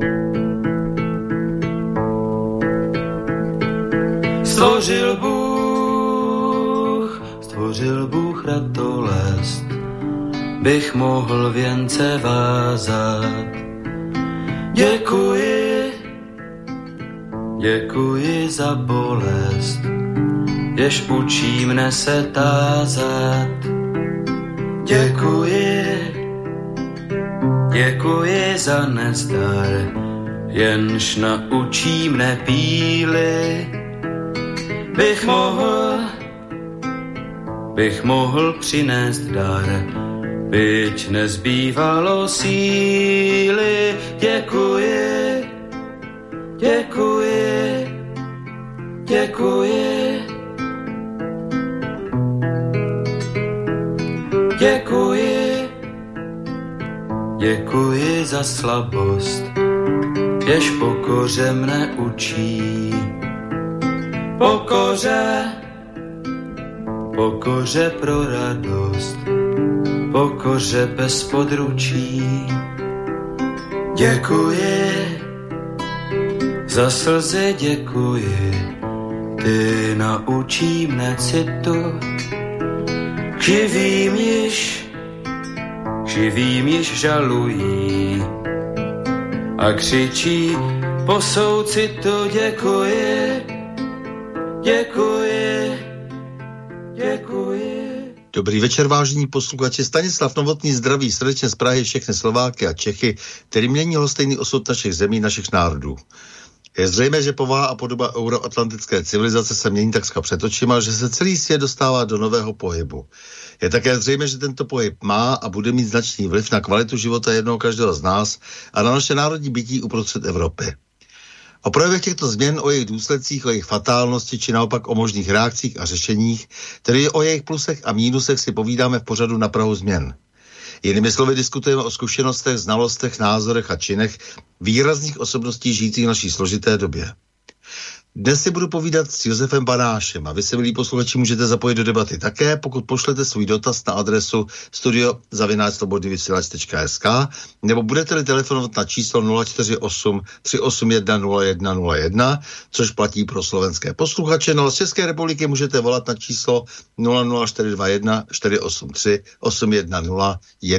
Stvořil Bůh ratolest, bych mohl věnce vázat. Děkuji za bolest, jež učí mne se tázat. Děkuji za nezdar, jenž naučí mne píly. Bych mohl přinést dar, byť nezbývalo síly. Děkuji za slabost, jež pokoře mne učí. Pokoře pro radost, pokoře bez područí. Děkuji za slzy, děkuji, ty naučí mne citu. Živým již žalují a křičí po soucitu. Děkuji. Dobrý večer, vážení posluchači. Stanislav Novotný zdraví srdečně z Prahy všechny Slováky a Čechy, kterým není lhostejný osud našich zemí, našich národů. Je zřejmé, že povaha a podoba euroatlantické civilizace se mění takřka před očima, že se celý svět dostává do nového pohybu. Je také zřejmé, že tento pohyb má a bude mít značný vliv na kvalitu života jednoho každého z nás a na naše národní bytí uprostřed Evropy. O projevech těchto změn, o jejich důsledcích, o jejich fatálnosti, či naopak o možných reakcích a řešeních, tedy o jejich plusech a mínusech si povídáme v pořadu Na prahu změn. Jinými slovy diskutujeme o zkušenostech, znalostech, názorech a činech výrazných osobností žijících v naší složité době. Dnes si budu povídat s Josefem Banášem a vy se, milí posluchači, můžete zapojit do debaty také, pokud pošlete svůj dotaz na adresu studio@slobodnyvysílač.sk nebo budete-li telefonovat na číslo 048 381 0101, což platí pro slovenské posluchače. No a z České republiky můžete volat na číslo 00421 483 810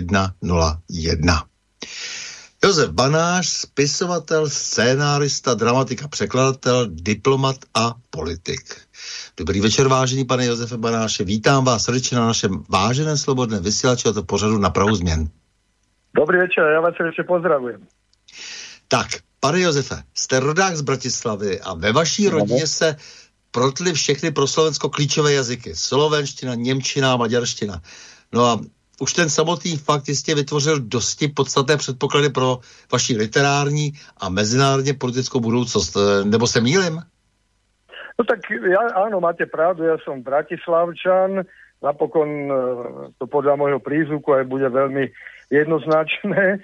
101. Josef Banáš, spisovatel, scénárista, dramatik a překladatel, diplomat a politik. Dobrý večer, vážený pane Josefe Banáše. Vítám vás srdečně na našem váženém slobodném vysílači a to pořadu Na prahu změn. Dobrý večer, já vás srdečně pozdravujem. Tak, pane Josefe, jste rodák z Bratislavy a ve vaší rodině se protly všechny pro Slovensko klíčové jazyky. Slovenština, němčina, maďarština. No a už ten samotný fakt jistě vytvořil dosti podstatné předpoklady pro vaši literární a mezinárodně politickou budoucnost. Nebo se mýlim? No tak áno, máte pravdu, ja som Bratislavčan, napokon to podľa môjho prízvuku aj bude veľmi jednoznačné.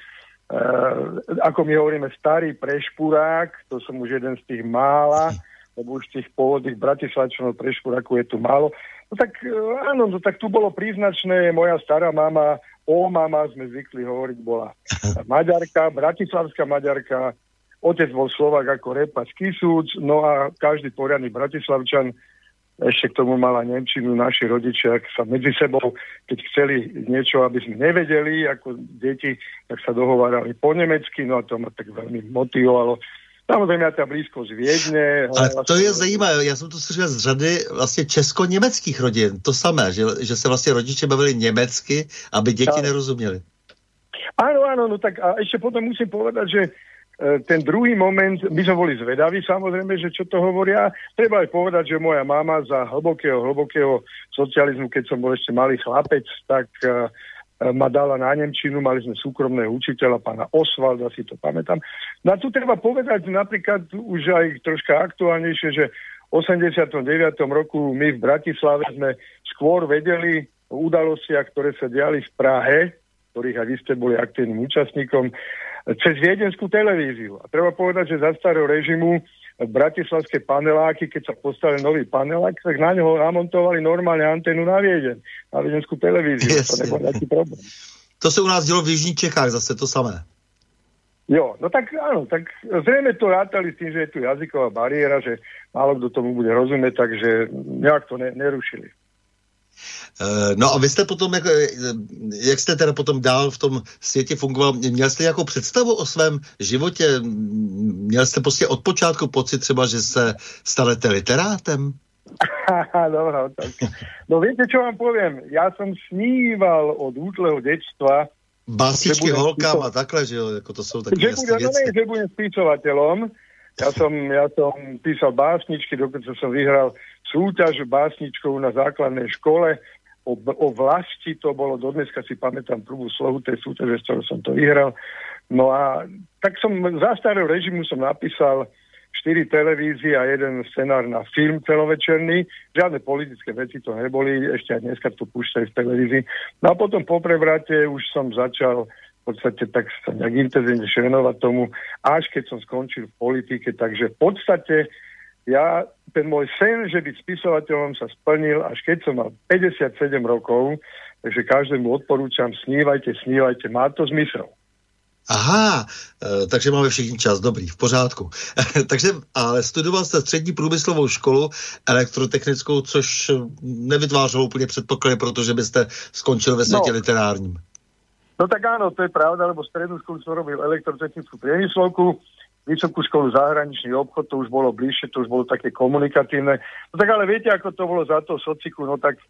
Ako my hovoríme, starý prešpurák, to som už jeden z tých mála, lebo už tých pôvodných Bratislavčanov prešpurákov je tu málo. No tak áno, no tak tu bolo príznačné, moja stará mama, mama sme zvykli hovoriť, bola Maďarka, bratislavská Maďarka, otec bol Slovák ako Repa z Kisúc, no a každý poriadny Bratislavčan ešte k tomu mala nemčinu, naši rodičia sa medzi sebou, keď chceli niečo, aby sme nevedeli, ako deti, tak sa dohovárali po nemecky, no a to ma tak veľmi motivovalo. Samozřejmě ta blízkost Viedne. Ale to je zajímavé, já jsem to slyšel z řady vlastně česko-německých rodin, to samé, že se vlastně rodiče bavili německy, aby děti nerozuměli. Áno, no tak a ešte potom musím povedať, že ten druhý moment, my sme boli zvedaví samozrejme, že čo to hovoria. Treba aj povedať, že moja mama za hlbokého socializmu, keď som bol ešte malý chlapec, tak ma dala na nemčinu, mali sme súkromného učiteľa, pána Osvalda, si to pamätám. No a tu treba povedať napríklad už aj troška aktuálnejšie, že v 89. roku my v Bratislave sme skôr vedeli o udalostiach, ktoré sa diali v Prahe, ktorých aj vy ste boli aktívnym účastníkom, cez viedenskú televíziu. A treba povedať, že za starého režimu bratislavské paneláky, keď sa postavil nový panelák, tak na neho namontovali normálne anténu na Viedeň, na viedenskú televíziu. Yes. To nebol nejaký problém. To se u nás dělo v Jižních Čechách zase to samé. Jo, no tak áno, tak zrejme to rátali s tým, že je tu jazyková bariéra, že málo kto tomu bude rozumieť, takže nejak to nerušili. No a vy jste potom, jak jste teda potom dál v tom světě fungoval, měl jste nějakou představu o svém životě? Měl jste prostě od počátku pocit třeba, že se stanete literátem? Dobrá otázka. No viete, čo vám poviem? Ja som sníval od útleho detstva básničky holkám a takhle, že jo, jako to jsou takové jasné věci. Že budem spisovateľom. Ja som písal básničky, dokonca som vyhral súťaž básničkou na základnej škole o vlasti, to bolo, dodneska si pamätám prvú slohu tej súťaže, z ktorého som to vyhral. No a tak som za starého režimu som napísal 4 televízie a 1 scenár na film celovečerný. Žiadne politické veci to neboli, ešte aj dneska to púšťajú v televízii. No a potom po prevrate už som začal v podstate tak sa nejak intenzívne venovať tomu, až keď som skončil v politike. Takže v podstate ten môj sen, že byť spisovateľom, sa splnil, až keď som mal 57 rokov. Takže každému odporúčam, snívajte, má to zmysel. Aha, takže máme všichni čas, dobrý, v pořádku. Takže, ale studoval jste střední průmyslovou školu elektrotechnickou, což nevytvářelo úplně předpoklady, protože byste skončil ve světě literárním. No tak áno, to je pravda, lebo strednú školu som robil elektrotechnickú priemyslovku, vysokú školu zahraničný obchod, to už bolo bližšie, to už bolo také komunikatívne. No tak ale viete, ako to bolo za to sociku, no tak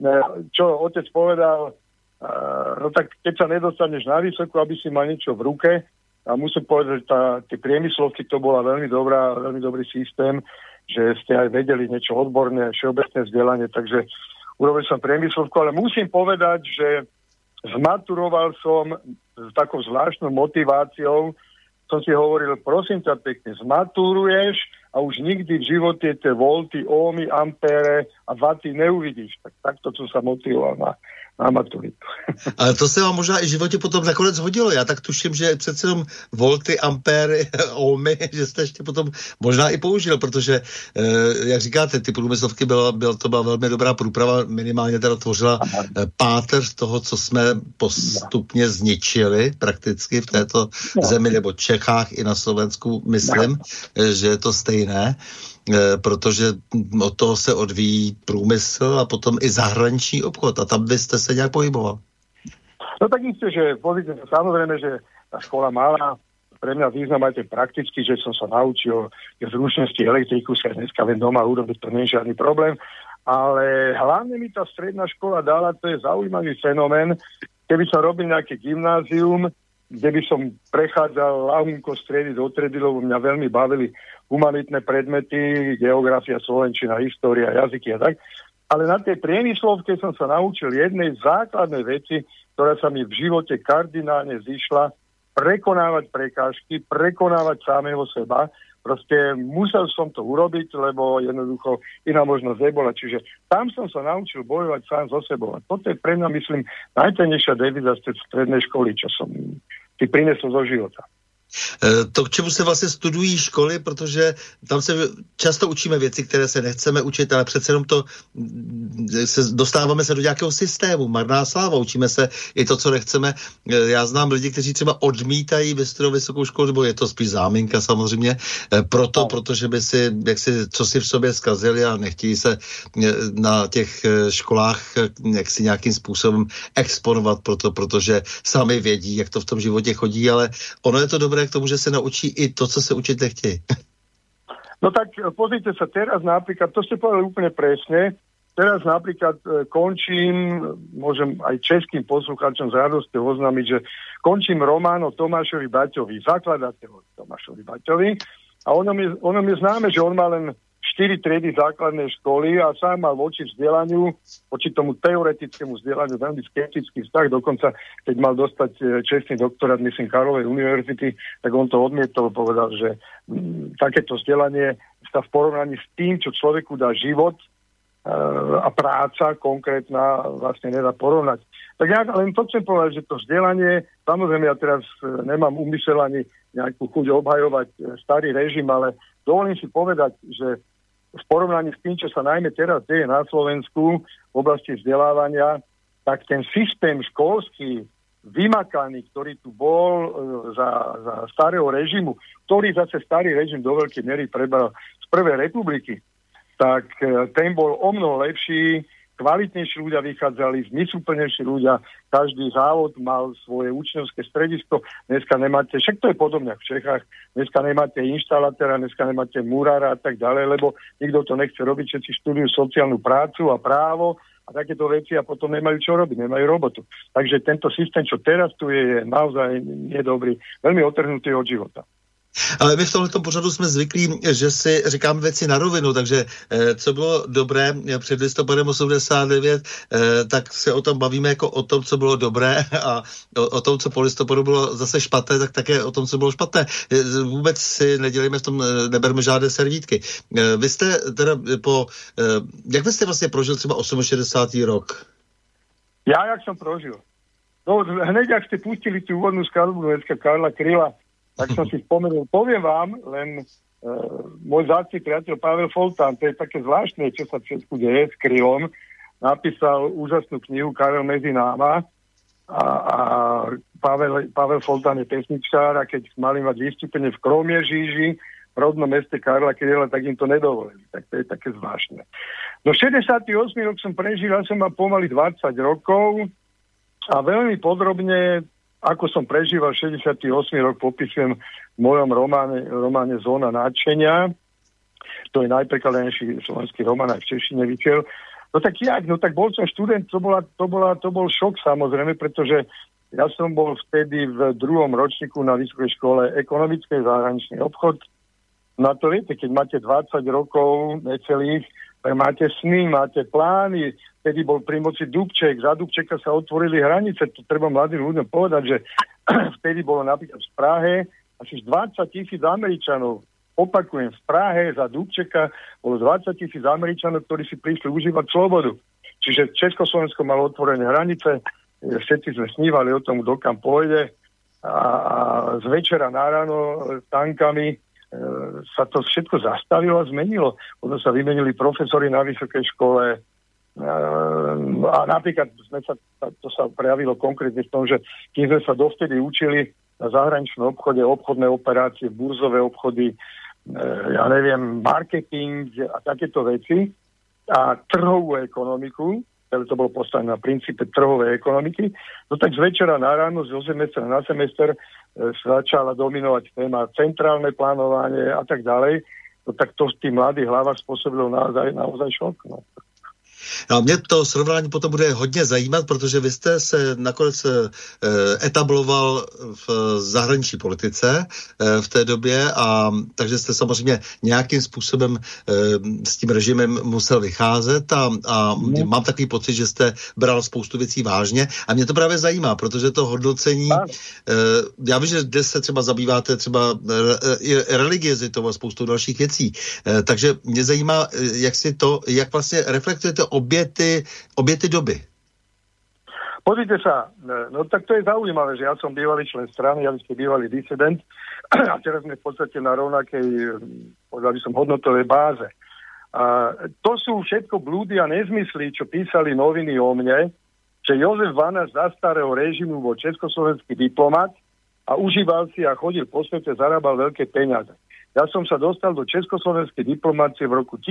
čo otec povedal, no tak keď sa nedostaneš na vysokú, aby si mal niečo v ruke, a musím povedať, že tie priemyslovky to bola veľmi dobrý systém, že ste aj vedeli niečo odborné, všeobecné vzdelanie, takže urobil som priemyslovku, ale musím povedať, že zmaturoval som s takou zvláštnou motiváciou, som si hovoril, prosím ťa pekne, zmaturuješ a už nikdy v živote tie volty, ohmy, ampére a vaty neuvidíš. Tak takto som sa motivoval na maturitu. Ale to se vám možná i v životě potom nakonec hodilo. Já tak tuším, že přece jenom volty, ampéry, ohmy, že jste ještě potom možná i použil, protože, jak říkáte, ty průmyslovky to byla velmi dobrá průprava, minimálně teda tvořila páteř toho, co jsme postupně zničili prakticky v této zemi, nebo Čechách i na Slovensku, myslím, že je to stejné. Protože od toho se odvíjí průmysl a potom i zahraniční obchod. A tam byste se nějak pohyboval. No tak isté, že samozrejme, že tá škola mala pre mňa význam aj ten praktický, že som sa naučil zručnosti elektriku, sa dneska viem doma urobiť, to nie je žiadny problém. Ale hlavne mi tá stredná škola dala, to je zaujímavý fenomén, keby som robil nejaké gymnázium, kde by som prechádzal ľahúnko stredy do tredy, lebo mňa veľmi bavili humanitné predmety, geografia, slovenčina, história, jazyky a tak. Ale na tej priemyslovke som sa naučil jednej základnej veci, ktorá sa mi v živote kardinálne zišla, prekonávať prekážky, prekonávať samého seba. Proste musel som to urobiť, lebo jednoducho iná možnosť nebola. Čiže tam som sa naučil bojovať sám so sebou. A toto je pre mňa, myslím, najcennejšia devíza z tej strednej školy, čo som si prinesol zo života. To, k čemu se vlastně studují školy, protože tam se často učíme věci, které se nechceme učit, ale přece jenom dostáváme se do nějakého systému, marná sláva, učíme se i to, co nechceme. Já znám lidi, kteří třeba odmítají vystudovat vysokou školu, nebo je to spíš záminka samozřejmě, protože by si, co si v sobě zkazili a nechtějí se na těch školách jaksi nějakým způsobem exponovat protože sami vědí, jak to v tom životě chodí, ale ono je to dobré k tomu, že sa naučí i to, co sa učiť nechtějí. No tak pozrite sa, teraz napríklad, to ste povedali úplne presne, teraz napríklad končím, môžem aj českým poslucháčom z radosťou oznámiť, že končím román o Tomášovi Baťovi, zakladateľovi Tomášovi Baťovi a ono mi známe, že on má len 4 triedy základnej školy a sám mal voči vzdelaniu, voči tomu teoretickému vzdelaniu veľmi skeptický vztah. Dokonca, keď mal dostať čestný doktorát, myslím, Karlovej univerzity, tak on to odmietol, povedal, že takéto vzdelanie sa v porovnaní s tým, čo človeku dá život a práca konkrétna, vlastne nedá porovnať. Tak ja len to chcem povedať, že to vzdelanie, samozrejme ja teraz nemám úmysel ani nejakú chuť obhajovať starý režim, ale dovolím si povedať, že v porovnaní s tým, čo sa najmä teraz deje na Slovensku v oblasti vzdelávania, tak ten systém školský vymakaný, ktorý tu bol za starého režimu, ktorý zase starý režim do veľkej miery prebral z prvej republiky, tak ten bol omnoho lepší, kvalitnejší ľudia vychádzali, zmysluplnejší ľudia, každý závod mal svoje učňovské stredisko, dneska nemáte, však to je podobne v Čechách, dneska nemáte inštalatéra, dneska nemáte murára a tak ďalej, lebo nikto to nechce robiť, všetci študujú sociálnu prácu a právo a takéto veci a potom nemajú čo robiť, nemajú robotu. Takže tento systém, čo teraz tu je naozaj nedobrý, veľmi otrhnutý od života. Ale my v tomto pořadu jsme zvyklí, že si říkáme věci na rovinu, takže co bylo dobré před listopadem 89, tak se o tom bavíme jako o tom, co bylo dobré a o tom, co po listopadu bylo zase špatné, tak také o tom, co bylo špatné. Vůbec si nedělíme v tom, neberme žádné servítky. Vy jste teda jak byste vlastně prožil třeba 68. rok? Ja, jak som prožil? No, hneď, ak ste pustili tú úvodnú skladbu dneska Karla Kryla, tak som si spomenul. Poviem vám, len môj vzácny priateľ Pavel Foltán, to je také zvláštne, čo sa v Česku deje s Krylom, napísal úžasnú knihu Karel medzi náma a Pavel Foltán je pesničkár a keď mali mať vystúpenie v Kromieříži, v rodnom meste Karla Kryla, tak im to nedovolili. Tak to je také zvláštne. No 68 rok som prežil, ja som mal pomaly 20 rokov a veľmi podrobne, ako som prežíval 68 rok, popisujem v mojom románe Zóna nadšenia. To je najprekladenejší slovenský román, aj v češtine vyšiel. No tak jak? No tak bol som študent, to bol šok samozrejme, pretože ja som bol vtedy v 2. ročníku na Vysokej škole ekonomickej zahraničný obchod. No to viete, keď máte 20 rokov necelých, máte sny, máte plány, vtedy bol pri moci Dubček, za Dubčeka sa otvorili hranice, to treba mladým ľuďom povedať, že vtedy bolo napríklad v Prahe asi 20,000 Američanov, opakujem, v Prahe za Dubčeka bolo 20,000 Američanov, ktorí si prišli užívať slobodu. Čiže Československo malo otvorené hranice, všetci sme snívali o tom, kto kam pôjde a z večera na ráno tankami sa to všetko zastavilo a zmenilo. Potom sa vymenili profesori na vysokej škole a napríklad to sa prejavilo konkrétne v tom, že keď sme sa dovtedy učili na zahraničnom obchode, obchodné operácie, burzové obchody, ja neviem, marketing a takéto veci a trhovú ekonomiku, ale to bolo postavené na princípe trhovej ekonomiky, no tak z večera na ráno, zo semestra na semester začala dominovať téma centrálne plánovanie a tak ďalej, no tak to v tých mladých hlavách spôsobilo naozaj šok. No. No, mě to srovnání potom bude hodně zajímat, protože vy jste se nakonec etabloval v zahraniční politice v té době a takže jste samozřejmě nějakým způsobem s tím režimem musel vycházet a mám takový pocit, že jste bral spoustu věcí vážně a mě to právě zajímá, protože to hodnocení, já vím, že dnes se třeba zabýváte třeba i religiozitou a spoustu dalších věcí, takže mě zajímá, jak vlastně reflektujete obě ty doby. Pozrite sa, no tak to je zaujímavé, že ja som bývalý člen strany, ja ste bývalý disident a teraz sme v podstate na rovnakej, povedal by som, hodnotovej báze. A to sú všetko blúdy a nezmysly, čo písali noviny o mne, že Jozef Vanáš za starého režimu bol československý diplomat a užíval si a chodil po svete, zarábal veľké peniaze. Ja som sa dostal do československej diplomácie v roku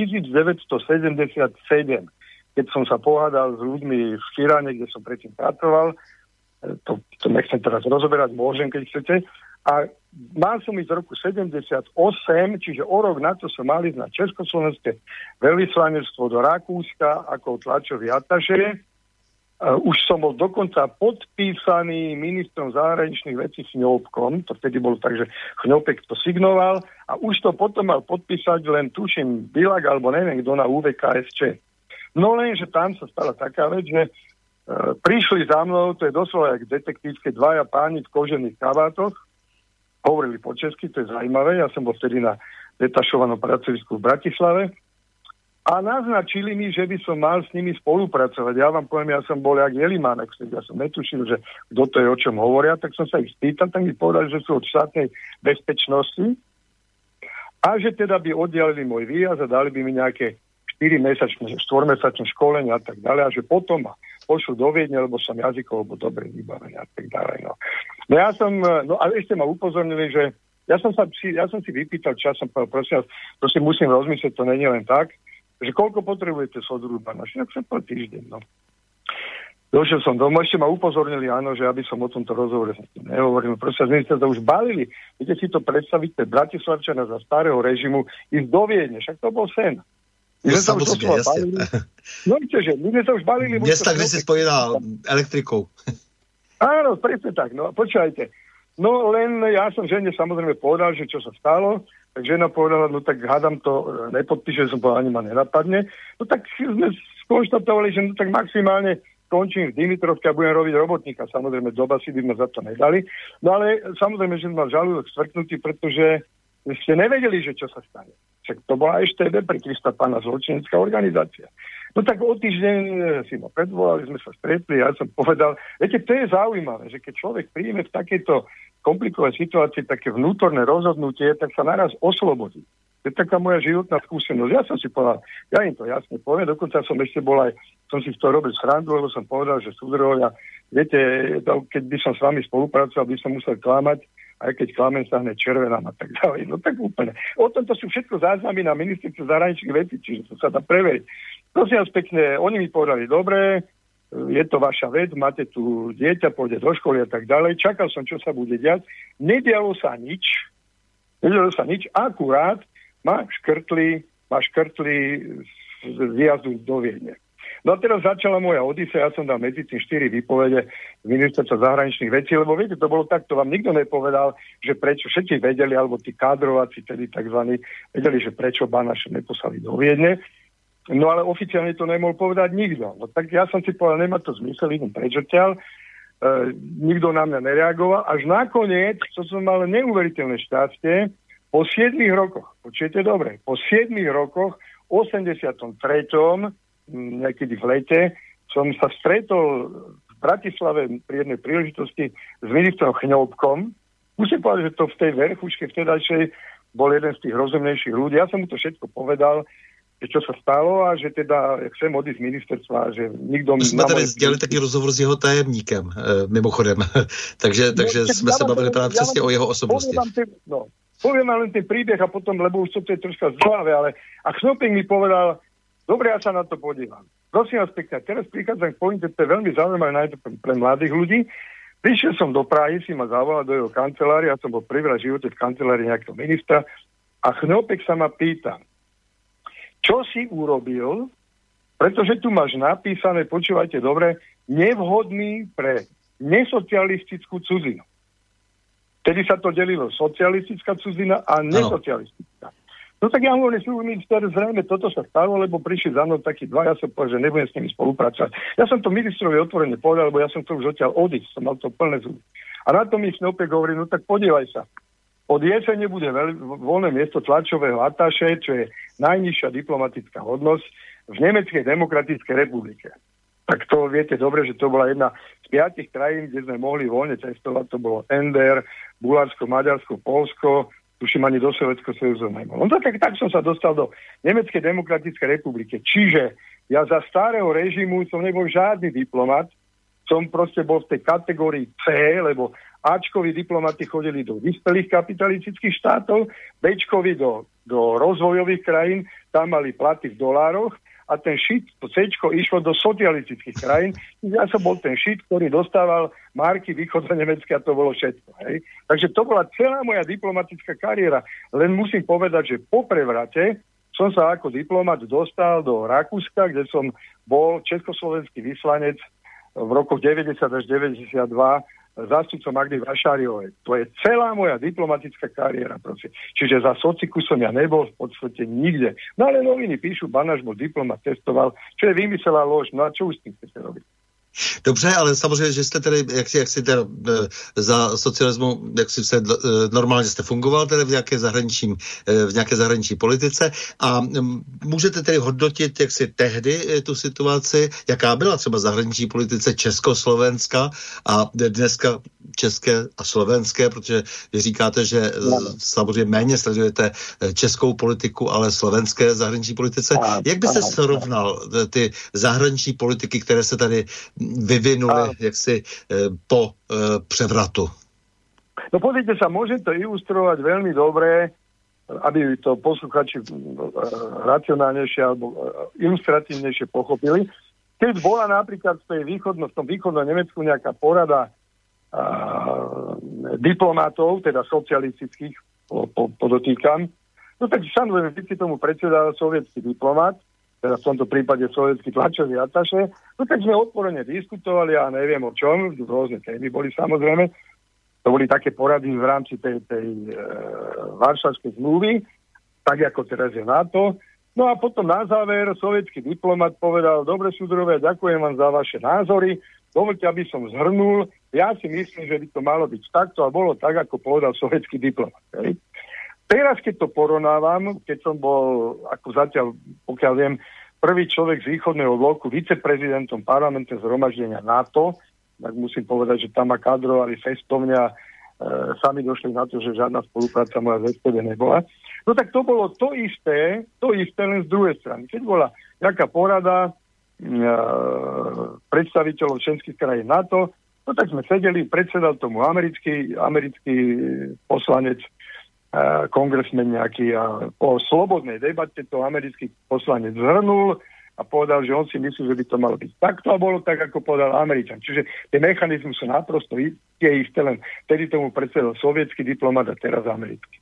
1977, keď som sa pohádal s ľuďmi v Širáne, kde som predtým pracoval. To nechcem teraz rozoberať, môžem, keď chcete. A mal som ísť v roku 78, čiže o rok na to som mal ísť na československé veľvyslanectvo do Rakúska ako tlačový atašé. Už som bol dokonca podpísaný ministrom zahraničných vecí Chňopkom, to vtedy bolo tak, že Chňopek to signoval a už to potom mal podpísať len tuším Bilak alebo neviem kto na UVKSČ. No len, že tam sa stala taká vec, že prišli za mnou, to je doslova jak detektívske, dvaja páni v kožených kabátoch, hovorili po česky, to je zaujímavé, ja som bol vtedy na detašovanom pracovisku v Bratislave a naznačili mi, že by som mal s nimi spolupracovať. Ja vám poviem, ja som bol jak Jelimánek, ja som netušil, že kto to je, o čom hovoria, tak som sa ich spýtal, tak mi povedali, že sú od štátnej bezpečnosti a že teda by oddialili môj výjazd a dali by mi nejaké 4-mesačné, 4-mesačné školenie a tak ďalej a že potom ma pošlu do Viedne, lebo som jazykovo dobre vybavený a tak ďalej. No ja som, a ešte ma upozornili, že ja som si vypýtal čas, som povedal, prosím, musím rozmyslieť, to nie je len tak, že koľko potrebujete Sodruba? No však som po týždeň, no. Došiel som domov, ešte ma upozornili, áno, že aby som o tomto rozhovore nehovoril. Proste my ste to už balili. Viete si to predstaviť, Bratislavčana za starého režimu ísť do Viedne, však to bol sen. No samozrejme, jasne. No že, my sme sa už balili. Mesta, kde si spojená elektrikou. Áno, presne tak, no počúvajte. No len ja som žene samozrejme povedal, že čo sa stalo, tak žena povedala, no tak hádam to nepodpíše, som povedal, ani ma nenapadne. No tak sme skonštatovali, že no tak maximálne končím v Dimitrovke a budem robiť robotníka. Samozrejme, doba si by ma za to nedali. No ale samozrejme, že mal žalúdok stvrknutý, pretože ste nevedeli, že čo sa stane. Však to bola EŠTB, prikristá pána zločinecká organizácia. No tak o týždeň si ma predvolali, sme sa stretli a ja som povedal, viete, to je zaujímavé, že keď človek príjme v takejto komplikovej situácii také vnútorné rozhodnutie, tak sa naraz oslobodí. To je taká moja životná skúsenosť. Ja som si povedal, ja im to jasne poviem, dokonca som ešte bol aj, som si to robil srandu, lebo som povedal, že súdruhovia, viete, keď by som s vami spolupracoval, by som musel klamať, aj keď klamem sa hneď červenám a tak ďalej. No tak úplne. O tomto sú všetko záznamy na ministerstve zahraničných vecí, čiže to sa dá preveriť. Prosím vás pekne, oni mi povedali, dobre, je to vaša vec, máte tu dieťa, pôjde do školy a tak ďalej. Čakal som, čo sa bude diať. Nedialo sa nič, akurát ma škrtli z výjazdu do Viedne. No a teraz začala moja odisea, ja som dal medzi tým 4 výpovede z ministerstva zahraničných vecí, lebo viete, to bolo tak, to vám nikto nepovedal, že prečo, všetci vedeli, alebo tí kádrovací, tedy takzvaní, vedeli, že prečo Banaša neposlali do Viedne. No ale oficiálne to nemohol povedať nikto. No tak ja som si povedal, nemá to zmysel, idem preč odtiaľ. Nikto na mňa nereagoval. Až nakoniec, to som mal neuveriteľné šťastie, po 7 rokoch, počujete dobre, po 7 rokoch, 83. niekedy v lete, som sa stretol v Bratislave pri jednej príležitosti s ministrom Chňoubkom. Musím povedať, že to v tej verchuške vtedajšej bol jeden z tých rozumnejších ľudí. Ja som mu to všetko povedal, že čo sa stalo a že teda chcem odísť z ministerstva, že nikto... My jsme tady dělali taky rozhovor s jeho tajemníkem, mimochodem. takže jsme se bavili právě přesně o jeho osobnosti. Poviem vám len ten príbeh a potom, lebo už to je troška zdláve, ale a Knopek mi povedal, dobre, ja sa na to podívam. Prosím vás pekne, teraz prichádzam k pointe, to je veľmi zaujímavé najmä pre mladých ľudí. Prišiel som do Prahy, si ma zavolal do jeho kancelárie, ja som bol prvýkrát v živote v kancelárii nejakého ministra a Knopek sa ma pýta, čo si urobil, pretože tu máš napísané, počúvajte dobre, nevhodný pre nesocialistickú cudzinu. Tedy sa to delilo socialistická cudzina a nesocialistická. No tak ja hovorím, minister, zrejme toto sa stalo, lebo prišli za mnou takí dva, ja som povedal, že nebudem s nimi spolupracovať. Ja som to ministrovi otvorene povedal, lebo ja som to už odtiaľ odísť, som mal to plné zuby. A na to mi Snopek hovorí, no tak podievaj sa. Od jesene bude voľné miesto tlačového atáše, čo je najnižšia diplomatická hodnosť v Nemeckej demokratickej republike. Tak to viete dobre, že to bola jedna z 5 krajín, kde sme mohli voľne cestovať. To bolo NDR, Bulharsko, Maďarsko, Poľsko, tuším ani do Sovietskeho sojuzu nemohol. No tak som sa dostal do Nemeckej demokratickej republiky. Čiže ja za starého režimu som nebol žiadny diplomat, som proste bol v tej kategórii C, lebo Ačkoví diplomati chodili do vyspelých kapitalistických štátov, Bčkovi do rozvojových krajín, tam mali platy v dolároch, a ten šit, to C-čko išlo do socialistických krajín. Ja som bol ten šit, ktorý dostával marky východno-nemecké a to bolo všetko. Hej. Takže to bola celá moja diplomatická kariéra. Len musím povedať, že po prevrate som sa ako diplomat dostal do Rakúska, kde som bol československý vyslanec v rokoch 90 až 92 zástupcom Magdy Vašáriovej. To je celá moja diplomatická kariéra. Prosím. Čiže za sociku som ja nebol v podstate nikde. No ale noviny píšu, Banaš bol diplomat, testoval, čo je vymyselá lož. No a čo už s tým chcete robiť? Dobře, ale samozřejmě, že jste tedy, jak si teda za socialismu, jak si se normálně jste fungoval tedy v nějaké zahraniční politice a můžete tedy hodnotit, jak si tehdy tu situaci, jaká byla třeba zahraniční politice Československa a dneska české a slovenské, protože vy říkáte, že samozřejmě méně sledujete českou politiku, ale slovenské zahraniční politice. Jak byste srovnal ty zahraniční politiky, které se tady vyvinuli jaksi po převratu. No pozrite sa, môžem to ilustrovať veľmi dobre, aby to posluchači racionálnejšie alebo ilustratívnejšie pochopili. Keď bola napríklad v tom východnom Nemecku nejaká porada diplomatov, teda socialistických, podotýkam, no tak samozrejme, keď si tomu predsedal sovietský diplomat, teda v tomto prípade sovietský tlačový ataše, no tak sme otvorene diskutovali, ja neviem o čom, rôzne témy boli samozrejme. To boli také porady v rámci tej Varšavskej zmluvy, tak ako teraz je NATO. No a potom na záver sovietský diplomat povedal: dobre súdruhovia, ďakujem vám za vaše názory, dovoľte, aby som zhrnul, ja si myslím, že by to malo byť takto a bolo tak, ako povedal sovietský diplomat. Hej. Teraz, keď to porovnávam, keď som bol, ako zatiaľ, pokiaľ viem, prvý človek z východného bloku, viceprezidentom parlamentného zhromaždenia NATO, tak musím povedať, že tam ma kadrovali festovne a sami došli na to, že žiadna spolupráca moja z SPD nebola. No tak to bolo to isté len z druhej strany. Keď bola nejaká porada predstaviteľov členských krajín NATO, no tak sme sedeli, predsedal tomu americký poslanec, kongresmen nejaký, a po slobodnej debate to americký poslanec zhrnul a povedal, že on si myslí, že by to malo byť takto a bolo tak, ako povedal Američan. Čiže tie mechanizmy sú naprosto tie isté, len tedy tomu predsedal sovětský diplomat a teraz americký.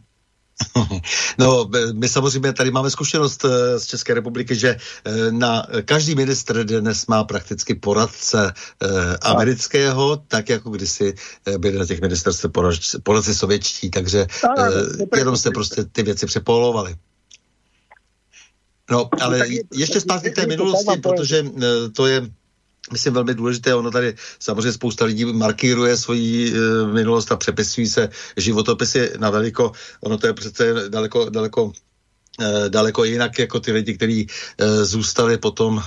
No, my samozřejmě tady máme zkušenost z České republiky, že na každý ministr dnes má prakticky poradce amerického, tak jako kdysi byli na těch ministerstvech poradci sovětští, takže jenom se prostě ty věci přepolovali. No, ale ještě zpátky k té minulosti, protože to je, myslím, velmi důležité. Ono tady samozřejmě spousta lidí markíruje svoji minulost a přepisují se životopisy na veliko. Ono to je přece daleko jinak jako ty lidi, kteří zůstali potom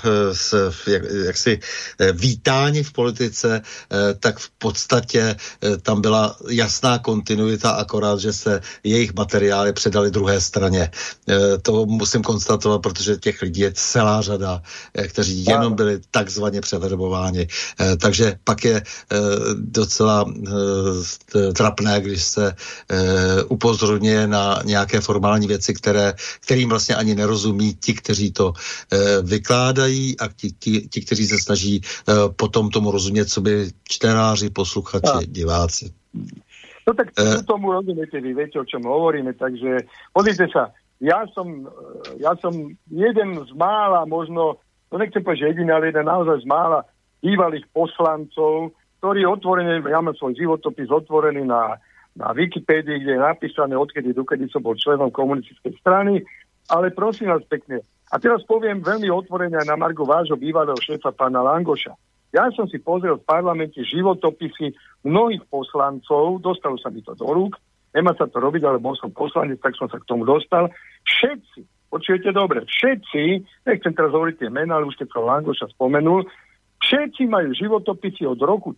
jaksi vítáni v politice, tak v podstatě tam byla jasná kontinuita, akorát, že se jejich materiály předali druhé straně. To musím konstatovat, protože těch lidí je celá řada, kteří jenom byli takzvaně převerbováni. Takže pak je docela trapné, když se upozorňuje na nějaké formální věci, kterým vlastně ani nerozumí ti, kteří to vykládají a ti, kteří se snaží potom tomu rozumět, co by čtenáři, posluchači, diváci. No tak tomu rozumiete, vy viete, o čom hovoríme, takže pozrite sa, ja som jeden z mála, možno, no nechcem povedať, že jediný, ale jeden naozaj z mála bývalých poslancov, ktorí otvorene, ja mám svoj životopis otvorený na Wikipédii, kde je napísané, odkedy dokedy som bol členom komunistickej strany, ale prosím vás pekne. A teraz poviem veľmi otvorene aj na margo vášho bývalého šéfa pána Langoša. Ja som si pozrel v parlamente životopisy mnohých poslancov, dostalo sa mi to do rúk, nemá sa to robiť, ale bol som poslanec, tak som sa k tomu dostal. Všetci, počujete dobre, všetci, nechcem teraz hovoriť tie mená, ale už keď som Langoša spomenul, všetci majú životopisy od roku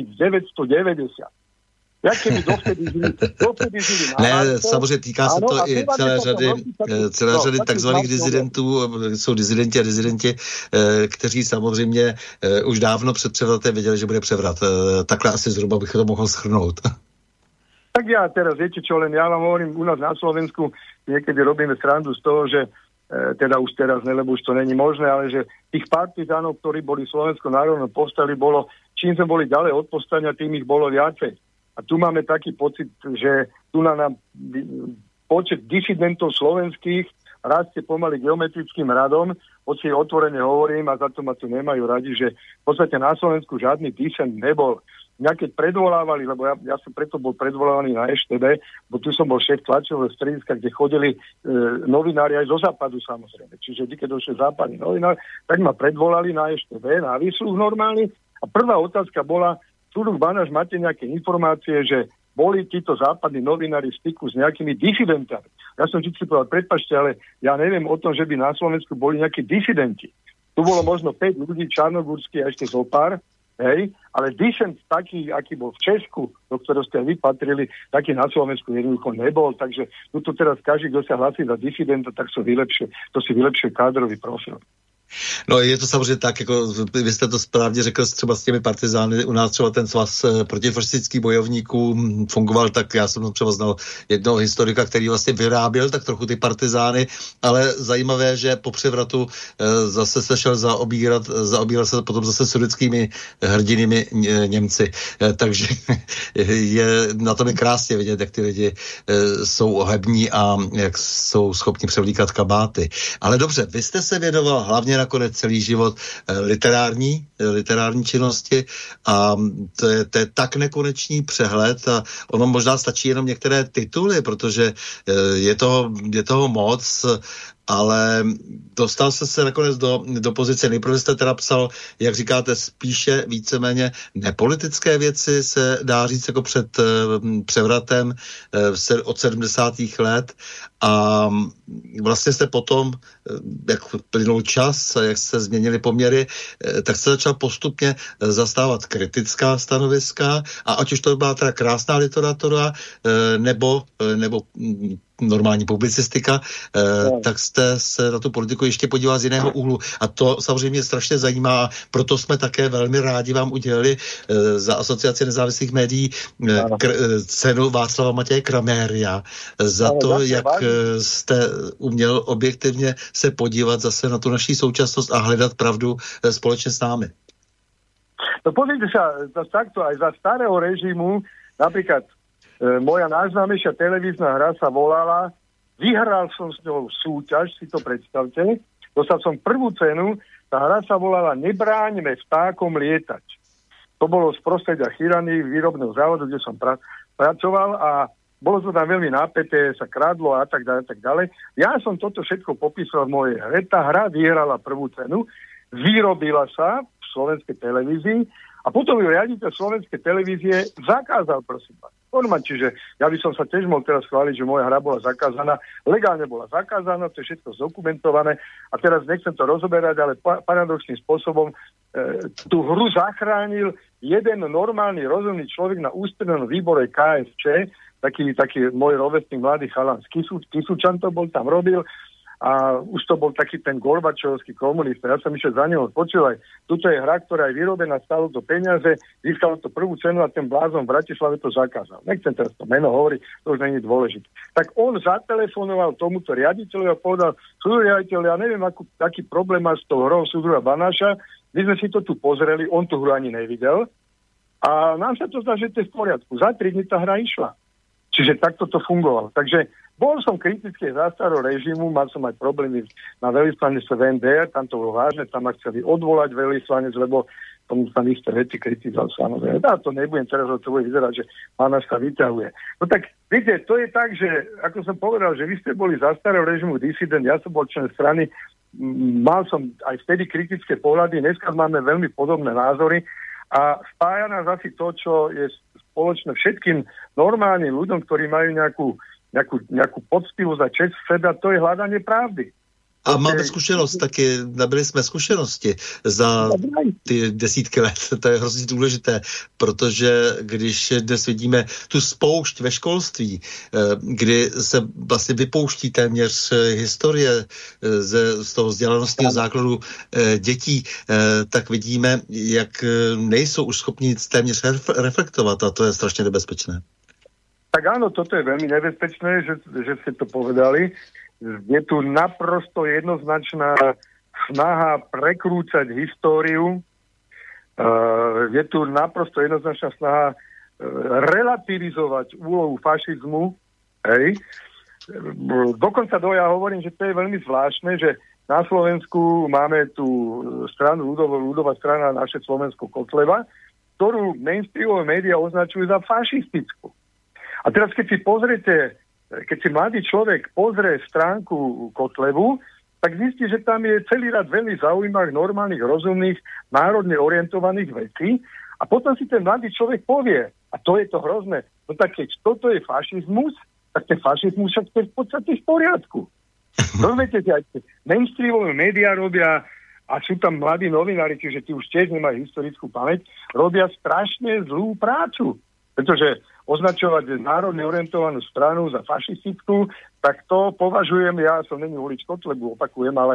1990. Jak keby dovtedy žili Ne, samozřejmě týká se to i celé řady takzvaných dizidentů, jsou dizidenti a dizidenti, kteří samozřejmě už dávno před převratem věděli, že bude převrat. Takhle asi zhruba bych to mohl shrnout. Tak ja teraz, viete čo, len ja vám hovorím, u nás na Slovensku niekedy robíme srandu z toho, že teda už teraz ne, lebo už to není možné, ale že tých partizánov, ktorí boli Slovensko národnom povstali, bolo, čím sme boli ďalej od povstania, tým ich bolo viacej. A tu máme taký pocit, že tu na nám počet disidentov slovenských rastie pomaly geometrickým radom, hoci otvorene hovorím, a za to ma tu nemajú radi, že v podstate na Slovensku žiadny disent nebol. Mňa keď predvolávali, lebo ja som preto bol predvolávaný na EŠTB, bo tu som bol šéf tlačového strediska, kde chodili novinári aj zo západu samozrejme. Čiže keď došli západní novinári, tak ma predvolali na EŠTB, na výsluh normálny. A prvá otázka bola, Súdruh Banáš, máte nejaké informácie, že boli títo západní novinári v styku s nejakými disidentami? Ja som vždy povedal, prepáčte, ale ja neviem o tom, že by na Slovensku boli nejakí disidenti. Tu bolo možno 5 ľudí, Čarnogórsky a ešte zopár, hej, ale disent taký, aký bol v Česku, do ktorého ste vy patrili, taký na Slovensku jednoducho nebol, takže tu teraz každý, kto sa hlasí za disidenta, tak to si vylepšuje kádrový profil. No je to samozřejmě tak, jako vy jste to správně řekl, třeba s těmi partizány, u nás třeba ten svaz protifašistických bojovníků fungoval tak, já jsem třeba znal jednoho historika, který vlastně vyráběl tak trochu ty partizány, ale zajímavé, že po převratu zase se šel zaobíral se potom zase sudetskými hrdinými Němci, takže na tom je krásně vidět, jak ty lidi jsou ohební a jak jsou schopni převlíkat kabáty. Ale dobře, vy jste se věnoval hlavně nakonec celý život literární činnosti a to je tak nekonečný přehled a ono možná stačí jenom některé tituly, protože je toho moc, ale dostal jste se nakonec do pozice. Nejprve jste teda psal, jak říkáte, spíše víceméně nepolitické věci, se dá říct jako před převratem od 70. let a vlastně jste potom, jak plynul čas, jak se změnily poměry, tak se začal postupně zastávat kritická stanoviska a ať už to byla teda krásná literatura nebo normální publicistika, tak jste se na tu politiku ještě podíval z jiného úhlu. A to samozřejmě strašně zajímá a proto jsme také velmi rádi vám udělali za Asociaci nezávislých médií cenu Václava Matěje Kraméria za to, jak jste uměl objektivně se podívat zase na tu naší současnost a hledat pravdu společně s námi. No pozrite sa, takto aj za starého režimu, napríklad moja najznámejšia televízna hra sa volala, vyhral som s ňou súťaž, si to predstavte, dostal som prvú cenu, tá hra sa volala Nebráňme vtákom lietať. To bolo z prostredia Chirany, výrobného závodu, kde som pracoval a bolo to tam veľmi napäté, sa kradlo a tak ďalej. Ja som toto všetko popísal v mojej hre, tá hra vyhrala prvú cenu, vyrobila sa v slovenskej televízii a potom ju riaditeľ slovenskej televízie zakázal, prosím vás. Normálne, čiže ja by som sa tiež mohol teraz chváliť, že moja hra bola zakázaná, legálne bola zakázaná, to je všetko zdokumentované a teraz nechcem to rozoberať, ale paradoxným spôsobom tú hru zachránil jeden normálny, rozumný človek na ústrednom výbore KSČ, taký môj rovesník mladý chalan z Kisučan to bol, tam robil a už to bol taký ten Gorbačovský komunista. Ja som išiel za neho, počúvaj, tuto je hra, ktorá je vyrobená, stálo to peniaze, získalo to prvú cenu a ten blázon v Bratislave to zakázal. Nechcem teraz to meno hovoriť, to už nie je dôležité. Tak on zatelefonoval tomuto riaditeľu a povedal, súdruh riaditeľ, ja neviem, aký problém má s tou hrou súdruha Banáša, my sme si to tu pozreli, on tú hru ani nevidel a nám sa to zdá, že to je v poriadku. Za 3 dní tá hra išla. Čiže takto to fungovalo. Takže bol som kritický za starého režimu, mal som aj problémy na veľvyslanectve v NDR, tam to bolo vážne, tam ma chceli odvolať veľvyslanec, lebo tomu tam isté veci kritizoval samozrejme. Ja to nebudem teraz, to bude vyzerať, že Banáš sa vyťahuje. No tak, viete, to je tak, že, ako som povedal, že vy ste boli za starého režimu disident, ja som bol člen strany, mal som aj vtedy kritické pohľady, dneska máme veľmi podobné názory a spája nás asi to, čo je spoločné všetkým normálnym ľuďom, ktorí majú nejakú poctivosť a čest v sebe, to je hľadanie pravdy. A máme zkušenost taky, nabili jsme zkušenosti za ty desítky let. To je hrozně důležité, protože když dnes vidíme tu spoušť ve školství, kdy se vlastně vypouští téměř historie z toho vzdělanostního základu dětí, tak vidíme, jak nejsou už schopni téměř reflektovat a to je strašně nebezpečné. Tak áno, toto je veľmi nebezpečné, že ste to povedali. Je tu naprosto jednoznačná snaha prekrúcať históriu. Je tu naprosto jednoznačná snaha relativizovať úlohu fašizmu. Hej. Dokonca ja hovorím, že to je veľmi zvláštne, že na Slovensku máme tú stranu ľudová strana Naše Slovensko Kotleba, ktorú mainstreamové médiá označujú za fašistickú. A teraz, keď si mladý človek pozrie stránku Kotlebu, tak zistí, že tam je celý rad veľmi zaujímavých, normálnych, rozumných, národne orientovaných vecí a potom si ten mladý človek povie, a to je to hrozné, no tak keď toto je fašizmus, tak ten fašizmus však je v podstate v poriadku. Rozumiete, že aj mainstreamové médiá robia, a sú tam mladí novinári, čiže tí už tiež nemajú historickú pamäť, robia strašne zlú prácu. Pretože označovať národne orientovanú stranu za fašistickú, tak to považujem, ja som není volič Kotlebu, opakujem, ale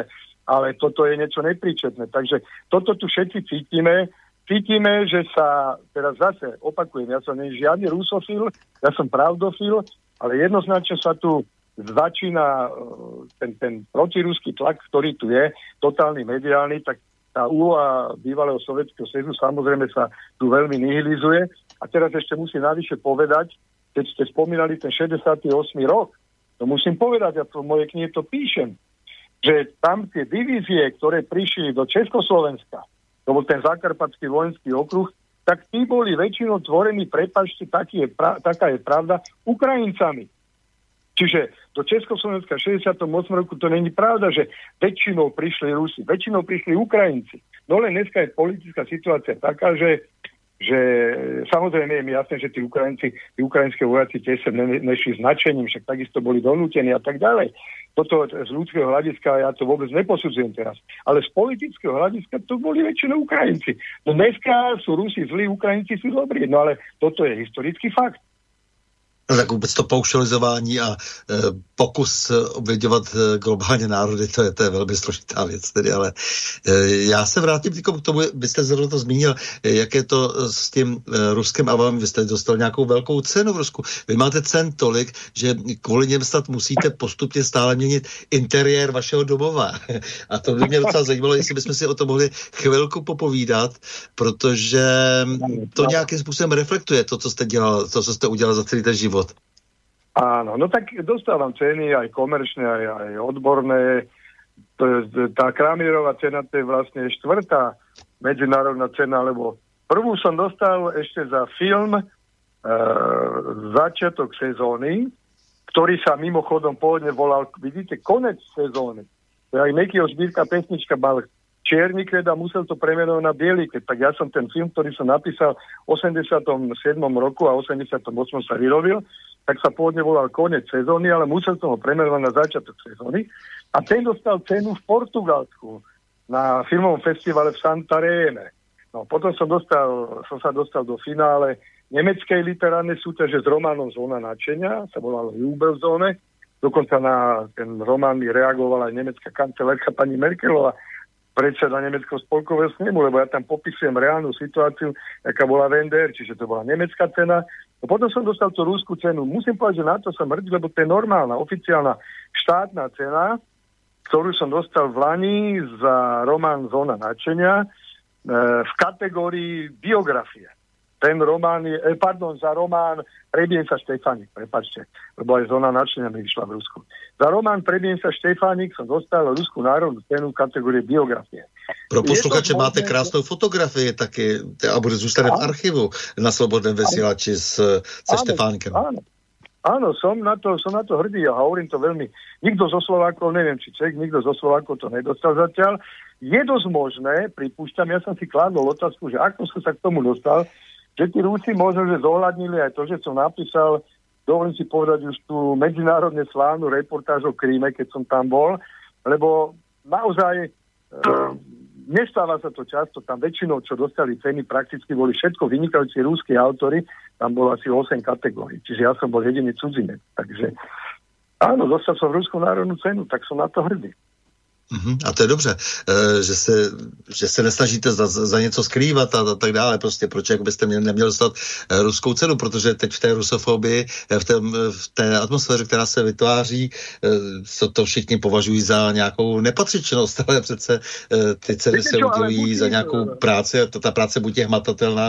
ale toto je niečo nepríčetné. Takže toto tu všetci cítime, že sa, teraz zase opakujem, ja som žiadny rusofil, ja som pravdofil, ale jednoznačne sa tu začína ten protiruský tlak, ktorý tu je, totálny mediálny, tak tá úloha bývalého Sovietskeho zväzu samozrejme sa tu veľmi nihilizuje. A teraz ešte musím navyše povedať, keď ste spomínali ten 68. rok, to musím povedať, ja v mojej knihe to píšem, že tam tie divízie, ktoré prišli do Československa, to bol ten Zakarpatský vojenský okruh, tak tí boli väčšinou tvorení, prepáčte, taká je pravda, Ukrajincami. Čiže do Československa v 68. roku to není pravda, že väčšinou prišli Rusi, väčšinou prišli Ukrajinci. No len dneska je politická situácia taká, že samozrejme je mi jasné, že tí ukrajinské vojaci tiež sa nešli značením, však takisto boli donútení a tak ďalej. Toto z ľudského hľadiska ja to vôbec neposudzujem teraz. Ale z politického hľadiska to boli väčšinou Ukrajinci. No dneska sú Rusi zlí, Ukrajinci sú dobrí. No ale toto je historický fakt. No tak vůbec to paušalizování a pokus obvěďovat globálně národy, to je velmi složitá věc tedy, ale já se vrátím k tomu, vy jste zrovna to zmínil, jak je to s tím Ruskem a vy jste dostal nějakou velkou cenu v Rusku. Vy máte cen tolik, že kvůli něm snad musíte postupně stále měnit interiér vašeho domova. A to by mě docela zajímalo, jestli bychom si o tom mohli chvilku popovídat, protože to nějakým způsobem reflektuje to, co jste dělal, to, co jste udělal za celý ten život. Áno, no tak dostávam ceny aj komerčné, aj odborné. Tá Kramierová cena to je vlastne 4. medzinárodná cena, lebo prvú som dostal ešte za film Začiatok sezóny, ktorý sa mimochodom pôvodne volal, vidíte, Konec sezóny. Aj Mekyho zbírka pesnička mal čierny kvet a musel to premenovať na biely kvet. Tak ja som ten film, ktorý som napísal v 87. roku a 88. sa vyrobil, tak sa pôvodne volal Konec sezóny, ale musel som ho premenovať na Začiatok sezóny. A ten dostal cenu v Portugalsku na filmovom festivale v Santaréme. No, potom som sa dostal do finále nemeckej literárnej súťaže s románom Zóna nadšenia, sa volalo Jubelzóne. Dokonca na ten román mi reagovala aj nemecká kancelárka pani Merkelová, predseda Nemeckého spolkového snemu, lebo ja tam popisujem reálnu situáciu, aká bola v NDR, čiže to bola nemecká cena. No potom som dostal tú ruskú cenu. Musím povedať, že na to som hrdý, lebo to je normálna, oficiálna štátna cena, ktorú som dostal v Lani za román Zóna nadšenia v kategórii biografie. Ten román je, za román Prebiem sa Štefánik, prepáčte, lebo aj Zóna nadšenia mi vyšla v Rusku. Za román Prebiem sa Štefánik som dostal Ruskú národnú cenu v kategórii biografie. Pro posluchače máte krásnou fotografii taky a bude zůstane v archivu na Slobodném vysílači se Štefánkem. Áno, som na to hrdý a hovorím to veľmi. Nikto zo Slovákov, neviem, či Čech, nikto zo Slovákov to nedostal zatiaľ. Je dosť možné, pripúšťam, ja som si kládol otázku, že ako som sa k tomu dostal, že tí Rusi možno, že zohľadnili aj to, že som napísal, dovolím si povedať už tú medzinárodne slávnu reportáž o Kríme, keď som tam bol, lebo naozaj nestáva sa to často, tam väčšinou, čo dostali ceny, prakticky boli všetko vynikajúci ruskí autory, tam bolo asi 8 kategórií, čiže ja som bol jediný cudzinec, takže áno, dostal som Ruskú národnú cenu, tak som na to hrdý. A to je dobře, že se nesnažíte za něco skrývat a tak dále. Prostě proč jak byste neměli dostat ruskou cenu, protože teď v té rusofobii, v té atmosféře, která se vytváří, to všichni považují za nějakou nepatřičnost, ale přece ty ceny se udělují za nějakou práci a ta práce buď je hmatatelná,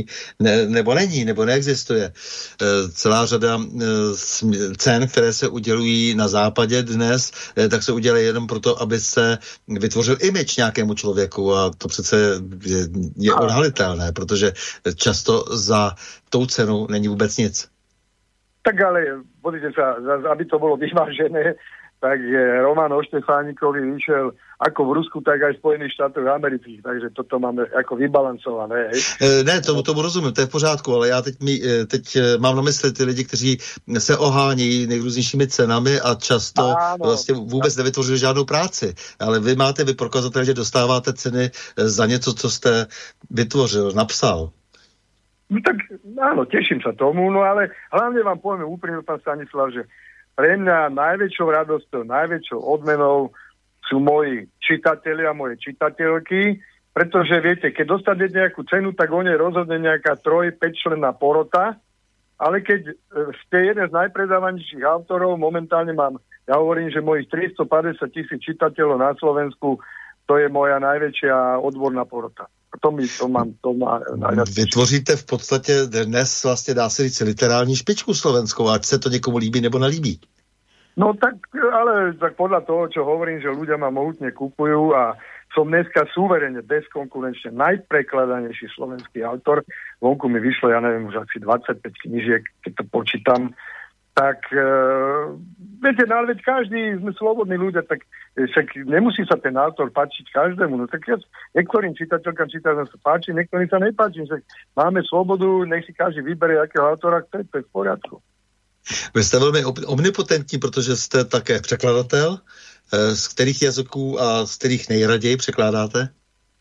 nebo neexistuje. Celá řada cen, které se udělují na západě dnes, tak se udělají jenom proto, aby se vytvořil image nějakému člověku a to přece je odhalitelné, protože často za tou cenou není vůbec nic. Tak ale, pozrite sa, aby to bolo vyvážené, tak román o Štefánikovi vyšiel ako v Rusku, tak aj v Spojených štátoch amerických, takže toto máme ako vybalancované. Ne, tomu rozumím, to je v pořádku, ale já teď mám na mysli ty lidi, kteří se ohánějí nejrůznějšími cenami a často vlastně vůbec nevytvořili žádnou práci. Ale vy prokazatelně, že dostáváte ceny za něco, co jste vytvořil, napsal. No tak áno, teším sa tomu, no ale hlavne vám poviem úprimne, pán Stanislav, že pre mňa najväčšou radosťou, najväčšou odmenou sú moji čitatelia, moje čitateľky, pretože viete, keď dostanete nejakú cenu, tak o nej rozhodne nejaká 3-5 členná porota, ale keď ste jeden z najpredávanejších autorov, momentálne ja hovorím, že mojich 350 000 čitateľov na Slovensku, to je moja najväčšia odborná porota. To má najviac. Vytvoříte v podstatě dnes vlastně dá se říct literální špičku slovenskou, ať se to někomu líbí nebo nelíbí. No tak, ale tak podľa toho, čo hovorím, že ľudia ma mohutne kupujú a som dneska súverene, bezkonkurenčne najprekladanejší slovenský autor. Vonku mi vyšlo, ja neviem, už asi 25 knížiek, keď to počítam. Tak, viete, no ale veď každý, sme slobodní ľudia, tak však nemusí sa ten autor páčiť každému. No tak ja niektorým čitateľkám sa páči, niektorým sa nepáči. Však máme slobodu, nech si každý vybere, akého autora chce, to je v poriadku. Vy jste velmi omnipotentní, protože jste také překladatel. Z kterých jazyků a z kterých nejraději překládáte?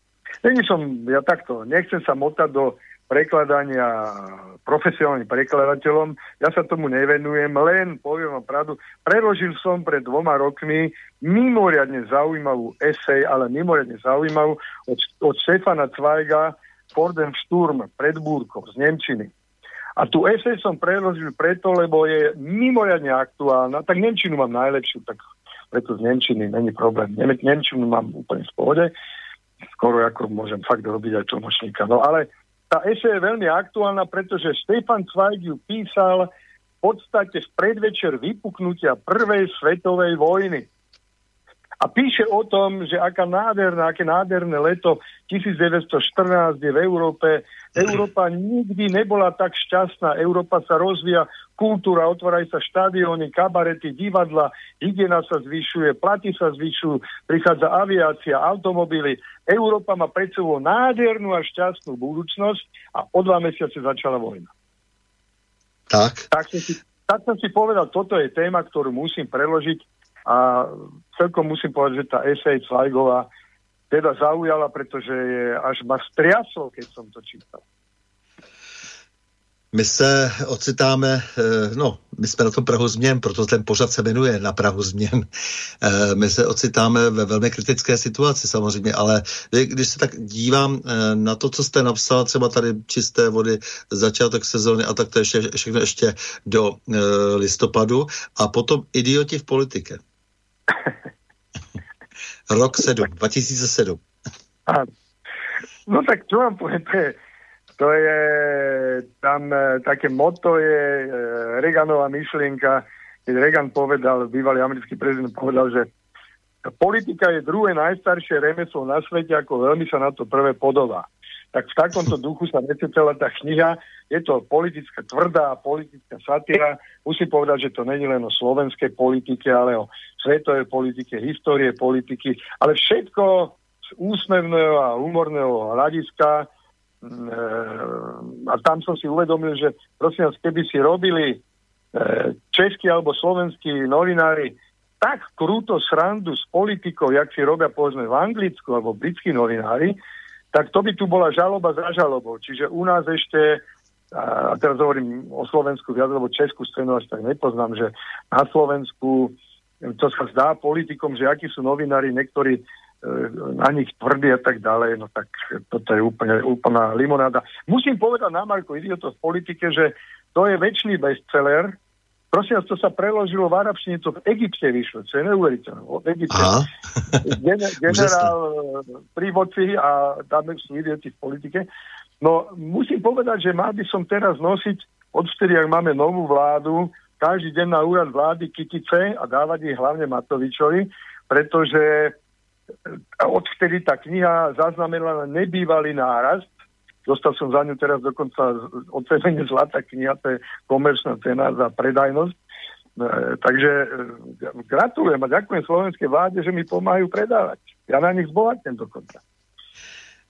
Ja takto, nechcem sa motať do prekladania profesionálnym prekladateľom. Ja sa tomu nevenujem, len poviem vám pravdu. Preložil som pred 2 rokmi mimoriadne zaujímavú esej, ale mimoriadne zaujímavú od Stefana Zweiga Vor dem Sturm, pred búrkou z nemčiny. A tú esej som preložil preto, lebo je mimoriadne aktuálna. Tak nemčinu mám najlepšiu, tak preto z nemčiny není problém. Nemčinu mám úplne v pohode. Skoro ako môžem fakt robiť aj tlmočníka. No ale tá esej je veľmi aktuálna, pretože Stefan Zweig ju písal v podstate v predvečer vypuknutia prvej svetovej vojny. A píše o tom, že aké nádherné leto 1914 je v Európe. Európa nikdy nebola tak šťastná. Európa sa rozvíja, kultúra, otvárajú sa štadióny, kabarety, divadla, hygiena sa zvyšuje, platy sa zvyšujú, prichádza aviácia, automobily. Európa má pred sebou nádhernú a šťastnú budúcnosť a o 2 mesiace začala vojna. Tak som si povedal, toto je téma, ktorú musím preložiť. A celkom musím povedať, že tá esej Zweigová teda zaujala, pretože až ma striaslo, keď som to čítal. My se ocitáme, my jsme na tom Prahu změn, proto ten pořad se jmenuje Na Prahu změn. My se ocitáme ve velmi kritické situaci samozřejmě, ale když se tak dívám na to, co jste napsal, třeba tady Čisté vody, začátek sezóny a tak to všechno ještě do listopadu a potom Idioti v politike. Rok 2007. No tak čo vám poviem, to je tam také motto je Reaganová myšlienka, keď Reagan povedal, bývalý americký prezident povedal, že politika je druhé najstaršie remeslo na svete, ako veľmi sa na to prvé podobá. Tak v takomto duchu sa necetela tá kniha. Je to politická tvrdá, politická satíra. Musím povedať, že to není len o slovenskej politike, ale o svetovej politike, histórie politiky, ale všetko z úsmevného a humorného hľadiska. A tam som si uvedomil, že prosím vás, keby si robili českí alebo slovenskí novinári tak krúto srandu s politikou, jak si robia povedzme v Anglicku alebo britskí novinári, tak to by tu bola žaloba za žalobou. Čiže u nás ešte, a teraz hovorím o Slovensku viac, lebo českú scénu až tak nepoznám, že na Slovensku to sa zdá politikom, že akí sú novinári, niektorí na nich tvrdí a tak ďalej, no tak toto je úplná limonáda. Musím povedať na Marko Idiotov v politike, že to je väčší bestseller. Prosím vás, to sa preložilo v arabštine, to v Egypte vyšlo, čo je neuveriteľné. V Egypte generál pri moci a tam sú idioti v politike. No, musím povedať, že mal by som teraz nosiť, odvtedy, ak máme novú vládu, každý deň na úrad vlády kytice a dávať ich hlavne Matovičovi, pretože odvtedy tá kniha zaznamenala nebývalý nárast. Dostal som za ňu teraz dokonca ocenenie Zlatá kniha, to je komerčná cena za predajnosť. Takže gratulujem a ďakujem slovenskej vláde, že mi pomáhajú predávať. Ja na nich zbohatnem dokonca.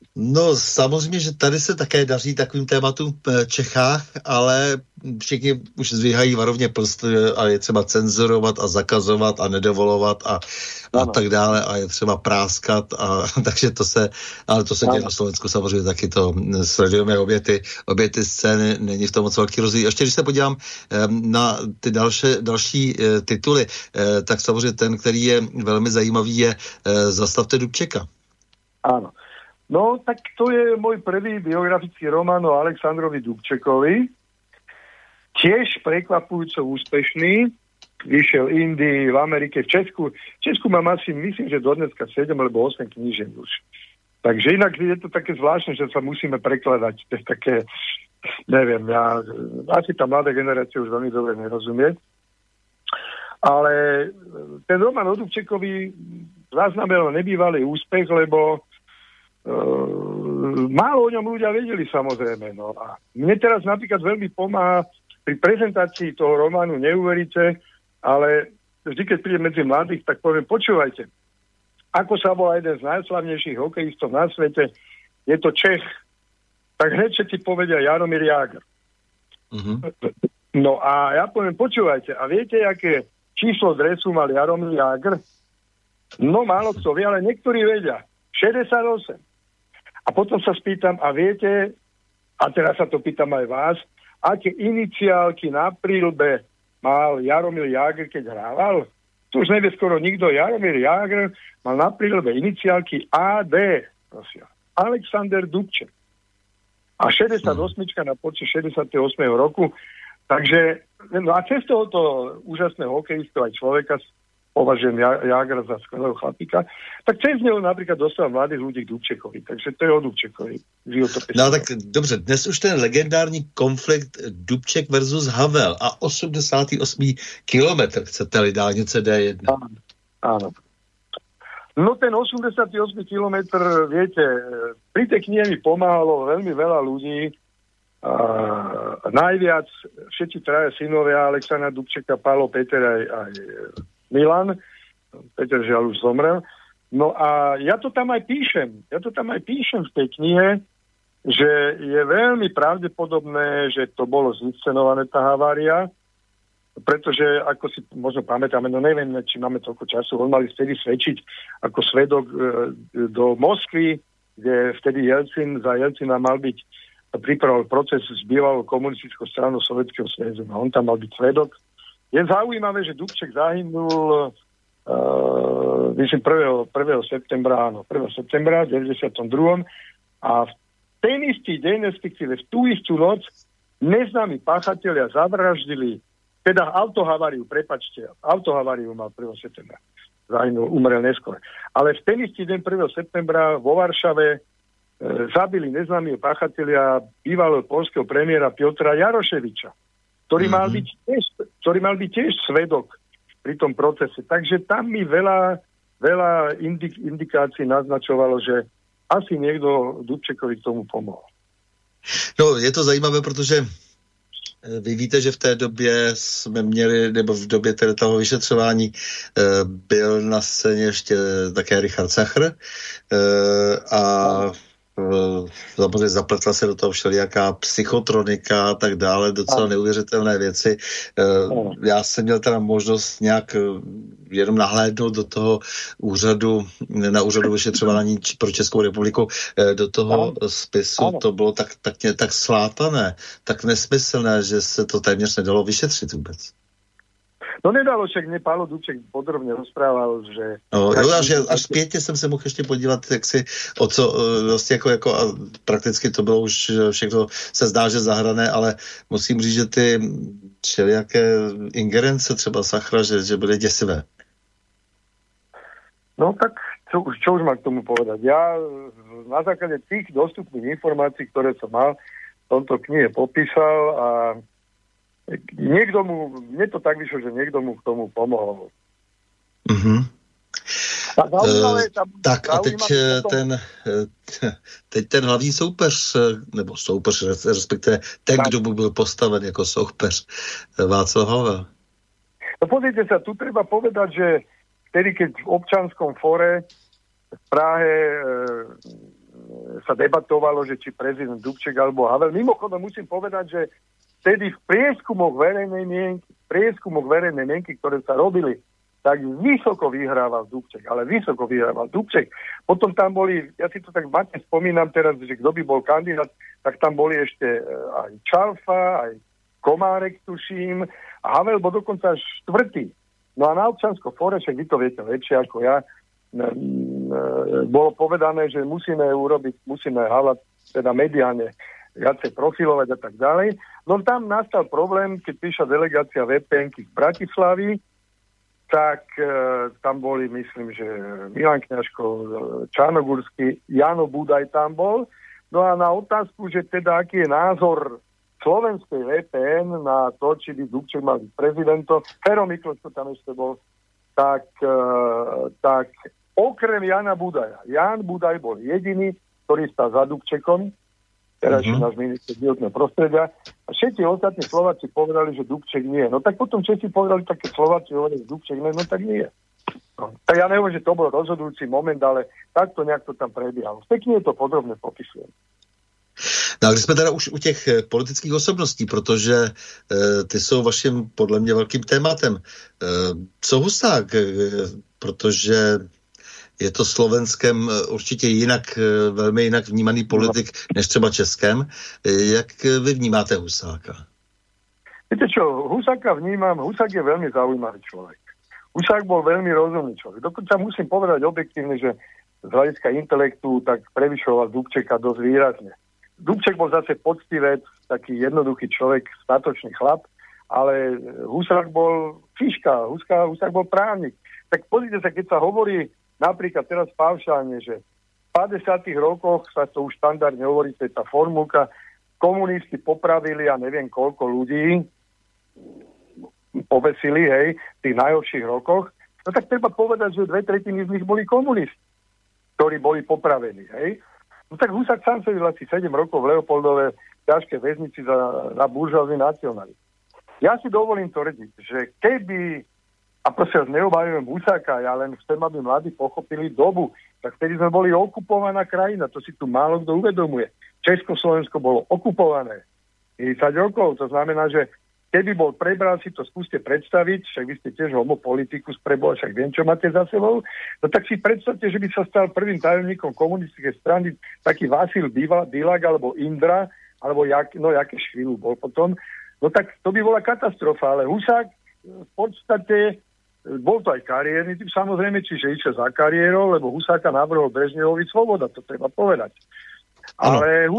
No samozřejmě, že tady se také daří takovým tématům v Čechách, ale všichni už zdvíhají varovně prst a je třeba cenzurovat a zakazovat a nedovolovat a tak dále a je třeba práskat takže ale to se děje na Slovensku samozřejmě taky to sledujeme obě ty scény, není v tom moc velký rozdíl. Ještě když se podívám na ty další tituly, tak samozřejmě ten, který je velmi zajímavý, je Zastavte Dubčeka. Áno. No, tak to je môj prvý biografický román o Alexandrovi Dubčekovi. Tiež prekvapujúco úspešný. Vyšiel v Indii, v Amerike, v Česku. V Česku mám asi, myslím, že do dneska 7 alebo 8 knížek už. Takže inak je to také zvláštne, že sa musíme prekladať. To je také, neviem, asi tá mladá generácia už veľmi dobre nerozumie. Ale ten román o Dubčekovi zaznamenal nebývalý úspech, lebo málo o ňom ľudia vedeli, samozrejme. No a mne teraz napríklad veľmi pomáha pri prezentácii toho románu, neuveríte, ale vždy, keď príde medzi mladých, tak poviem, počúvajte, ako sa volá jeden z najslavnejších hokejistov na svete, je to Čech, tak hneď všetci povedia Jaromír Jágr. Mm-hmm. No a ja poviem, počúvajte, a viete, aké číslo dresu mal Jaromír Jágr? No málo kto vie, ale niektorí vedia. 68. A potom sa spýtam, a viete, a teraz sa to pýtam aj vás, aké iniciálky na príľbe mal Jaromír Jágr, keď hrával? Tu už nevie skoro nikto. Jaromír Jágr mal na príľbe iniciálky AD. Prosím. Alexander Dubček. A 68 na počet 68. roku. Takže, no a cez tohoto úžasného hokejistu aj človeka považujem Jágra za skvelého chlapíka, tak cez neho napríklad dostal mladých ľudí k Dubčekovi. Takže to je o Dubčekovi. No tak dobře, dnes už ten legendární konflikt Dubček versus Havel a 88. kilometr, chcete-li dálnice D1. Áno. No ten 88. kilometr, viete, pri tej knihe mi pomáhalo veľmi veľa ľudí. Najviac všetci traja synovia Alexandra Dubčeka, Pálo, Peter aj Milan. Peter žiaľ už zomrel. No a ja to tam aj píšem. V tej knihe, že je veľmi pravdepodobné, že to bolo zinscenované tá havária, pretože, ako si možno pamätáme, no neviem, či máme toľko času, on mali vtedy svedčiť ako svedok do Moskvy, kde vtedy za Jelcina mal byť pripravoval proces s bývalou komunistickou stranou Sovietskeho zväzu. On tam mal byť svedok. Je zaujímavé, že Dubček zahynul myslím 1. septembra v 92. A v ten istý deň, respektíve v tú istú noc, neznámi páchatelia zavraždili, teda autohaváriu mal 1. septembra. Zahynul, umrel neskôr. Ale v ten istý deň 1. septembra vo Varšave zabili neznámi páchatelia bývalého poľského premiéra Piotra Jaroševiča, ktorý mal byť tiež svedok pri tom procese. Takže tam mi veľa indikácií naznačovalo, že asi niekto Dubčekovi k tomu pomohl. No, je to zajímavé, protože vy víte, že v té době jsme měli, nebo v době toho vyšetřování byl na scéně ještě také Richard Sachr a samozřejmě zapletla se do toho všelijaká psychotronika a tak dále, docela neuvěřitelné věci. Já jsem měl teda možnost nějak jenom nahlédnout do toho úřadu, na úřadu vyšetřování pro Českou republiku, do toho spisu. To bylo tak slátané, tak nesmyslné, že se to téměř nedalo vyšetřit vůbec. No nedalo, však mě Pálo Dubček podrobně rozprával, že... No, až zpětně jsem se mohl ještě podívat, jak si, o co vlastně jako a prakticky to bylo už všechno, se zdá, že zahrané, ale musím říct, že ty všelijaké ingerence třeba Sachra, že byly děsivé. No tak, čo už mám k tomu povedať? Ja na základe tých dostupných informácií, ktoré som mal, v tomto knihe popísal a mne to tak vyšlo, že niekto mu k tomu pomohol. Mm-hmm. Tak a teď ten hlavní soupeř, nebo soupeř, respektive ten, kdo mu byl postaven jako soupeř, Václav Havel. No pozrite sa, tu treba povedať, že vtedy, keď v občanskom fóre v Prahe sa debatovalo, že či prezident Dubček alebo Havel. Mimochodom musím povedať, že vtedy v prieskumoch verejnej mienky, ktoré sa robili, tak vysoko vyhrával Dubček. Potom tam boli, ja si to tak matne spomínam teraz, že kto by bol kandidát, tak tam boli ešte aj Čalfa, aj Komárek, tuším, a Havel bol dokonca až 4. No a na Občianskom fóre, však vy to viete lepšie ako ja, bolo povedané, že musíme hľadať teda mediálne viacej profilovať a tak ďalej. No tam nastal problém, keď prišla delegácia VPN-ky z Bratislavy, tak tam boli, myslím, že Milan Kňažko, Čarnogórsky, Jano Budaj tam bol. No a na otázku, že teda aký je názor slovenskej VPN na to, či by Dubček mal byť prezidentom, Fero Mikloš to tam ešte bol, tak okrem Jana Budaja. Jan Budaj bol jediný, ktorý stál za Dubčekom, terajší náš minister životného prostredia. A všetci ostatní Slováci povedali, že Dubček nie. No tak potom Česi povedali, také Slováci hovorili, že Dubček nie, no tak nie. No, tak ja neviem, že to bol rozhodujúci moment, ale takto nejak to tam prebiehalo. Pekne je to podrobne popisujem. No a když jsme teda už u těch politických osobností, protože ty jsou vaším, podle mě, velkým tématem. Co Husák? Protože je to Slovenskem určitě velmi jinak vnímaný politik, než třeba Českém. Jak vy vnímáte Husáka? Viete čo, Husáka vnímam, Husák je veľmi zaujímavý človek. Husák bol veľmi rozumný človek. Dokonca musím povedať objektívne, že z hľadiska intelektu tak prevyšoval Dubčeka dosť výrazne. Dubček bol zase poctivec, taký jednoduchý človek, statočný chlap, ale Husák bol fiška, Husák bol právnik. Tak pozrite sa, keď sa hovorí napríklad teraz paušálne, že v 50. rokoch sa to už štandardne hovorí, to je tá formulka, komunisti popravili a neviem koľko ľudí, povesili, hej, v tých najhorších rokoch, no tak treba povedať, že 2/3 z nich boli komunisti, ktorí boli popravení, hej. No tak Husák sám sedel asi 7 rokov v Leopoldove ťažké väznici za buržoázny nacionalizmus. Ja si dovolím tvrdiť, že keby, a prosím, neobhajujem Husáka, ja len chcem, aby mladí pochopili dobu, tak vtedy sme boli okupovaná krajina, to si tu málo kto uvedomuje. Československo bolo okupované 30 rokov, to znamená, že keby bol prebral, si to skúste predstaviť, však vy ste tiež homopolitikus preboha, však viem, čo máte za sebou, no tak si predstavte, že by sa stal prvým tajomníkom komunistickej strany taký Vasil Bilak alebo Indra, alebo Jakeš chvíľu bol potom, no tak to by bola katastrofa, ale Husák v podstate bol to aj kariérny typ, samozrejme, čiže išiel za kariérou, lebo Husáka navrhol Brežnevovi Svoboda, to treba povedať. Ale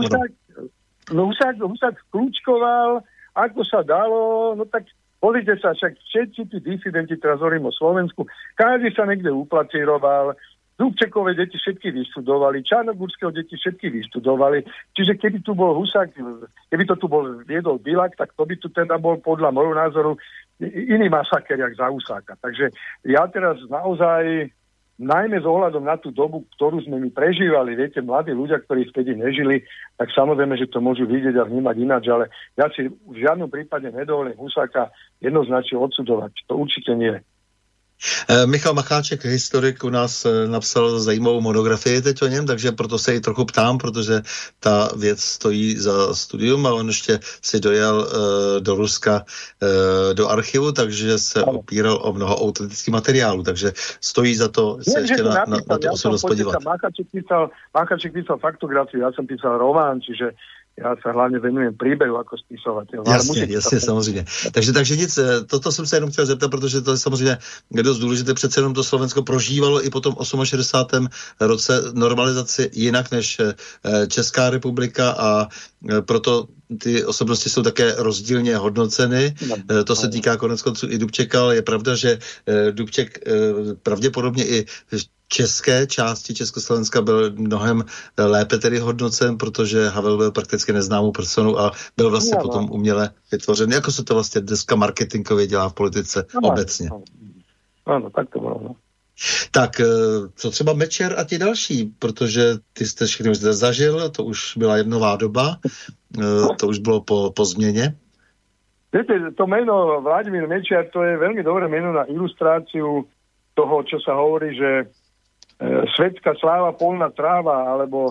Husák kľúčkoval, ako sa dalo, no tak pozrite sa, však všetci tí disidenti, teraz hovorím o Slovensku, každý sa niekde uplatíroval, Dubčekové deti všetky vyštudovali, Čarnogórského deti všetky vyštudovali, čiže keby tu bol Husák, keby to tu bol viedol Bilak, tak to by tu teda bol podľa môjho názoru iný masaker, jak za Husáka. Takže ja teraz naozaj, najmä s ohľadom na tú dobu, ktorú sme my prežívali, viete, mladí ľudia, ktorí vtedy nežili, tak samozrejme, že to môžu vidieť a vnímať ináč, ale ja si v žiadnom prípade nedovolím Husáka jednoznačne odsudovať. To určite nie. Michal Macháček, historik, u nás napsal zajímavou monografii teď o něm, takže proto se i trochu ptám, protože ta věc stojí za studium a on ještě si dojel do Ruska do archivu, takže se opíral o mnoho autentických materiálů, takže stojí za to se ještě na tu osobnost podívat. Macháček písal faktografiu, ja som písal román, čiže já se hlavně venujem příběhu jako spisovatel. Jasně, samozřejmě. Takže nic, toto jsem se jenom chtěl zeptat, protože to je samozřejmě dost důležité, přece jenom to Slovensko prožívalo i po tom 68. roce normalizaci jinak než Česká republika a proto ty osobnosti jsou také rozdílně hodnoceny. To se týká koneckonců i Dubčeka, ale je pravda, že Dubček pravděpodobně i české části Československa byl mnohem lépe tedy hodnocen, protože Havel byl prakticky neznámou personou a byl vlastně potom uměle vytvořen. Jako se to vlastně dneska marketingově dělá v politice obecně. Ano, tak to bylo. Tak, co třeba Mečiar a ti další, protože ty jste všechny zde zažil, to už byla jednová doba, to už bylo po změně. Viete, to meno Vladimír Mečiar, to je veľmi dobré meno na ilustráciu toho, čo sa hovorí, že svetská sláva, polná tráva, alebo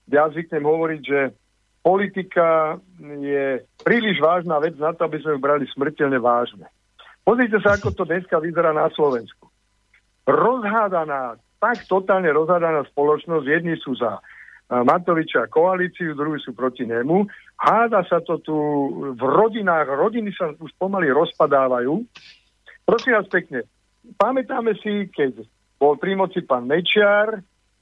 ja zvyknem hovoriť, že politika je príliš vážna vec na to, aby sme ju brali smrteľne vážne. Pozrite sa, ako to dneska vyzerá na Slovensku. Rozhádaná, tak totálne rozhádaná spoločnosť, jedni sú za Matoviča koalíciu, druhí sú proti nemu. Háda sa to tu v rodinách, rodiny sa už pomaly rozpadávajú. Prosím vás pekne, pamätáme si, keď bol pri moci pán Mečiar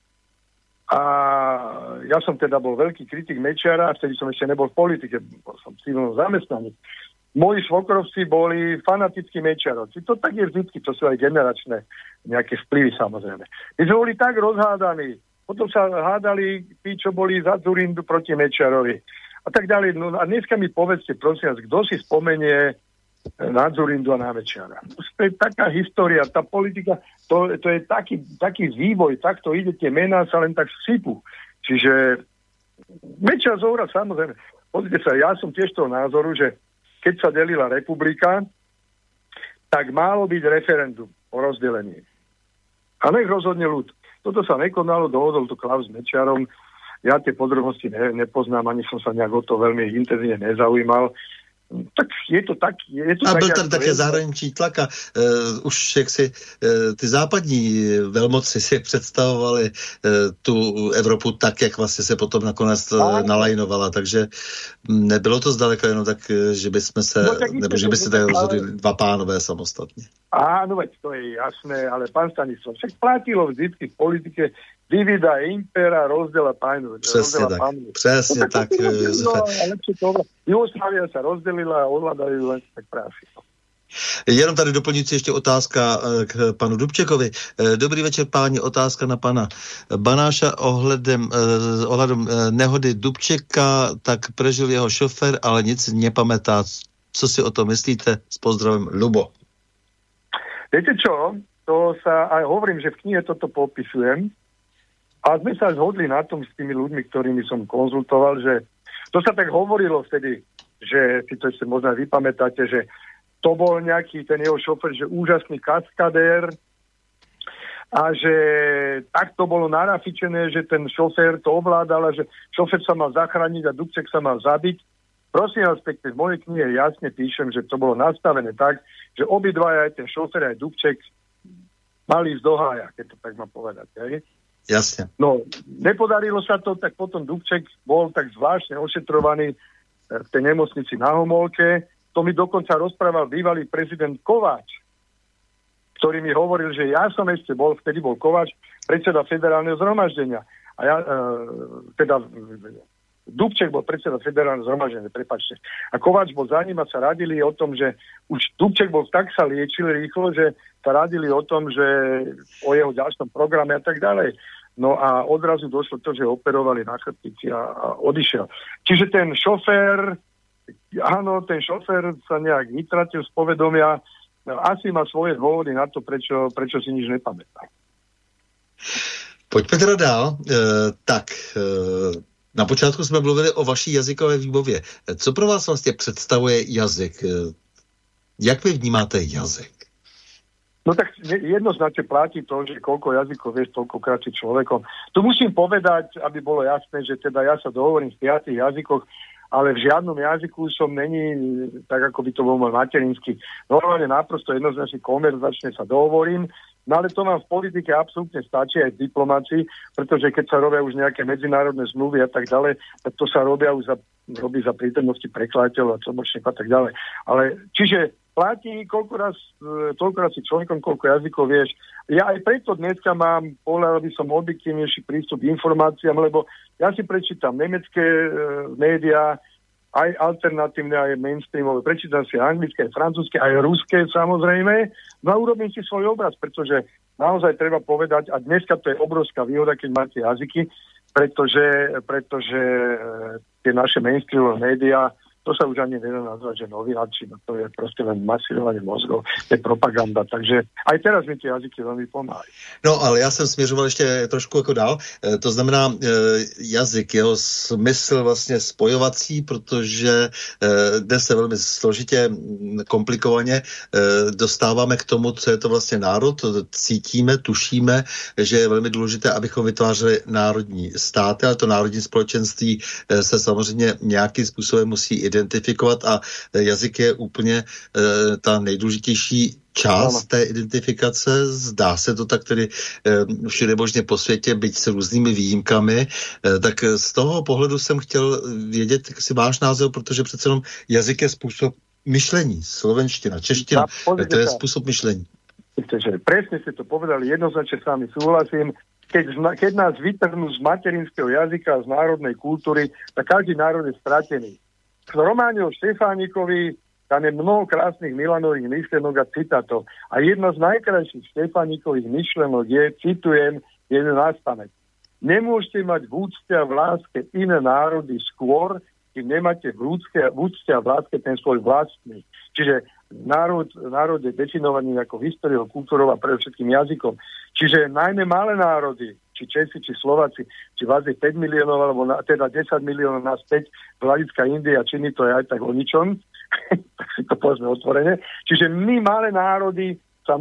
a ja som teda bol veľký kritik Mečiara a vtedy som ešte nebol v politike, bol som civilnom zamestnaní. Moji svokrovci boli fanatickí Mečiarovci. To tak je vždycky, to sú aj generačné nejaké vplyvy samozrejme. My sme boli tak rozhádaní, potom sa hádali tí, čo boli za Dzurindu proti Mečiarovi a tak ďalej. No a dneska mi povedzte, prosím vás, kto si spomenie na Dzurindu a na Mečiara. To je taká história, tá politika, to je taký vývoj, takto ide, tie mená sa len tak sypú. Čiže Mečiar Zohra, samozrejme, pozrite sa, ja som tiež toho názoru, že keď sa delila republika, tak málo byť referendum o rozdelení. A nech rozhodne ľud. Toto sa nekonalo, dohodol to Klaus s Mečiarom. Ja tie podrobnosti nepoznám, ani som sa nejak o to veľmi intenzívne nezaujímal. Tak je to tak... A byl tam také zahraničí tlak a už jak si ty západní velmoci si představovali tu Evropu tak, jak vlastně se potom nakonec nalajnovala, takže nebylo to zdaleka jenom tak, že by jsme se, nebo že by se tak rozhodli dva pánové samostatně. Áno, veď to je jasné, ale pán Stanislav, však platilo vždycky v politike divida impera, rozdela pánu. Přesně tak, přesně tak, Josefe. Jugoslávia sa rozdelila a ovládajú len tak práci. Jenom tady doplňující ještě otázka k panu Dubčekovi. Dobrý večer, páni, otázka na pana Banáša ohledem nehody Dubčeka, tak prežil jeho šofér, ale nic nepamätá. Co si o tom myslíte? S pozdravem, Lubo. Viete čo? To sa aj hovorím, že v knihe toto popisujem. A sme sa zhodli na tom s tými ľuďmi, ktorými som konzultoval, že to sa tak hovorilo vtedy, že si to ešte možno aj vypamätáte, že to bol nejaký ten jeho šofér, že úžasný kaskadér a že tak to bolo narafičené, že ten šofér to ovládal a že šofér sa mal zachrániť a Dubček sa mal zabiť. Prosím vás pekne, v mojej knihe jasne píšem, že to bolo nastavené tak, že obidvaja, aj ten šofér, aj Dubček mali ísť do hája, keď to tak mám povedať. Hej? Jasne. No, nepodarilo sa to, tak potom Dubček bol tak zvláštne ošetrovaný v tej nemocnici na Homolke. To mi dokonca rozprával bývalý prezident Kováč, ktorý mi hovoril, že ja som ešte bol, vtedy bol Kováč, predseda federálneho zhromaždenia. A ja, Dubček bol predseda federálneho zhromaždenia, prepáčte. A Kováč bol za ním a sa radili o tom, že už Dubček bol tak sa liečil rýchlo, že sa radili o tom, že o jeho ďalšom programe a tak ďalej. No a odrazu došlo to, že operovali na chrbtici a odišiel. Čiže ten šofér sa nejak vytratil z povedomia, asi má svoje dôvody na to, prečo si nič nepamätá. Pojďme teda dál. Na počátku jsme mluvili o vaší jazykové výbavě. Co pro vás vlastně představuje jazyk? Jak vy vnímáte jazyk? No tak jednoznačne platí to, že koľko jazykov vieš, toľkokrát si človekom. Tu musím povedať, aby bolo jasné, že teda ja sa dohovorím v 5 jazykoch, ale v žiadnom jazyku som není tak, ako by to bol môj materinský. Normálne naprosto jednoznačne konverzačne sa dohovorím, no ale to vám v politike absolútne stačí aj v diplomácii, pretože keď sa robia už nejaké medzinárodné zmluvy a tak ďalej, tak to sa robí za prítomnosti prekladateľov a tlmočníkov a tak ďalej. Ale čiže platí, toľkoraz si človekom, koľko jazykov vieš. Ja aj preto dneska mám, povedal by som, objektívnejší prístup k informáciám, lebo ja si prečítam nemecké médiá, aj alternatívne, aj mainstreamové, prečítam si anglické, aj francúzske, aj ruské samozrejme, no a urobím si svoj obraz, pretože naozaj treba povedať, a dneska to je obrovská výhoda, keď máte jazyky, pretože tie naše mainstreamové médiá to sa už ani nedá nazvať, že novináci, no to je proste len masírovanie mozgov, to je propaganda, takže aj teraz mi tie jazyky veľmi pomáhajú. No, ale já jsem směřoval ještě trošku jako dál, to znamená jazyk, jeho smysl vlastně spojovací, protože dnes se velmi složitě, komplikovaně dostáváme k tomu, co je to vlastně národ, cítíme, tušíme, že je velmi důležité, abychom vytvářeli národní státy, ale to národní společenství se samozřejmě nějakým způsobem musí identifikovat a jazyk je úplně ta nejdůležitější část té identifikace. Zdá se to tak tedy všude možně po světě, byť s různými výjimkami. Tak z toho pohledu jsem chtěl vědět si váš názor, protože přece jenom jazyk je způsob myšlení. Slovenština, čeština, to je způsob myšlení. Presne ste to povedali, jednoznačne s vami súhlasím. Keď nás vytrhnú z materinského jazyka, z národnej kultúry, tak každý národ je stratený. V románe o Štefánikovi tam je mnoho krásnych Milanových myšlenok a citátov. A jedna z najkrajších Štefánikových myšlenok je, citujem, jeden nástanek. Nemôžete mať v úcte a v láske iné národy skôr, kým nemáte v úcte a v láske ten svoj vlastný. Čiže národ je definovaný ako históriou, kultúrou a predovšetkým jazykom. Čiže najmä malé národy, či Česi, či Slováci, či vás je 5 miliónov, alebo teda 10 miliónov nás 5 z hľadiska Indie a Číny, to je aj tak o ničom, tak si to povedzme otvorene. Čiže my, malé národy, sa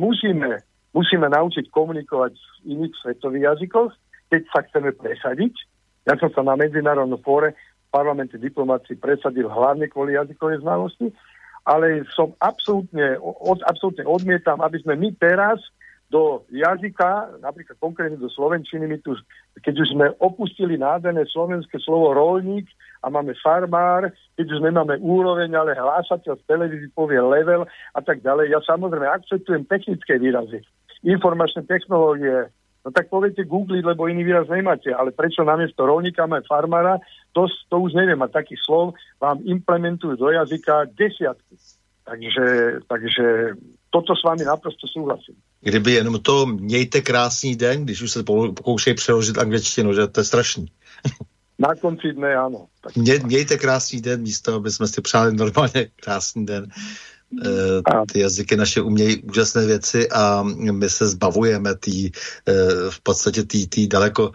musíme naučiť komunikovať v iných svetových jazykoch, keď sa chceme presadiť. Ja som sa na medzinárodnom fóre v parlamente diplomácii presadil hlavne kvôli jazykovej znalosti, ale som absolútne odmietam, aby sme my teraz do jazyka, napríklad konkrétne do slovenčiny, my tu, keď už sme opustili nádherné slovenské slovo roľník a máme farmár, keď už nemáme úroveň, ale hlásateľ v televízii povie level a tak ďalej. Ja samozrejme akceptujem technické výrazy, informačné technológie, no tak poviete googliť, lebo iný výraz nemáte, ale prečo namiesto roľníka máme farmára, to už neviem, a takých slov vám implementujú do jazyka desiatky. Takže toto s vámi naprosto súhlasím. Kdyby jenom to mějte krásný den, když už se pokoušejí přeložit angličtinu, že to je strašný. Na konci dne, áno. Mějte krásný den, místo, aby jsme si přáli normálně krásný den. Ty jazyky naše umějí úžasné věci a my se zbavujeme v podstatě tý daleko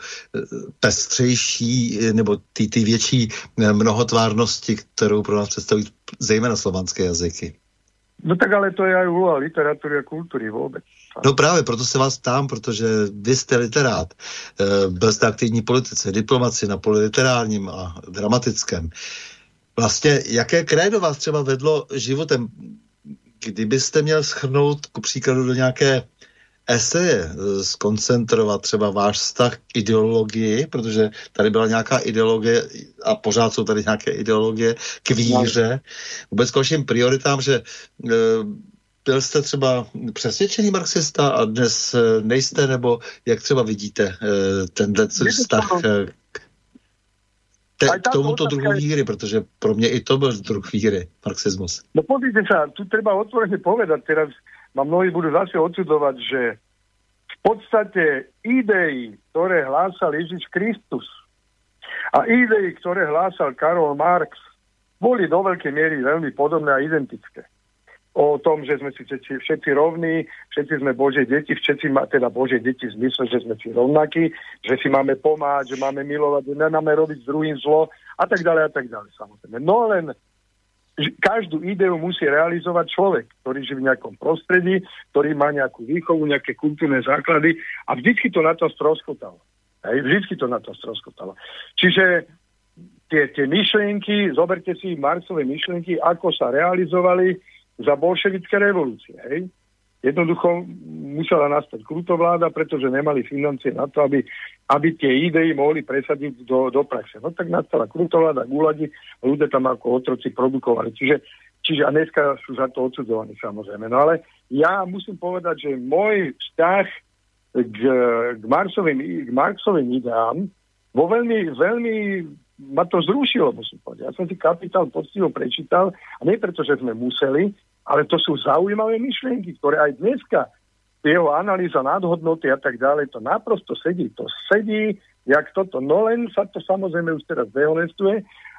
pestřejší nebo tý větší mnohotvárnosti, kterou pro nás představují zejména slovanské jazyky. No tak ale to je aj úloha literatúry a kultúry vôbec. No právě, proto se vás ptám, protože vy jste literát, byl jste aktivní politice, diplomaci na poli literárním a dramatickém. Vlastně, jaké krédo vás třeba vedlo životem? Kdybyste měl shrnout ku příkladu do nějaké eseje, skoncentrovat třeba váš vztah k ideologii, protože tady byla nějaká ideologie a pořád jsou tady nějaké ideologie k víře, vůbec k vašim prioritám, že byl jste třeba přesvědčený marxista a dnes nejste, nebo jak třeba vidíte tenhle vztah k tomuto druhu víry, protože pro mě i to byl druh víry, marxismus. No pozrite sa, tu treba otvorene povedať, teraz ma mnohí budú zase odsudovať, že v podstate idei, ktoré hlásal Ježiš Kristus a idei, ktoré hlásal Karol Marx, boli do veľkej miery veľmi podobné a identické. O tom, že sme si všetci rovní, všetci sme Božie deti, teda Božie deti v zmysle, že sme si rovnakí, že si máme pomáhať, že máme milovať, že nemáme robiť s druhým zlo a tak ďalej, samozrejme. No len každú ideu musí realizovať človek, ktorý žije v nejakom prostredí, ktorý má nejakú výchovu, nejaké kultúrne základy a vždycky to na to stroskotalo. Čiže tie myšlienky, zoberte si Marxové myšlienky, ako sa realizovali za bolševické revolúcie. Hej? Jednoducho musela nastať krutovláda, pretože nemali financie na to, aby tie idei mohli presadiť do praxe. No tak nastala krutovláda, gulagi, ľudia tam ako otroci produkovali. Čiže a dneska sú za to odsudzovaní samozrejme. No ale ja musím povedať, že môj vzťah k Marxovým ideám vo veľmi ma to zrušilo, musím povedať. Ja som si Kapitál poctivo prečítal a nie preto, že sme museli, ale to sú zaujímavé myšlienky, ktoré aj dneska jeho analýza nadhodnoty a tak ďalej, to naprosto sedí. To sedí, jak toto. No len sa to samozrejme už teraz dehonestuje.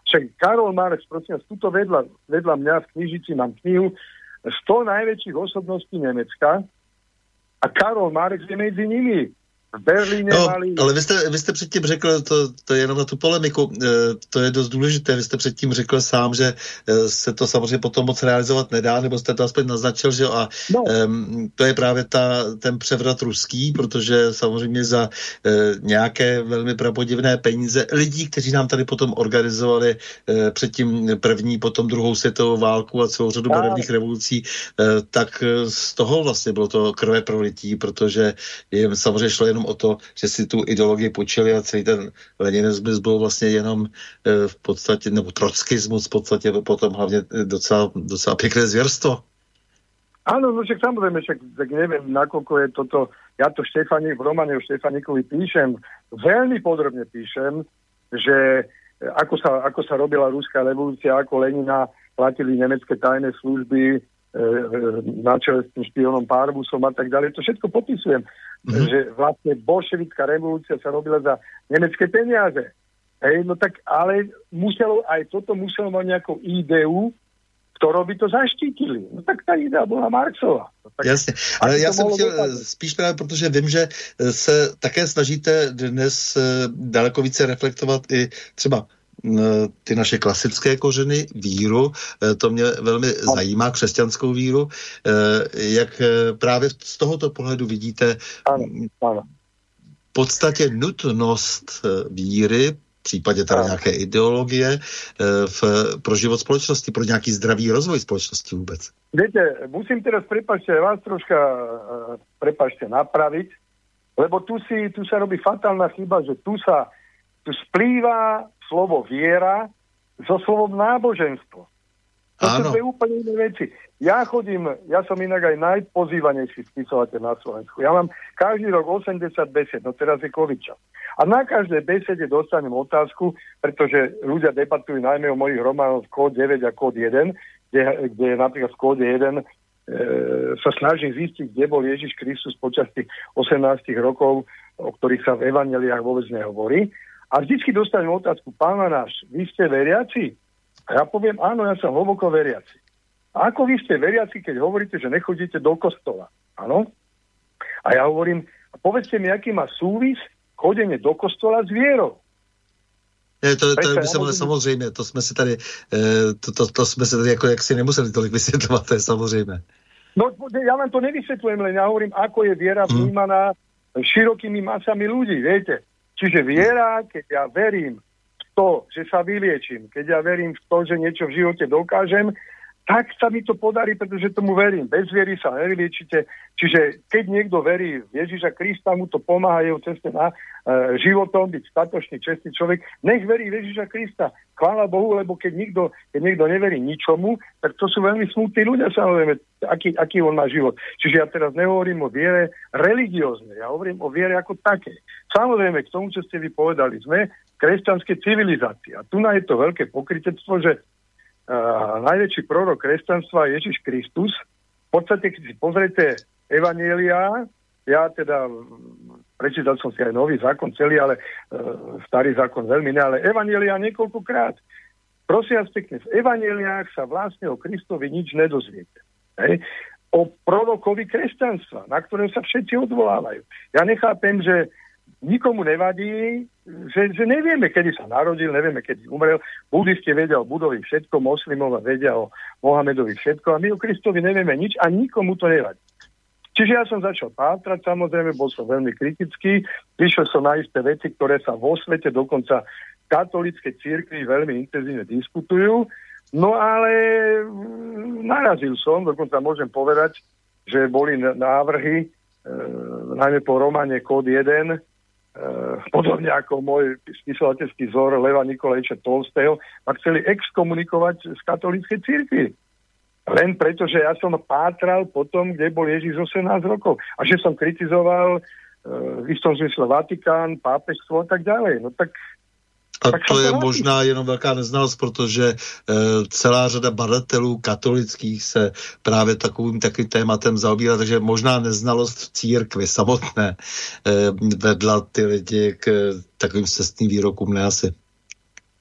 Však Karol Marx, prosím vás, tuto vedľa mňa v knižici mám knihu 100 najväčších osobností Nemecka a Karol Marx je medzi nimi. V Berlíně mali... Ale vy jste předtím řekl, to je jenom na tu polemiku, to je dost důležité, vy jste předtím řekl sám, že se to samozřejmě potom moc realizovat nedá, nebo jste to aspoň naznačil, že a to je právě ten převrat ruský, protože samozřejmě za nějaké velmi prapodivné peníze lidí, kteří nám tady potom organizovali předtím první, potom druhou světovou válku a celou řadu moderních revolucí, tak z toho vlastně bylo to krve prolití, protože jim samozřejmě šlo jenom o to, že si tu ideologii počili a celý ten leninismus byl vlastně jenom v podstatě, nebo trockismus v podstatě potom hlavně docela pěkné zvěrstvo. Áno, no však samozrejme, tak neviem, nakoľko je toto, ja to v románe o Štefanikovi píšem, veľmi podrobne píšem, že ako sa robila ruská revolúcia, ako Lenina platili nemecké tajné služby na čele s tým špionom Parvusom a tak ďalej. To všetko popisujem, že vlastne bolševická revolúcia sa robila za nemecké peniaze. No tak, ale toto muselo mať nejakú ideu, ktorou by to zaštítili. No tak ta idea byla Marxova. No, jasně, ale já jsem chtěl spíš právě, protože vím, že se také snažíte dnes daleko více reflektovat i třeba ty naše klasické kořeny, víru, to mě velmi zajímá, křesťanskou víru. Jak právě z tohoto pohledu vidíte v podstatě nutnost víry, v případě teda nějaké ideologie pro život společnosti, pro nějaký zdravý rozvoj společnosti vůbec? Viete, musím teraz, vás troška napraviť, lebo tu sa robí fatálna chyba, že tu splýva slovo viera so slovom náboženstvo. To sú dve úplne iné veci. Ja som inak aj najpozývanejší spisovateľ na Slovensku. Ja mám každý rok 80 besed, no teraz je COVID čas. A na každej besede dostanem otázku, pretože ľudia debatujú najmä o mojich románoch Kód 9 a Kód 1, kde napríklad v Kóde 1 sa snažím zistiť, kde bol Ježiš Kristus počas tých 18 rokov, o ktorých sa v evanjeliách vôbec nehovorí. A vždycky dostanem otázku, Pán náš, vy ste veriaci? A ja poviem, áno, ja som hlboko veriaci. A ako vy ste veriaci, keď hovoríte, že nechodíte do kostola? Áno? A ja hovorím, povedzte mi, aký má súvis chodenie do kostola s vierou. To by se mohli samozřejmě, to jsme si tady jako jaksi nemuseli tolik vysvětlovat, to je samozrejme. No, ja vám to nevysvetľujem, len ja hovorím, ako je viera vnímaná širokými masami ľudí, viete. Čiže viera, keď ja verím v to, že sa vyliečím, keď ja verím v to, že niečo v živote dokážem, tak sa mi to podarí, pretože tomu verím. Bez viery sa nevyliečite. Čiže keď niekto verí v Ježiša Krista, mu to pomáha jeho ceste na životom, byť statočný, čestný človek, nech verí v Ježiša Krista. Chvála Bohu, lebo keď niekto neverí ničomu, tak to sú veľmi smutní ľudia, samozrejme, aký on má život. Čiže ja teraz nehovorím o viere religióznej, ja hovorím o viere ako také. Samozrejme, k tomu, čo ste vy povedali, sme kresťanské civilizácie. A tu je to veľké pokrytectvo, že najväčší prorok kresťanstva je Ježiš Kristus. V podstate, keď si pozriete evanjelia, ja teda prečítal som si aj nový zákon celý, ale starý zákon veľmi ne, ale evanjelia niekoľkokrát. Prosím vás pekne, v evanjeliách sa vlastne o Kristovi nič nedozviete. Hej? O prorokovi kresťanstva, na ktoré sa všetci odvolávajú. Ja nechápem, že nikomu nevadí, že nevieme, kedy sa narodil, nevieme, kedy umrel. Budisti vedia o Budovi všetko, moslimova vedia o Mohamedovi všetko a my o Kristovi nevieme nič a nikomu to nevadí. Čiže ja som začal pátrať, samozrejme, bol som veľmi kritický, prišiel som na isté veci, ktoré sa vo svete, dokonca katolíckej cirkvi veľmi intenzívne diskutujú, no ale narazil som, dokonca môžem povedať, že boli návrhy, najmä po románe Kód 1, podobne ako môj spisovateľský vzor Leva Nikolajča Tolstého, a chceli exkomunikovať z katolíckej cirkvi. Len preto, že ja som pátral potom, kde bol Ježiš 18 rokov. A že som kritizoval v istom zmysle Vatikán, pápežstvo a tak ďalej. No tak to je možná jenom velká neznalost, protože celá řada badatelů katolických se právě takovým tématem zaobírá, takže možná neznalost v církvi samotné vedla ty lidi k takovým cestným výrokům, ne asi.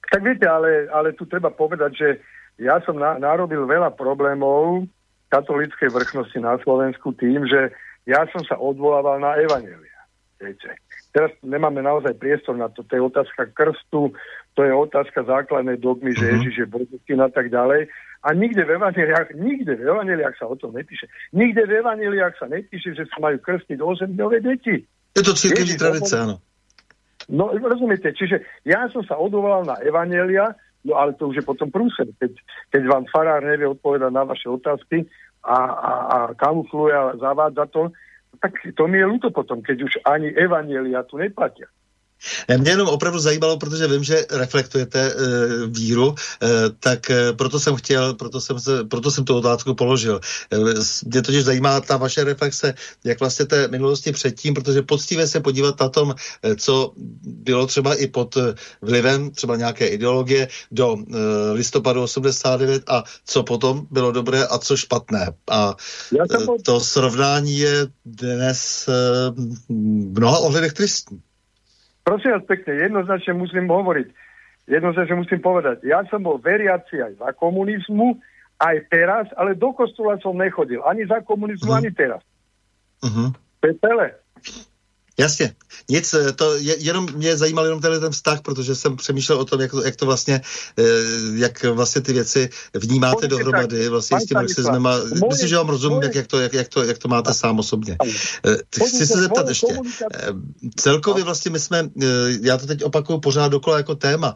Tak viete, ale tu treba povedať, že ja som narobil veľa problémov katolíckej vrchnosti na Slovensku tým, že ja som sa odvolával na evanjelia. Viete. Teraz nemáme naozaj priestor na to. To je otázka krstu, to je otázka základnej dogmy, že Ježiš je Boží a tak ďalej. A nikde v evanjeliách sa o tom nepíše. Nikde v evanjeliách sa nepíše, že sa majú krstiť 8-dňové deti. Je to cirkevní tradice, áno. No, rozumiete, čiže ja som sa odvolal na evanjelia, no ale to už je potom prúser. Keď vám farár nevie odpovedať na vaše otázky a kamufluje a zavádza to, tak to mi je ľúto potom, keď už ani evanjelia tu neplatia. Mě jenom opravdu zajímalo, protože vím, že reflektujete víru, tak proto jsem tu otázku položil. Mě totiž zajímá ta vaše reflexe, jak vlastně té minulosti předtím, protože poctivě se podívat na tom, co bylo třeba i pod vlivem třeba nějaké ideologie do listopadu 89 a co potom bylo dobré a co špatné. A to srovnání je dnes v mnoha ohledech tristní. Prosím vás pekne, jednoznačne musím povedať, ja som bol veriaci aj za komunizmu, aj teraz, ale do kostola som nechodil, ani za komunizmu, ani teraz. To je celé. Jasně. Nic, jenom mě zajímal jenom ten vztah, protože jsem přemýšlel o tom, jak to vlastně, jak vlastně ty věci vnímáte dohromady vlastně s tím marxismem a myslím, že vám rozumím, jak to máte sám osobně. Chci se zeptat ještě. Celkově vlastně my jsme, já to teď opakuju pořád dokola jako téma,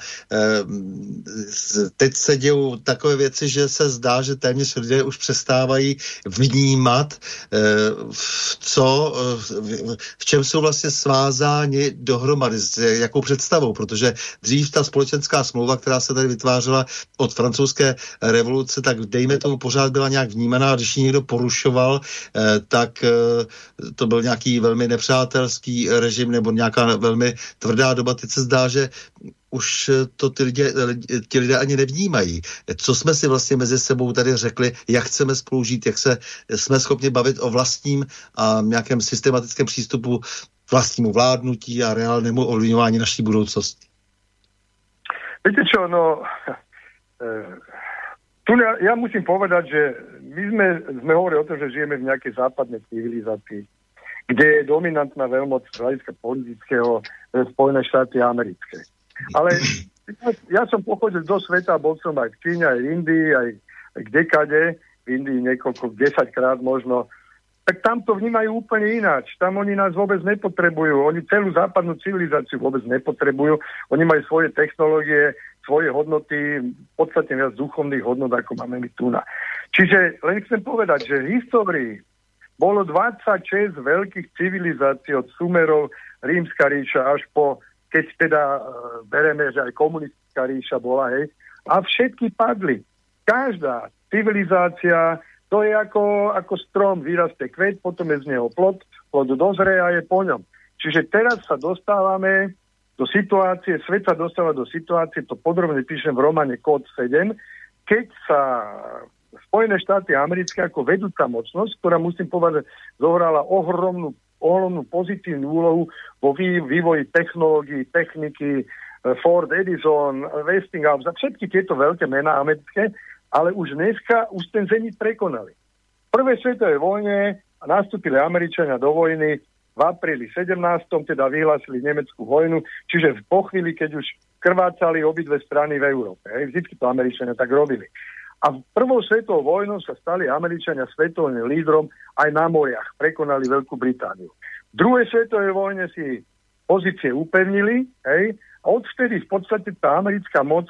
teď se dějou takové věci, že se zdá, že téměř lidé už přestávají vnímat, v čem jsou vlastně svázáni dohromady, s jakou představou, protože dřív ta společenská smlouva, která se tady vytvářela od francouzské revoluce, tak dejme tomu pořád byla nějak vnímaná, a když ji někdo porušoval, tak to byl nějaký velmi nepřátelský režim nebo nějaká velmi tvrdá doba. Teď se zdá, že už to ti lidé ani nevnímají. Co jsme si vlastně mezi sebou tady řekli, jak chceme spolu žít, jak se jsme schopni bavit o vlastním a nějakém systematickém přístupu k vlastnímu vládnutí a reálnému ovlivňování naší budoucnosti. Viete čo, tu ja musím povedať, že my sme hovorili o tom, že žijeme v nejakej západnej civilizácii, kde je dominantná veľmoc z hľadiska politického Spojené štáty americké. Ale ja som pochodil do sveta, bol som aj v Číne, aj v Indii, aj kdekade, v Indii niekoľko, 10-krát možno, tak tam to vnímajú úplne ináč. Tam oni nás vôbec nepotrebujú. Oni celú západnú civilizáciu vôbec nepotrebujú. Oni majú svoje technológie, svoje hodnoty, v podstate viac duchovných hodnot, ako máme my tu na. Čiže len chcem povedať, že v histórii bolo 26 veľkých civilizácií od Sumerov, Rímska ríša, až po keď teda bereme, že aj komunistická ríša bola, hej, a všetky padli. Každá civilizácia, to je ako strom, vyrastie kvet, potom je z neho plod dozrie a je po ňom. Čiže teraz sa dostávame do situácie, svet sa dostáva do situácie, to podrobne píšem v románe Kód 7, keď sa Spojené štáty americké ako vedúca mocnosť, ktorá musím povedať, zohrala ohromnú pozitívnu úlohu vo vývoji technológií, techniky, Ford, Edison, Westinghouse a všetky tieto veľké mená americké, ale už dneska ten zenit prekonali. V prvej svetovej vojne nastúpili Američania do vojny v apríli 17. teda vyhlásili nemeckú vojnu, čiže po chvíli, keď už krvácali obidve strany v Európe. Vždycky to Američania tak robili. A v prvou svetovou vojnou sa stali Američania svetovým lídrom aj na moriach. Prekonali Veľkú Britániu. V druhej svetovej vojne si pozície upevnili, hej, a odvtedy v podstate tá americká moc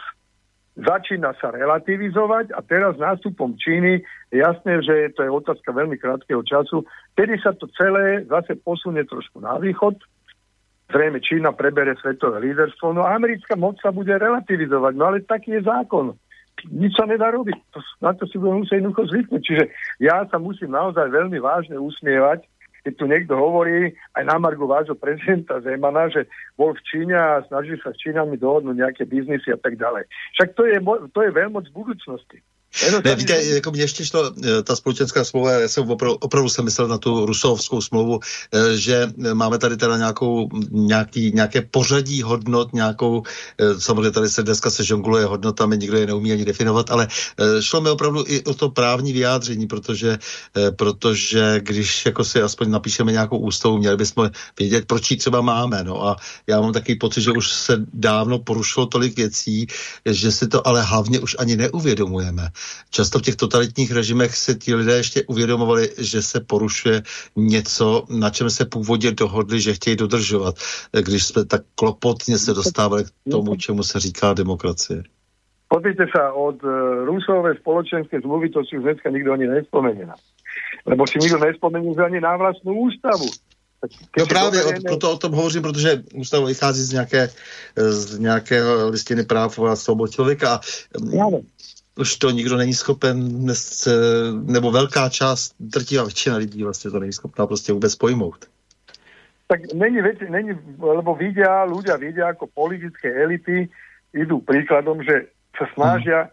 začína sa relativizovať a teraz nástupom Číny je jasné, že to je otázka veľmi krátkeho času, kedy sa to celé zase posunie trošku na východ. Zrejme Čína prebere svetové líderstvo, no a americká moc sa bude relativizovať, no ale taký je zákon. Nič sa nedá robiť. Na to si budem musieť jednoducho zvyknúť. Čiže ja sa musím naozaj veľmi vážne usmievať, keď tu niekto hovorí aj na margo vášho prezidenta Zemana, že bol v Číne a snaží sa s Čínami dohodnúť nejaké biznisy a tak ďalej. Však to je veľmoc budúcnosti. Ne, víte, jako mě ještě šlo ta společenská smlouva, já jsem opravdu jsem myslel na tu Rousseauovskou smlouvu, že máme tady teda nějaké pořadí hodnot, samozřejmě tady se dneska se žongluje hodnotami, nikdo je neumí ani definovat, ale šlo mi opravdu i o to právní vyjádření, protože když jako si aspoň napíšeme nějakou ústavu, měli bychom vědět, proč ji třeba máme, no a já mám takový pocit, že už se dávno porušilo tolik věcí, že si to ale hlavně už ani neuvědomujeme. Často v těch totalitních režimech se ti lidé ještě uvědomovali, že se porušuje něco, na čem se původně dohodli, že chtějí dodržovat, když jsme tak klopotně se dostávali k tomu, čemu se říká demokracie. Pozrite sa, od Rousseauovej spoločenskej zmluvy to si už dneska nikto ani nespomenie. Lebo si nikto nespomenie ani na vlastnú ústavu. No právě proto o tom hovořím, protože ústava vychází z nějakého listiny práv a svobod člověka a už to nikdo není schopen, nebo velká část, drtivá většina lidí vlastně to není schopná prostě vůbec pojmout. Tak není, lebo ľudia vidia, ako politické elity idú príkladom, že sa snažia,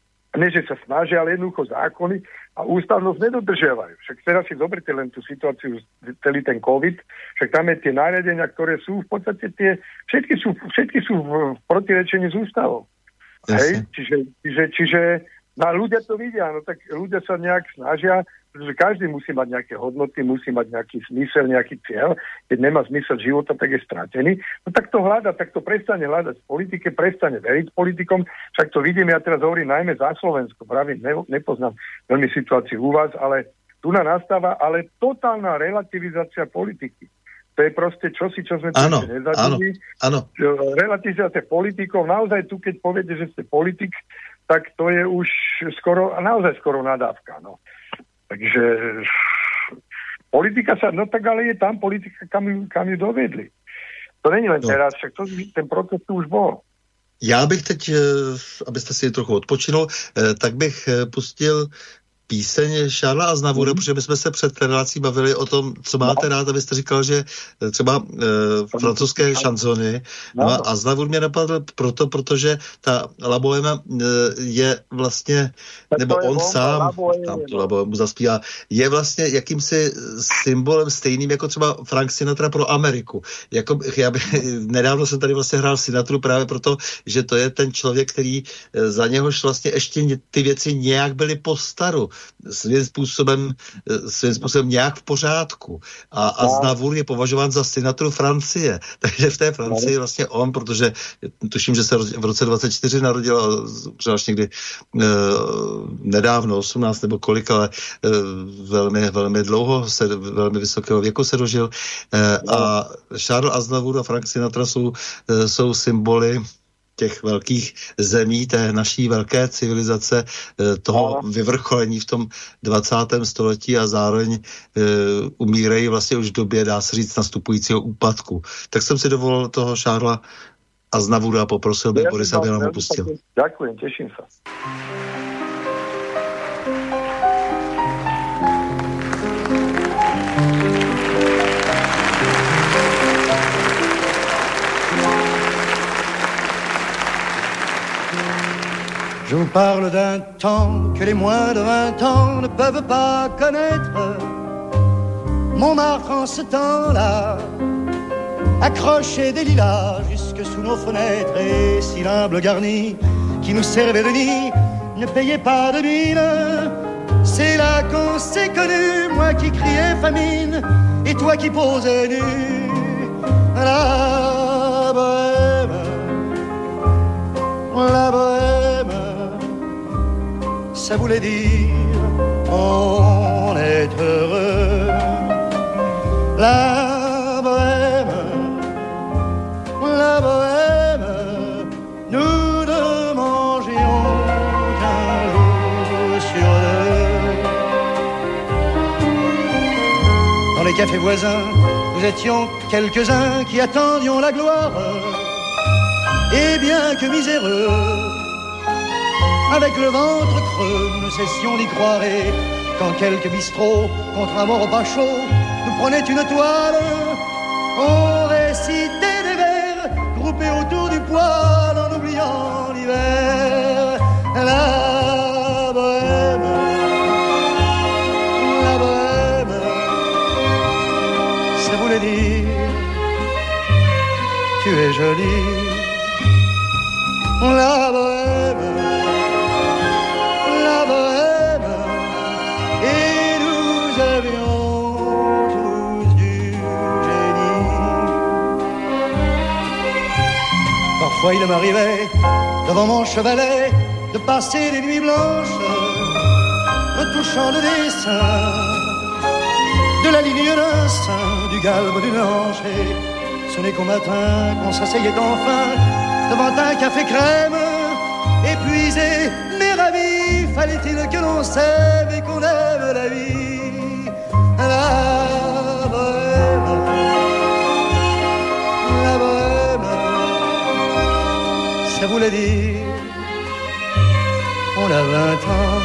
ale jednoducho zákony a ústavnosť nedodržiavajú. Však teraz si zoberte len tú situáciu, celý ten COVID, však tam je tie nariadenia, ktoré sú v podstate všetky sú v protirečení s ústavou. Hej? Čiže ľudia to vidia, no tak ľudia sa nejak snažia, pretože každý musí mať nejaké hodnoty, musí mať nejaký zmysel, nejaký cieľ. Keď nemá zmysel života, tak je stratený. No tak to hľada, tak to prestane hľadať v politike, prestane veriť politikom. Však to vidím, ja teraz hovorím najmä za Slovensko. Pravím, nepoznám veľmi situáciu u vás, ale tu nastáva totálna relativizácia politiky. To je proste čosi, čo sme nezažili. Áno. Relativizácia politikov. Naozaj tu, keď poviete, že ste politik, tak to je už skoro nadávka. No. Takže politika no tak ale je tam politika, kam ju dovedli. To není len teraz, však ten proces tu už bol. Já bych teď, abyste si trochu odpočinul, tak bych pustil píseň Šárla Aznavoura, protože my jsme se před relací bavili o tom, co máte rád, abyste říkal, že třeba francouzské šanzony. No a Aznavour mě napadl protože ta La Bohème je vlastně, nebo on sám, tam tu La Bohème zaspívá, je vlastně jakýmsi symbolem stejným jako třeba Frank Sinatra pro Ameriku. Nedávno jsem tady vlastně hrál Sinatru právě proto, že to je ten člověk, který za něhož vlastně ještě ty věci nějak byly po staru. Svým způsobem nějak v pořádku. A Aznavour je považován za Sinatru Francie. Takže v té Francii vlastně on, protože tuším, že se v roce 24 narodil a až někdy nedávno, 18 nebo kolik, ale velmi, velmi dlouho, velmi vysokého věku se dožil. A Charles Aznavour a Frank Sinatra jsou symboly těch velkých zemí, té naší velké civilizace, toho vyvrcholení v tom 20. století a zároveň umírají vlastně už v době, dá se říct, nastupujícího úpadku. Tak jsem si dovolil toho Charlesa Aznavoura a poprosil bych Borisa, aby nám ho pustil. Ďakujem, teším sa. Je vous parle d'un temps que les moins de 20 ans ne peuvent pas connaître. Montmartre en ce temps-là accrochait des lilas jusque sous nos fenêtres, et si l'humble garni qui nous servait de nid ne payait pas de mine, c'est là qu'on s'est connus, moi qui criais famine et toi qui posais nu. La bohème, la bohème, ça voulait dire on est heureux. La bohème, nous ne mangions qu'un jour sur deux. Dans les cafés voisins, nous étions quelques-uns qui attendions la gloire. Et bien que miséreux, avec le ventre creux, nous ne cessions d'y croire. Et quand quelques bistrots, contre un bon repas chaud, nous prenaient une toile, on récitait des vers groupés autour du poêle en oubliant l'hiver. La bohème, tu es jolie. La bohème, et nous avions tous du génie. Parfois il m'arrivait, devant mon chevalet, de passer des nuits blanches, en touchant le dessin de la ligne d'un sein, du galbe d'une hanche. Et ce n'est qu'au matin qu'on s'asseyait enfin devant un café crème, épuisé mais ravi. Fallait-il que l'on s'aime et qu'on aime la vie. La bohème, ça voulait dire on a 20 ans.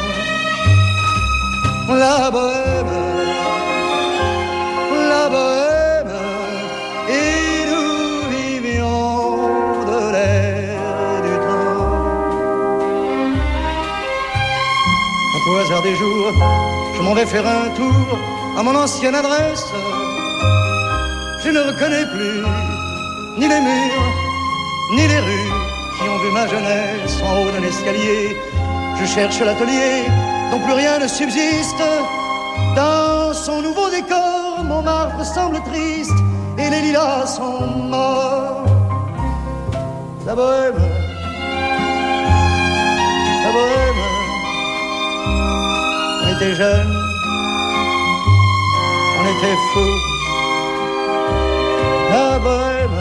La bohème, et nous vivions de l'air du temps. Un peu au hasard des jours, je m'en vais faire un tour à mon ancienne adresse. Je ne reconnais plus ni les murs, ni les rues qui ont vu ma jeunesse en haut d'un escalier. Je cherche l'atelier dont plus rien ne subsiste. Dans son nouveau décor, Montmartre semble triste et les lilas sont morts. La bohème, on était jeunes, on était fous. La bohème,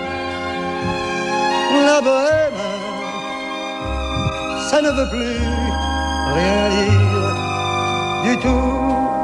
ça ne veut plus rien dire du tout.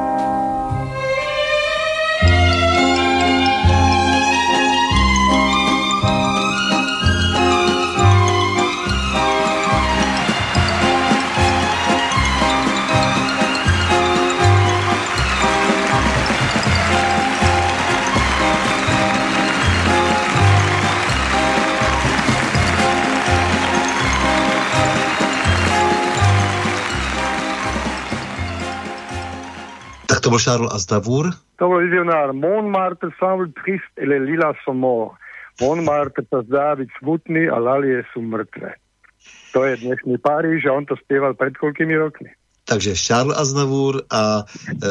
To bol Charles Aznavour. To bol vizionár. Montmartre semble triste et les lilas sont morts. Montmartre sa zdá byť smutný a lalie sú mŕtve. To je dnešný Paríž a on to spieval pred koľkými rokmi. Takže Charles Aznavour a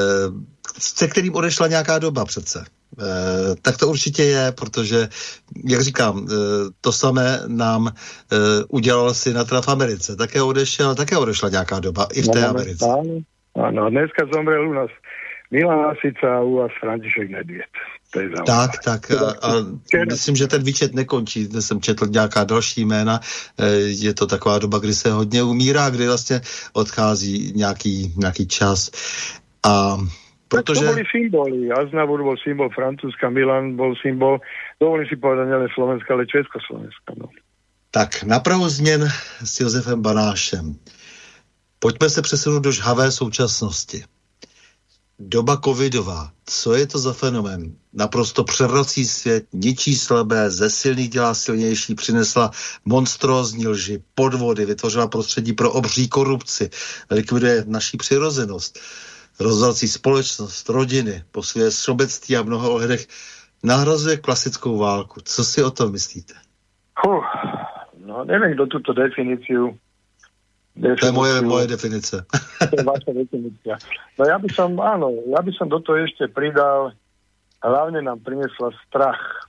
se kterým odešla nějaká doba přece. Tak to určitě je, protože, jak říkám, to samé nám udělal Sinatra v Americe. Také odešla nějaká doba i v té Americe. Áno, dneska zomrel u nás Milan Lasica a u vás František Nedvěd. Tak. A myslím, že ten výčet nekončí. Dnes jsem četl nějaká další jména. Je to taková doba, kdy se hodně umírá, kdy vlastně odchází nějaký čas. A protože... Tak to boli symboly. Aznavour bol symbol Francúzska, Milan bol symbol, dovolím si povedať, nielen Slovenska, ale Československa. No. Tak, na pravou změn s Josefem Banášem. Pojďme se přesunout do žhavé současnosti. Doba covidová. Co je to za fenomén? Naprosto převrací svět, ničí slabé, ze silných dělá silnější, přinesla monstrózní lži, podvody, vytvořila prostředí pro obří korupci, likviduje naší přirozenost, rozvrací společnost, rodiny, posiluje sobectví a v mnoha ohledech nahrazuje klasickou válku. Co si o tom myslíte? No, neviem, kto túto definíciu. To je moje definice. To je vaša definícia. No ja by som do toho ešte pridal, hlavne nám priniesla strach.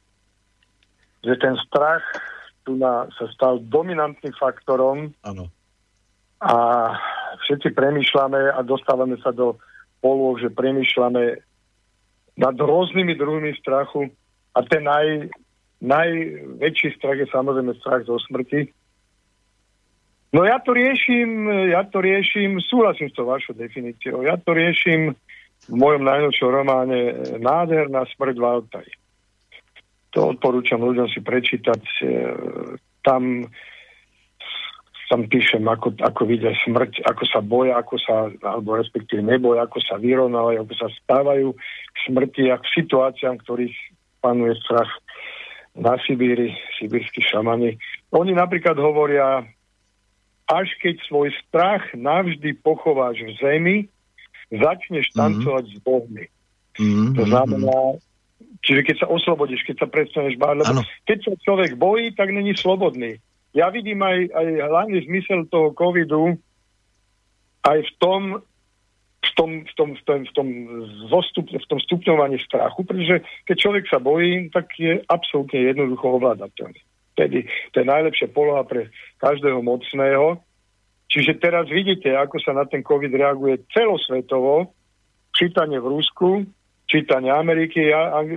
Že ten strach tu sa stal dominantným faktorom. Áno. A všetci premýšľame a dostávame sa do polôch, že premýšľame nad rôznymi druhmi strachu a ten najväčší strach je samozrejme strach zo smrti. No ja to riešim, súhlasím s tou vašou definíciou, ja to riešim v mojom najnovšom románe Nádherná smrť v Altaji. To odporúčam ľuďom si prečítať. Tam píšem, ako vidia smrť, ako sa boja, alebo respektíve neboja, ako sa vyrovnávajú, ako sa stávajú k smrti a k situáciám, ktorých panuje strach na Sibíri, sibírski šamani. Oni napríklad hovoria, až keď svoj strach navždy pochováš v zemi, začneš tancovať s bohmi. To znamená, Čiže keď sa oslobodíš, keď sa prestaneš báť, lebo keď sa človek bojí, tak není slobodný. Ja vidím aj hlavný zmysel toho covidu aj v tom stupňovaní strachu, pretože keď človek sa bojí, tak je absolútne jednoducho ovládateľný. Tedy to je najlepšia poloha pre každého mocného. Čiže teraz vidíte, ako sa na ten COVID reaguje celosvetovo, čítanie v Rusku, čítanie Ameriky,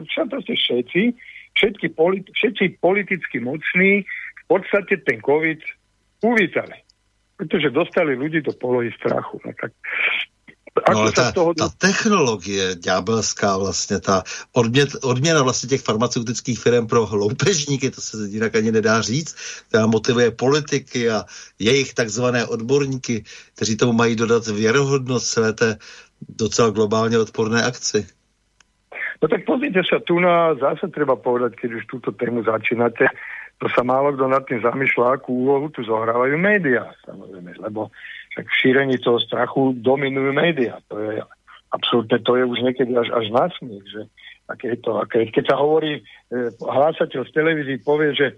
všetci politicky mocní v podstate ten COVID uvítali. Pretože dostali ľudí do polohy strachu. No tak no ale ta technologie ďábelská vlastně, ta odměna vlastně těch farmaceutických firm pro loupežníky, to se jinak ani nedá říct, která motivuje politiky a jejich takzvané odborníky, kteří tomu mají dodat věrohodnost celé té docela globálně odporné akci. No tak pozrite sa, tu na zase treba povedať, keď už túto tému začínate, to sa málo kto nad tým zamýšľa, akú úlohu tu zohrávajú médiá, samozrejme, lebo však v šírení toho strachu dominujú médiá. To je absolútne, to je už niekedy až násmiech, že keď sa hovorí, hlásateľ z televízii povie, že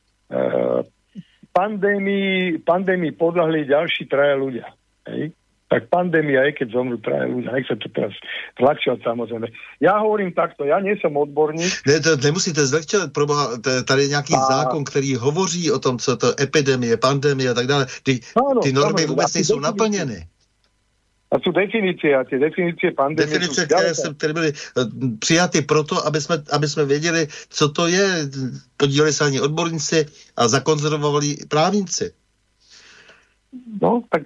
pandémii podľahli ďalší 3 ľudia. Hej? Tak pandémia je, keď zomrú 3 ľudia. Nech sa to teraz zľahčovať, samozrejme. Ja hovorím takto, ja nie som odborník. Ne, to nemusíte zlehčovat, proboha, tady je nějaký zákon, který hovoří o tom, co to epidemie, pandemie a tak dále. Ty normy vůbec nejsou naplněny. A sú definície, a tie definície pandémie... Definice, které byly přijaty proto, aby jsme věděli, co to je. Podíleli se ani odborníci a zakonzervovali právníci. No, tak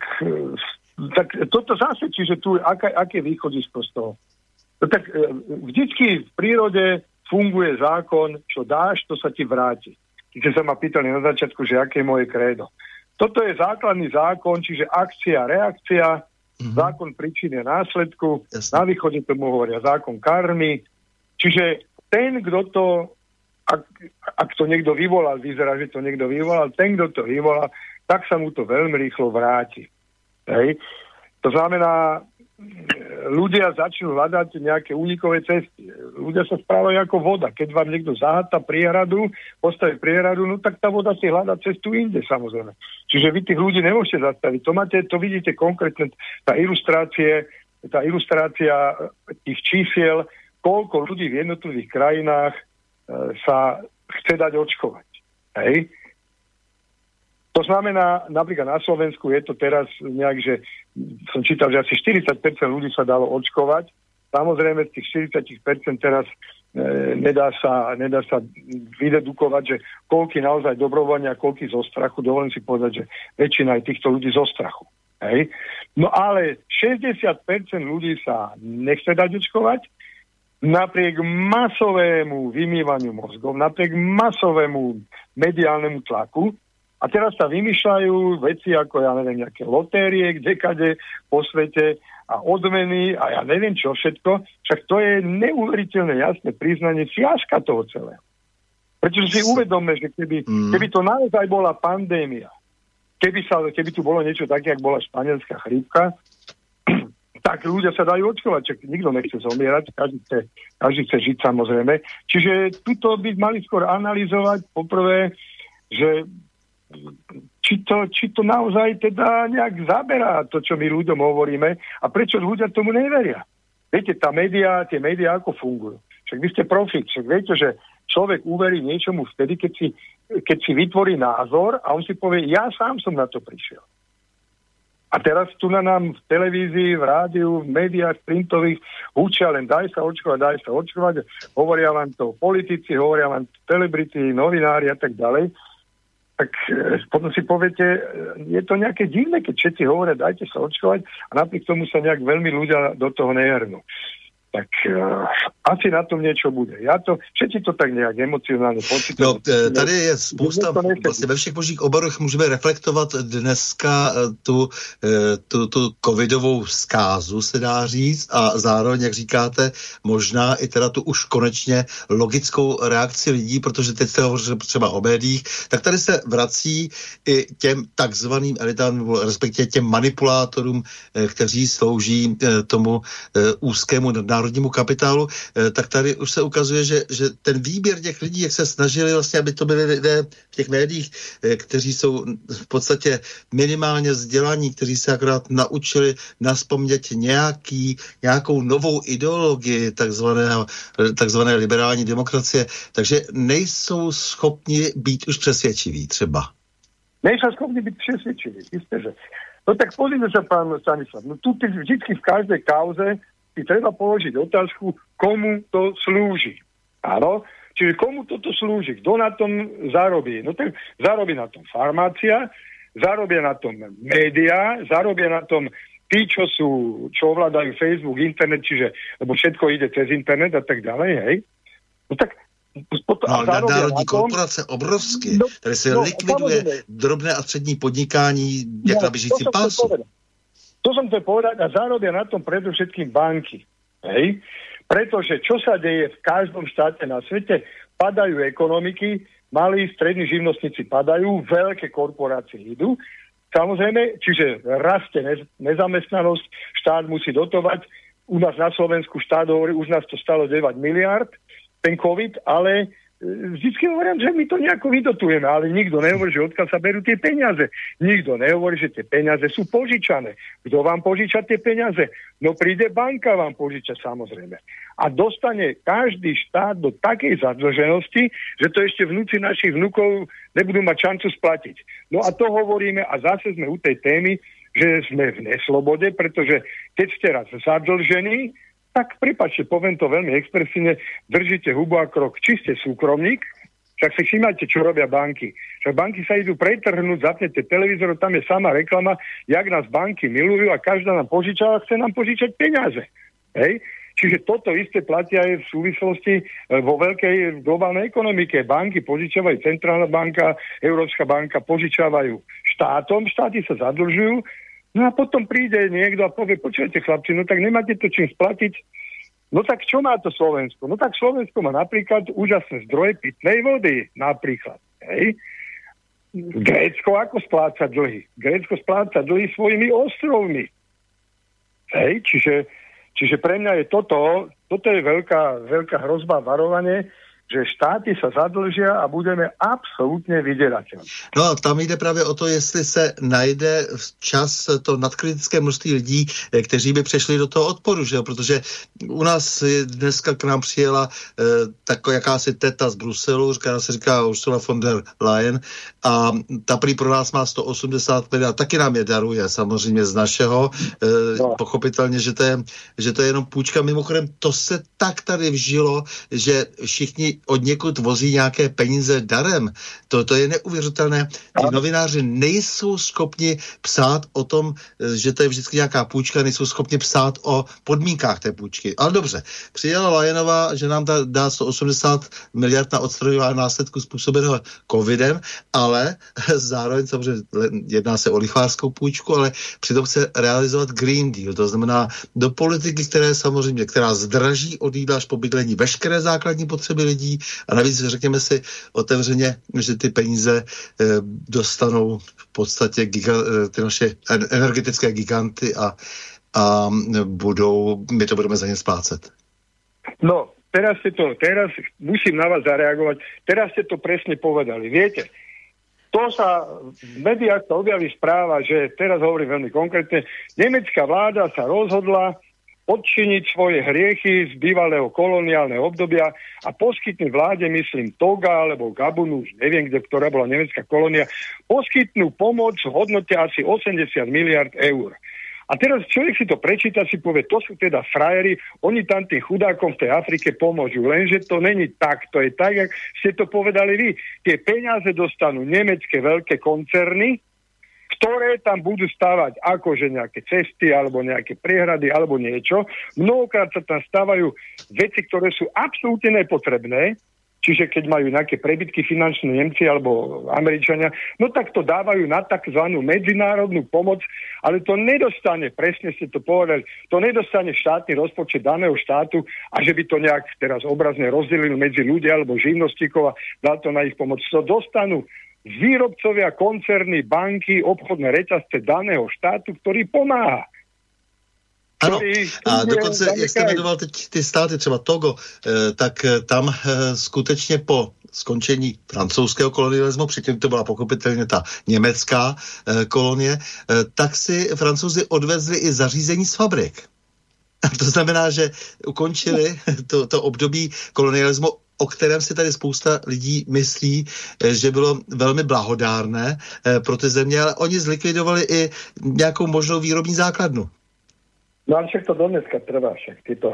toto zase, čiže tu aké východisko z toho. No, tak vždycky v prírode funguje zákon, čo dáš, to sa ti vráti. Keď sa ma pýtali na začiatku, že aké je moje krédo. Toto je základný zákon, čiže akcia, reakcia, zákon príčiny a následku. Jasne. Na východe tomu hovoria zákon karmy. Čiže ten, kto to, ak to niekto vyvolal, vyzerá, že to niekto vyvolal, ten, kto to vyvolal, tak sa mu to veľmi rýchlo vráti. Hej. To znamená, ľudia začnú hľadať nejaké únikové cesty. Ľudia sa správajú ako voda. Keď vám niekto zaháta priehradu, postaví priehradu, no tak tá voda si hľadá cestu inde, samozrejme. Čiže vy tých ľudí nemôžete zastaviť. To vidíte konkrétne, tá ilustrácia tých čísiel, koľko ľudí v jednotlivých krajinách sa chce dať očkovať. Hej. To znamená, napríklad na Slovensku je to teraz nejak, že som čítal, že asi 40% ľudí sa dalo očkovať. Samozrejme, z tých 40% teraz nedá sa vydedukovať, že koľky naozaj dobrovoľne a koľky zo strachu. Dovolím si povedať, že väčšina je týchto ľudí zo strachu. Hej? No ale 60% ľudí sa nechce dať očkovať, napriek masovému vymývaniu mozgov, napriek masovému mediálnemu tlaku. A teraz sa vymýšľajú veci ako, ja neviem, nejaké lotérie, kdekade po svete a odmeny a ja neviem čo všetko. Však to je neuveriteľné jasné priznanie fiaska toho celého. Pretože si uvedome, že keby to naozaj bola pandémia, keby tu bolo niečo také, jak bola španielská chrípka, tak ľudia sa dajú očkovať, čak nikto nechce zomierať, každý chce žiť samozrejme. Čiže tuto by mali skôr analyzovať poprvé, že či to naozaj teda nejak zaberá to, čo my ľuďom hovoríme a prečo ľudia tomu neveria. Viete, tie médiá ako fungujú. Však vy ste profík, však viete, že človek uverí niečomu vtedy, keď si vytvorí názor a on si povie, ja sám som na to prišiel. A teraz tu na nám v televízii, v rádiu, v médiách printových učia len daj sa očkovať, hovoria vám to politici, hovoria vám to celebrity, novinári a tak ďalej. Tak potom si poviete, je to nejaké divné, keď všetci hovoria, dajte sa očkovať a napriek tomu sa nejak veľmi ľudia do toho nehrnú. Tak asi na tom niečo bude. Všetci to tak nějak emocionálně pocitují. No, tady je spousta, vlastně ve všech možných oborech můžeme reflektovat dneska tu covidovou zkázu, se dá říct, a zároveň, jak říkáte, možná i teda tu už konečně logickou reakci lidí, protože teď se hovoří třeba o médiích, tak tady se vrací i těm takzvaným elitám, respektive těm manipulátorům, kteří slouží tomu úzkému národnímu kapitálu, tak tady už se ukazuje, že ten výběr těch lidí, jak se snažili vlastně, aby to byli lidé v těch médiích, kteří jsou v podstatě minimálně vzdělaní, kteří se akorát naučili nazpomnět nějakou novou ideologii takzvané liberální demokracie, takže nejsou schopni být už přesvědčiví třeba. Nejsou schopni byť přesvedčiví, isté, že. No tak pozrite sa, pán Stanislav, no tu vždycky v každej kauze si treba položiť otázku, komu to slúži. Áno? Čiže komu toto slúži? Kto na tom zarobí? No tak zarobí na tom farmácia, zarobia na tom médiá, zarobia na tom tí, čo ovládajú Facebook, internet, čiže, lebo všetko ide cez internet a tak ďalej, hej? No tak národní korporace obrovské, které se likviduje drobné a střední podnikání, jak na běžícím pásu. To som chcel povedať a zarobia na tom predovšetkým banky. Hej? Pretože čo sa deje v každom štáte na svete, padajú ekonomiky, malí, strední živnostníci padajú, veľké korporácie idú. Samozrejme, čiže rastie nezamestnanosť, štát musí dotovať. U nás na Slovensku štát hovorí, už nás to stalo 9 miliard, ten COVID, ale vždycky hovorím, že my to nejako vydotujeme, ale nikto nehovorí, že odkiaľ sa berú tie peniaze. Nikto nehovorí, že tie peniaze sú požičané. Kto vám požiča tie peniaze? No príde banka vám požiča, samozrejme. A dostane každý štát do takej zadlženosti, že to ešte vnúci našich vnukov nebudú mať šancu splatiť. No a to hovoríme a zase sme u tej témy, že sme v neslobode, pretože keď ste raz zadlžení, tak pripáčte, poviem to veľmi expresívne, držíte hubu a krok. Či ste súkromník, však si všimajte, čo robia banky. Však banky sa idú pretrhnúť, zapnete televízor, tam je sama reklama, jak nás banky milujú a každá nám požičala, chce nám požičať peniaze. Hej? Čiže toto isté platia aj v súvislosti vo veľkej globálnej ekonomike. Banky požičavajú, Centrálna banka, Európska banka požičavajú štátom, štáty sa zadlžujú. No a potom príde niekto a povie, počujete chlapci, no tak nemáte to čím splatiť. No tak čo má to Slovensko? No tak Slovensko má napríklad úžasné zdroje pitnej vody, napríklad. Hej. Grécko ako spláca dlhy? Grécko spláca dlhy svojimi ostrovmi. Hej, čiže pre mňa je toto je veľká hrozba, varovanie, že štáty sa zadlžia a budeme absolútne vyděrateľní. No a tam jde právě o to, jestli se najde včas to nadkritické množství lidí, kteří by přešli do toho odporu, že jo? Protože u nás dneska k nám přijela taková jakási teta z Bruselu, která se říká Ursula von der Leyen a ta prý pro nás má 180 miliard, taky nám je daruje samozřejmě z našeho, pochopitelně, že to je jenom půjčka. Mimochodem, to se tak tady vžilo, že všichni od někud vozí nějaké peníze darem. To je neuvěřitelné. Ty novináři nejsou schopni psát o tom, že to je vždycky nějaká půjčka, nejsou schopni psát o podmínkách té půjčky. Ale dobře, přijela Lajenová, že nám dá 180 miliard na odstraňování následků způsobeného covidem, ale zároveň samozřejmě jedná se o lichvářskou půjčku, ale přitom chce realizovat Green Deal, to znamená do politiky, která zdraží od jídla až po bydlení veškeré základní potřeby lidí a navíc řekněme si otevřeně, že ty peníze dostanou v podstatě ty naše energetické giganty a my to budeme za ně splácet. No, teraz musím na vás zareagovať. Teraz ste to presne povedali. Viete, to sa v médiách objaví správa, že teraz hovorím veľmi konkrétne, nemecká vláda sa rozhodla odčiniť svoje hriechy z bývalého koloniálneho obdobia a poskytnúť vláde, myslím, Toga alebo Gabunu, už neviem, ktorá bola nemecká kolónia, poskytnú pomoc v hodnote asi 80 miliard eur. A teraz človek si to prečíta, si povie, to sú teda frajeri, oni tam tým chudákom v tej Afrike pomôžu, lenže to není tak, to je tak, jak ste to povedali vy. Tie peniaze dostanú nemecké veľké koncerny, ktoré tam budú stavať akože nejaké cesty alebo nejaké priehrady alebo niečo. Mnohokrát sa tam stavajú veci, ktoré sú absolútne nepotrebné, čiže keď majú nejaké prebytky finančné Nemci alebo Američania, no tak to dávajú na takzvanú medzinárodnú pomoc, ale to nedostane, presne ste to povedali, to nedostane štátny rozpočet daného štátu a že by to nejak teraz obrazne rozdelil medzi ľudia alebo živnostníkov a dal to na ich pomoc. To dostanú výrobcovia, koncerny, banky, obchodné reťazce daného štátu, ktorý pomáha. Ano, a dokonce, jak jste jmenoval teď ty státy, třeba Togo, tak tam skutečně po skončení francouzského kolonialismu, předtím to byla pochopitelně ta německá kolonie, tak si Francouzi odvezli i zařízení z fabrik. To znamená, že ukončili to období kolonialismu, o kterém si tady spousta lidí myslí, že bylo velmi blahodárné pro ty země, ale oni zlikvidovali i nějakou možnou výrobní základnu. No ale však to dodneska trvá, však tieto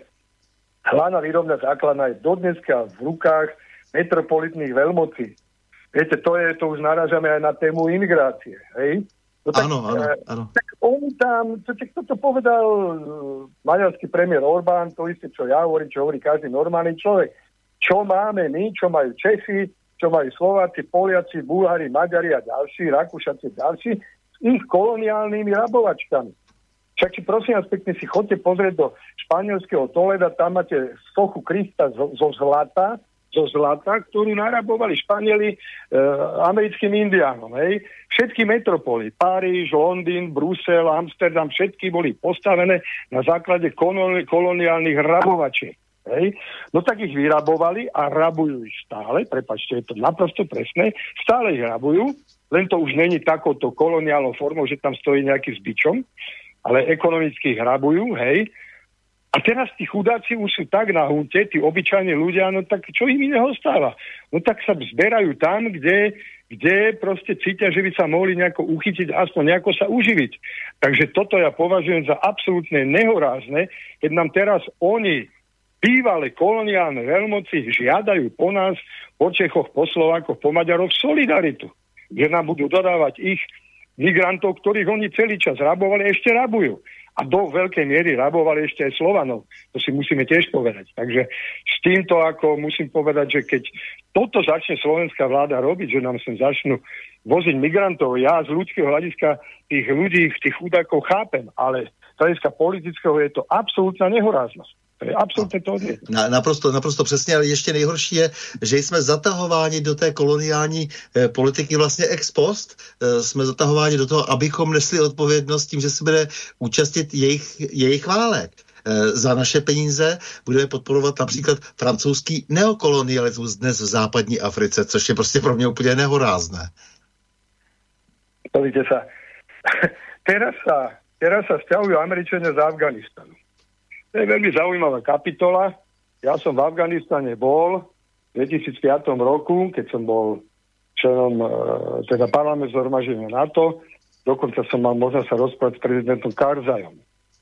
hlavná výrobná základna je dodneska v rukách metropolitných veľmocí. Viete, to už narážame aj na tému imigrácie, hej? No tak, áno. Tak oni tam, to povedal maďarský premiér Orbán, to isté, čo ja hovorím, čo hovorí každý normálny človek. Čo máme my, čo majú Česi, čo majú Slováci, Poliaci, Bulhári, Maďari a ďalší, Rakúšaci a ďalší, s ich koloniálnymi rabovačkami. Však si prosím vás pekne si chodte pozrieť do španielského Toleda, tam máte sochu Krista zo zlata, ktorú narabovali Španieli americkým indiánom. Hej. Všetky metropoly, Paríž, Londýn, Brusel, Amsterdam, všetky boli postavené na základe koloniálnych rabovačiek. Hej. No tak ich vyrabovali a rabujú ich stále, prepáčte, je to naprosto presné, stále ich rabujú, len to už není takouto koloniálnou formou, že tam stojí nejaký s bičom, ale ekonomicky ich rabujú, hej. A teraz tí chudáci už sú tak na hunte, tí obyčajní ľudia, no tak čo im iného stáva? No tak sa zberajú tam, kde proste cítia, že by sa mohli nejako uchytiť, aspoň nejako sa uživiť. Takže toto ja považujem za absolútne nehorázne, keď nám teraz oni, bývalé koloniálne veľmoci, žiadajú po nás, po Čechoch, po Slovákoch, po Maďaroch solidaritu. Že nám budú dodávať ich migrantov, ktorých oni celý čas rabovali, ešte rabujú. A do veľkej miery rabovali ešte aj Slovanov. To si musíme tiež povedať. Takže s týmto ako musím povedať, že keď toto začne slovenská vláda robiť, že nám sem začnú voziť migrantov, ja z ľudského hľadiska tých ľudí, tých chudákov chápem, ale z hľadiska politického je to absolútna nehoráznosť. To je absolutně to odvět. Naprosto přesně, ale ještě nejhorší je, že jsme zatahováni do té koloniální politiky vlastně ex post. Jsme zatahováni do toho, abychom nesli odpovědnost tím, že se bude účastnit jejich válek. Za naše peníze budeme podporovat například francouzský neokolonialismus dnes v západní Africe, což je prostě pro mě úplně nehorázné. Pozrite sa. Teraz sa sťahujú Američania z Afganistanu. To je veľmi zaujímavá kapitola. Ja som v Afganistane bol v 2005 roku, keď som bol členom teda parlament zhromaždenia NATO. Dokonca som mal možnosť sa rozprávať s prezidentom Karzajom.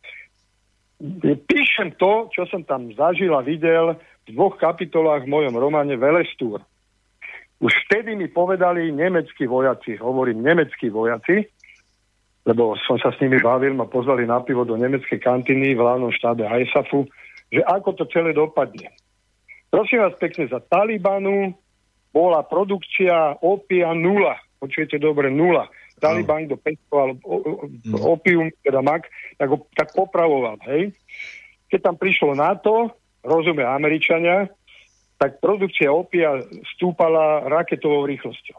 Píšem to, čo som tam zažil a videl v 2 kapitolách v mojom románe Velestúr. Už vtedy mi povedali nemeckí vojaci, hovorím nemeckí vojaci, lebo som sa s nimi bavil, ma pozvali na pivo do nemeckej kantiny v hlavnom štábe ISAFu, že ako to celé dopadne. Prosím vás pekne, za Talibanu bola produkcia opia 0. Počujete dobre, 0. Taliban, kto pestoval opium, teda mak, tak popravoval, hej. Keď tam prišlo NATO, rozumie Američania, tak produkcia opia stúpala raketovou rýchlosťou.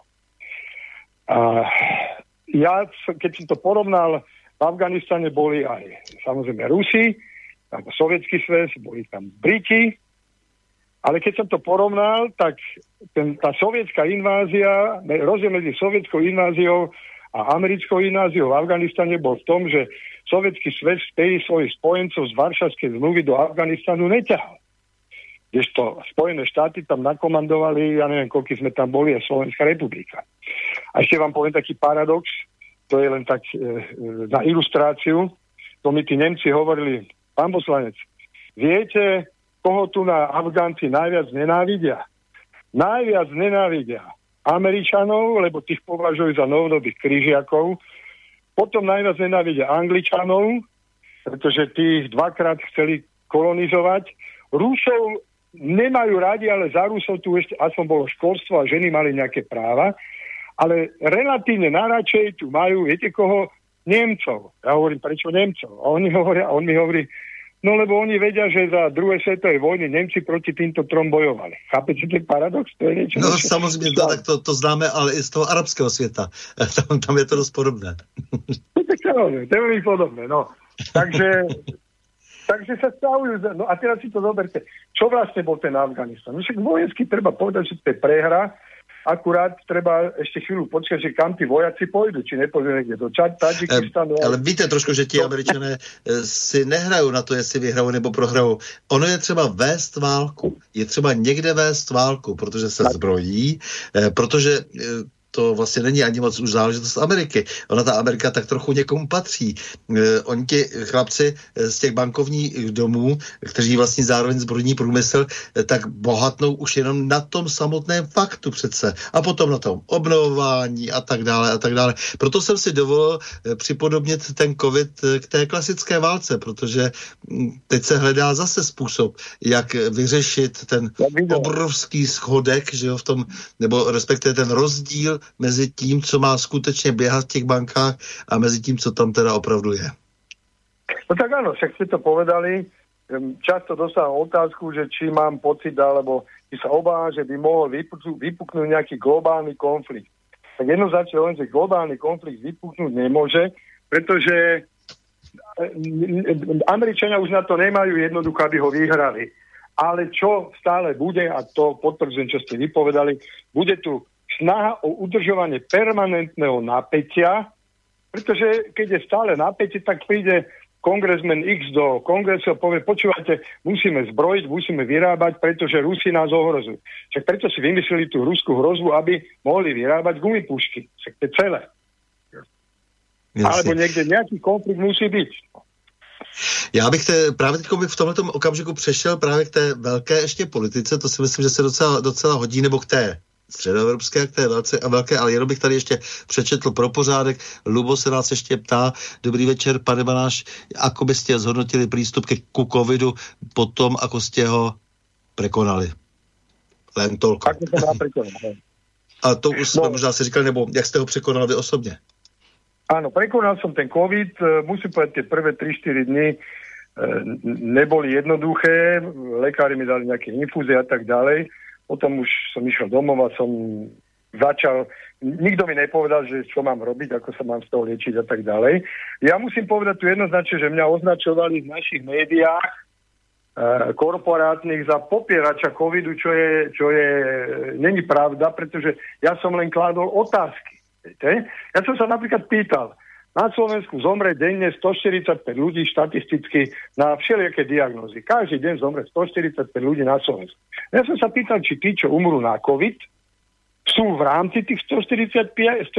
Ja, keď som to porovnal, v Afganistane boli aj samozrejme Rusi, tam Sovietský zväz, boli tam Briti, ale keď som to porovnal, tak tá sovietská invázia, rozdiel medzi sovietskou inváziou a americkou inváziou v Afganistane bol v tom, že Sovietský zväz vtedy svojich spojencov z Varšavskej zmluvy do Afganistanu neťahal. Kdežto Spojené štáty tam nakomandovali, ja neviem, koľko sme tam boli, a Slovenská republika. A ešte vám poviem taký paradox, to je len tak na ilustráciu, to mi tí Nemci hovorili, pán poslanec, viete, koho tu na Afgánci najviac nenávidia? Najviac nenávidia Američanov, lebo tých považujú za novodobých križiakov, potom najviac nenávidia Angličanov, pretože tých 2-krát chceli kolonizovať, Rusov nemajú radi, ale za Rusov tu ešte aspoň bolo školstvo a ženy mali nejaké práva, ale relatívne najradšej tu majú, viete koho? Nemcov. Ja hovorím, prečo Nemcov? A on mi hovorí, no lebo oni vedia, že za druhej svetovej vojny Nemci proti týmto 3 bojovali. Chápete ten paradox? To je niečo. No samozřejmě, tak to známe, ale i z toho arabského světa. Tam je to dost podobné. To je veľmi podobné, no. Takže sa stavujú. No a teraz si to zoberte. Čo vlastne bol ten Afganistan? No však vojensky treba povedať, že to je prehra. Akurát treba ešte chvíľu počkať, že kam tí vojaci pôjdu, či nepôjdu niekde do Tadžikistanu. Ale víte trošku, že ti Američané si nehrajú na to, jestli vyhrajou nebo prohrajou. Ono je třeba vést válku. Je třeba někde vést válku, protože se zbrojí, protože to vlastně není ani moc už záležitost Ameriky. Ona ta Amerika tak trochu někomu patří. Oni ti chlapci z těch bankovních domů, kteří vlastně zároveň zbrojní průmysl, tak bohatnou už jenom na tom samotném faktu přece. A potom na tom obnovování a tak dále a tak dále. Proto jsem si dovolil připodobnit ten covid k té klasické válce, protože teď se hledá zase způsob, jak vyřešit ten obrovský schodek, že jo, v tom, nebo respektive ten rozdíl mezi tím, co má skutečně běhat v těch bankách a mezi tím, co tam teda opravdu je. No tak áno, však ste to povedali. Často dostávam otázku, že či mám pocit, alebo či sa obávam, že by mohol vypuknúť nejaký globálny konflikt. Tak jednoznačne len, že globálny konflikt vypuknúť nemôže, pretože Američania už na to nemajú jednoducho, aby ho vyhrali. Ale čo stále bude, a to potvrdzujem, čo ste vypovedali, bude tu snaha o udržovanie permanentného napätia, pretože keď je stále napätie, tak príde kongresmen X do kongresu a povie, počúvajte, musíme zbrojiť, musíme vyrábať, pretože Rusi nás ohrozujú. Však preto si vymysleli tú ruskú hrozbu, aby mohli vyrábať gumipušky. Však to je celé. Jasne. Alebo niekde nejaký konflikt musí byť. Já bych právě teď v tomhletom okamžiku přešel právě k té velké ještě politice, to si myslím, že se docela hodí, nebo k té středoevropské, k té velké, ale jenom bych tady ještě přečetl pro pořádek. Lubo se nás ještě ptá, dobrý večer, pane Banáš, ako by ste zhodnotili prístup ku covidu potom, ako ste ho prekonali? Len toľko. A to už jsme možná si říkali, nebo jak jste ho překonali vy osobně? Áno, prekonal som ten COVID, musím povedať, tie prvé 3-4 dny neboli jednoduché, lekári mi dali nejaké infúzie a tak ďalej, potom už som išiel domov a som začal, nikto mi nepovedal, že čo mám robiť, ako sa mám z toho liečiť a tak ďalej. Ja musím povedať tu jednoznačne, že mňa označovali v našich médiách korporátnych za popierača covidu, čo je není pravda, pretože ja som len kládol otázky. Ja som sa napríklad pýtal, na Slovensku zomre denne 145 ľudí štatisticky na všelijaké diagnózy. Každý deň zomre 145 ľudí na Slovensku. Ja som sa pýtal, či tí, čo umrú na COVID, sú v rámci tých 145,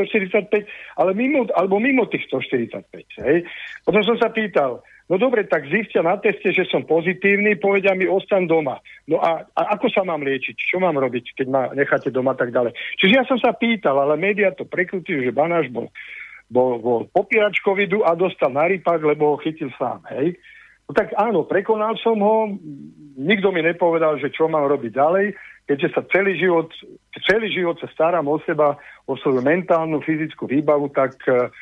ale mimo tých 145. Hej? Potom som sa pýtal, no dobre, tak zistia na teste, že som pozitívny, povedia mi, ostaň doma. No a ako sa mám liečiť? Čo mám robiť, keď ma necháte doma, tak ďalej. Čiže ja som sa pýtal, ale médiá to prekrutujú, že Banáš bol popierač covidu a dostal na rypak, lebo ho chytil sám. Hej? No tak áno, prekonal som ho, nikto mi nepovedal, že čo mám robiť ďalej, keďže sa celý život sa starám o seba, o svoju mentálnu, fyzickú výbavu, tak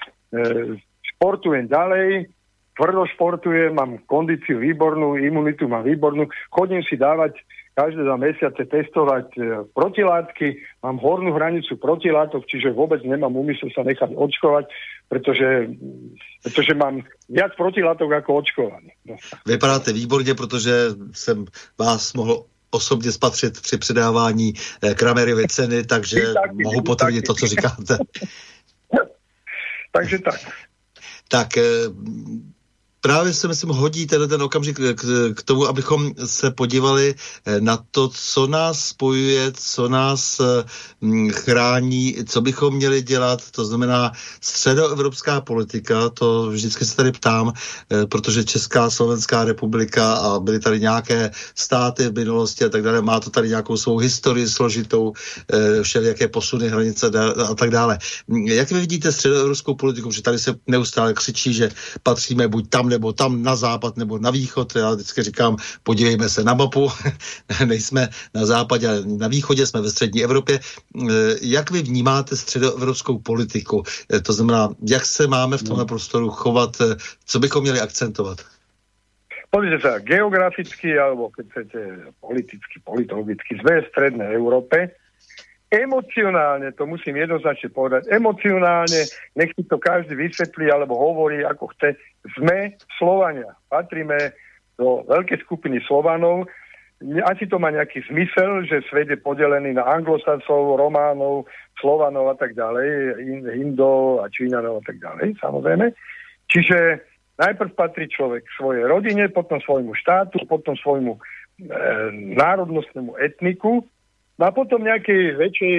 športujem ďalej, tvrdo športujem, mám kondíciu výbornú, imunitu mám výbornú, chodím si dávať každé 2 mesiace testovať protilátky, mám hornú hranicu protilátok, čiže vôbec nemám úmysel sa nechať očkovať, pretože mám viac protilátok ako očkovaný. No. Vypadáte výborně, protože jsem vás mohl osobně spatřit při předávání Kramerovy ceny, takže mohu potvrdit to, co říkáte. Takže tak. Tak právě se myslím hodí ten okamžik k tomu, abychom se podívali na to, co nás spojuje, co nás chrání, co bychom měli dělat, to znamená středoevropská politika, to vždycky se tady ptám, protože Česká, Slovenská republika a byly tady nějaké státy v minulosti a tak dále, má to tady nějakou svou historii složitou, všelijaké posuny, hranice a tak dále. Jak vy vidíte středoevropskou politiku, že tady se neustále křičí, že patříme buď tam nebo tam na západ nebo na východ. Já vždycky říkám, podívejme se na mapu, nejsme na západě, ale na východě, jsme ve střední Evropě. Jak vy vnímáte středoevropskou politiku? To znamená, jak se máme v tomhle prostoru chovat, co bychom měli akcentovat? Pozrite sa, geograficky, alebo keď chcete politicky, politologicky, sme v strednej Európe. emocionálne, to musím jednoznačne povedať, emocionálne, nech si to každý vysvetlí alebo hovorí, ako chce, sme Slovania. Patríme do veľkej skupiny Slovanov. Asi to má nejaký zmysel, že svet je podelený na Anglosasov, Románov, Slovanov a tak ďalej, Indov a Číňanov a tak ďalej, samozrejme. Čiže najprv patrí človek svojej rodine, potom svojmu štátu, potom svojmu národnostnému etniku, a potom nejakej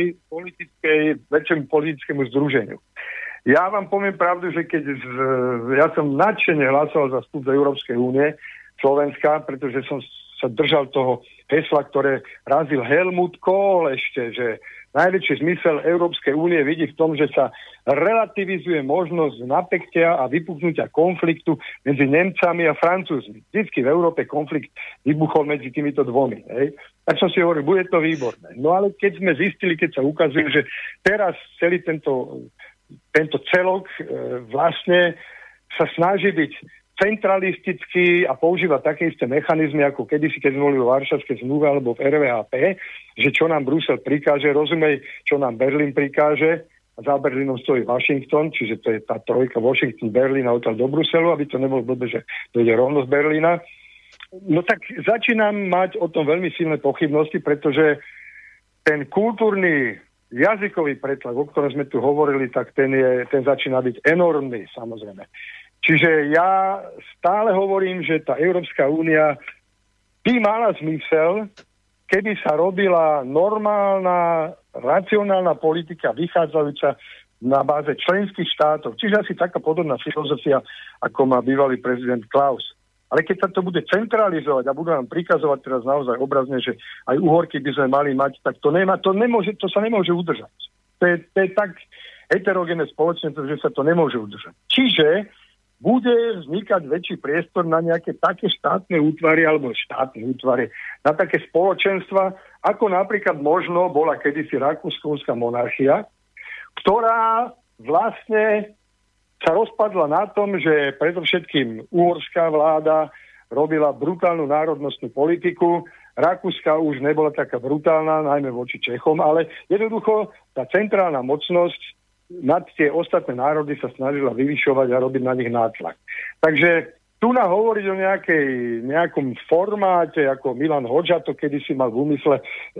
väčšiemu politickému združeniu. Ja vám poviem pravdu, že ja som nadšene hlasoval za vstup do Európskej únie Slovenska, pretože som sa držal toho hesla, ktoré razil Helmut Kohl ešte, že najväčší zmysel Európskej únie vidí v tom, že sa relativizuje možnosť napätia a vypuknutia konfliktu medzi Nemcami a Francúzmi. Vždycky v Európe konflikt vybuchol medzi týmito dvomi. Hej? Tak som si hovoril, bude to výborné. No ale keď sme zistili, keď sa ukazuje, že teraz celý tento celok vlastne sa snaží byť centralistický a používa také isté mechanizmy, ako kedysi, keď sme boli vo Varšavskej zmluve alebo v RVHP, že čo nám Brusel prikáže, rozumej, čo nám Berlín prikáže, a za Berlínom stojí Washington, čiže to je tá trojka Washington, Berlín a odtiaľ do Bruselu, aby to nebolo blbé, že to ide rovno z Berlína. No tak začínam mať o tom veľmi silné pochybnosti, pretože ten kultúrny jazykový pretlak, o ktorom sme tu hovorili, tak ten začína byť enormný, samozrejme. Čiže ja stále hovorím, že tá Európska únia by mala zmysel, keby sa robila normálna, racionálna politika vychádzajúca na báze členských štátov. Čiže asi taká podobná filozofia, ako má bývalý prezident Klaus. Ale keď sa to bude centralizovať a budú nám prikazovať teraz naozaj obrazne, že aj uhorky by sme mali mať, tak to sa nemôže udržať. To je tak heterogénne spoločenstvo, že sa to nemôže udržať. Čiže bude vznikať väčší priestor na nejaké také štátne útvary na také spoločenstva, ako napríklad možno bola kedysi rakúsko-uhrská monarchia, ktorá vlastne sa rozpadla na tom, že predovšetkým uhorská vláda robila brutálnu národnostnú politiku, Rakúska už nebola taká brutálna, najmä voči Čechom, ale jednoducho tá centrálna mocnosť nad tie ostatné národy sa snažila vyvyšovať a robiť na nich nátlak. Takže tu hovoriť o nejakom formáte, ako Milan Hodža to kedysi mal v úmysle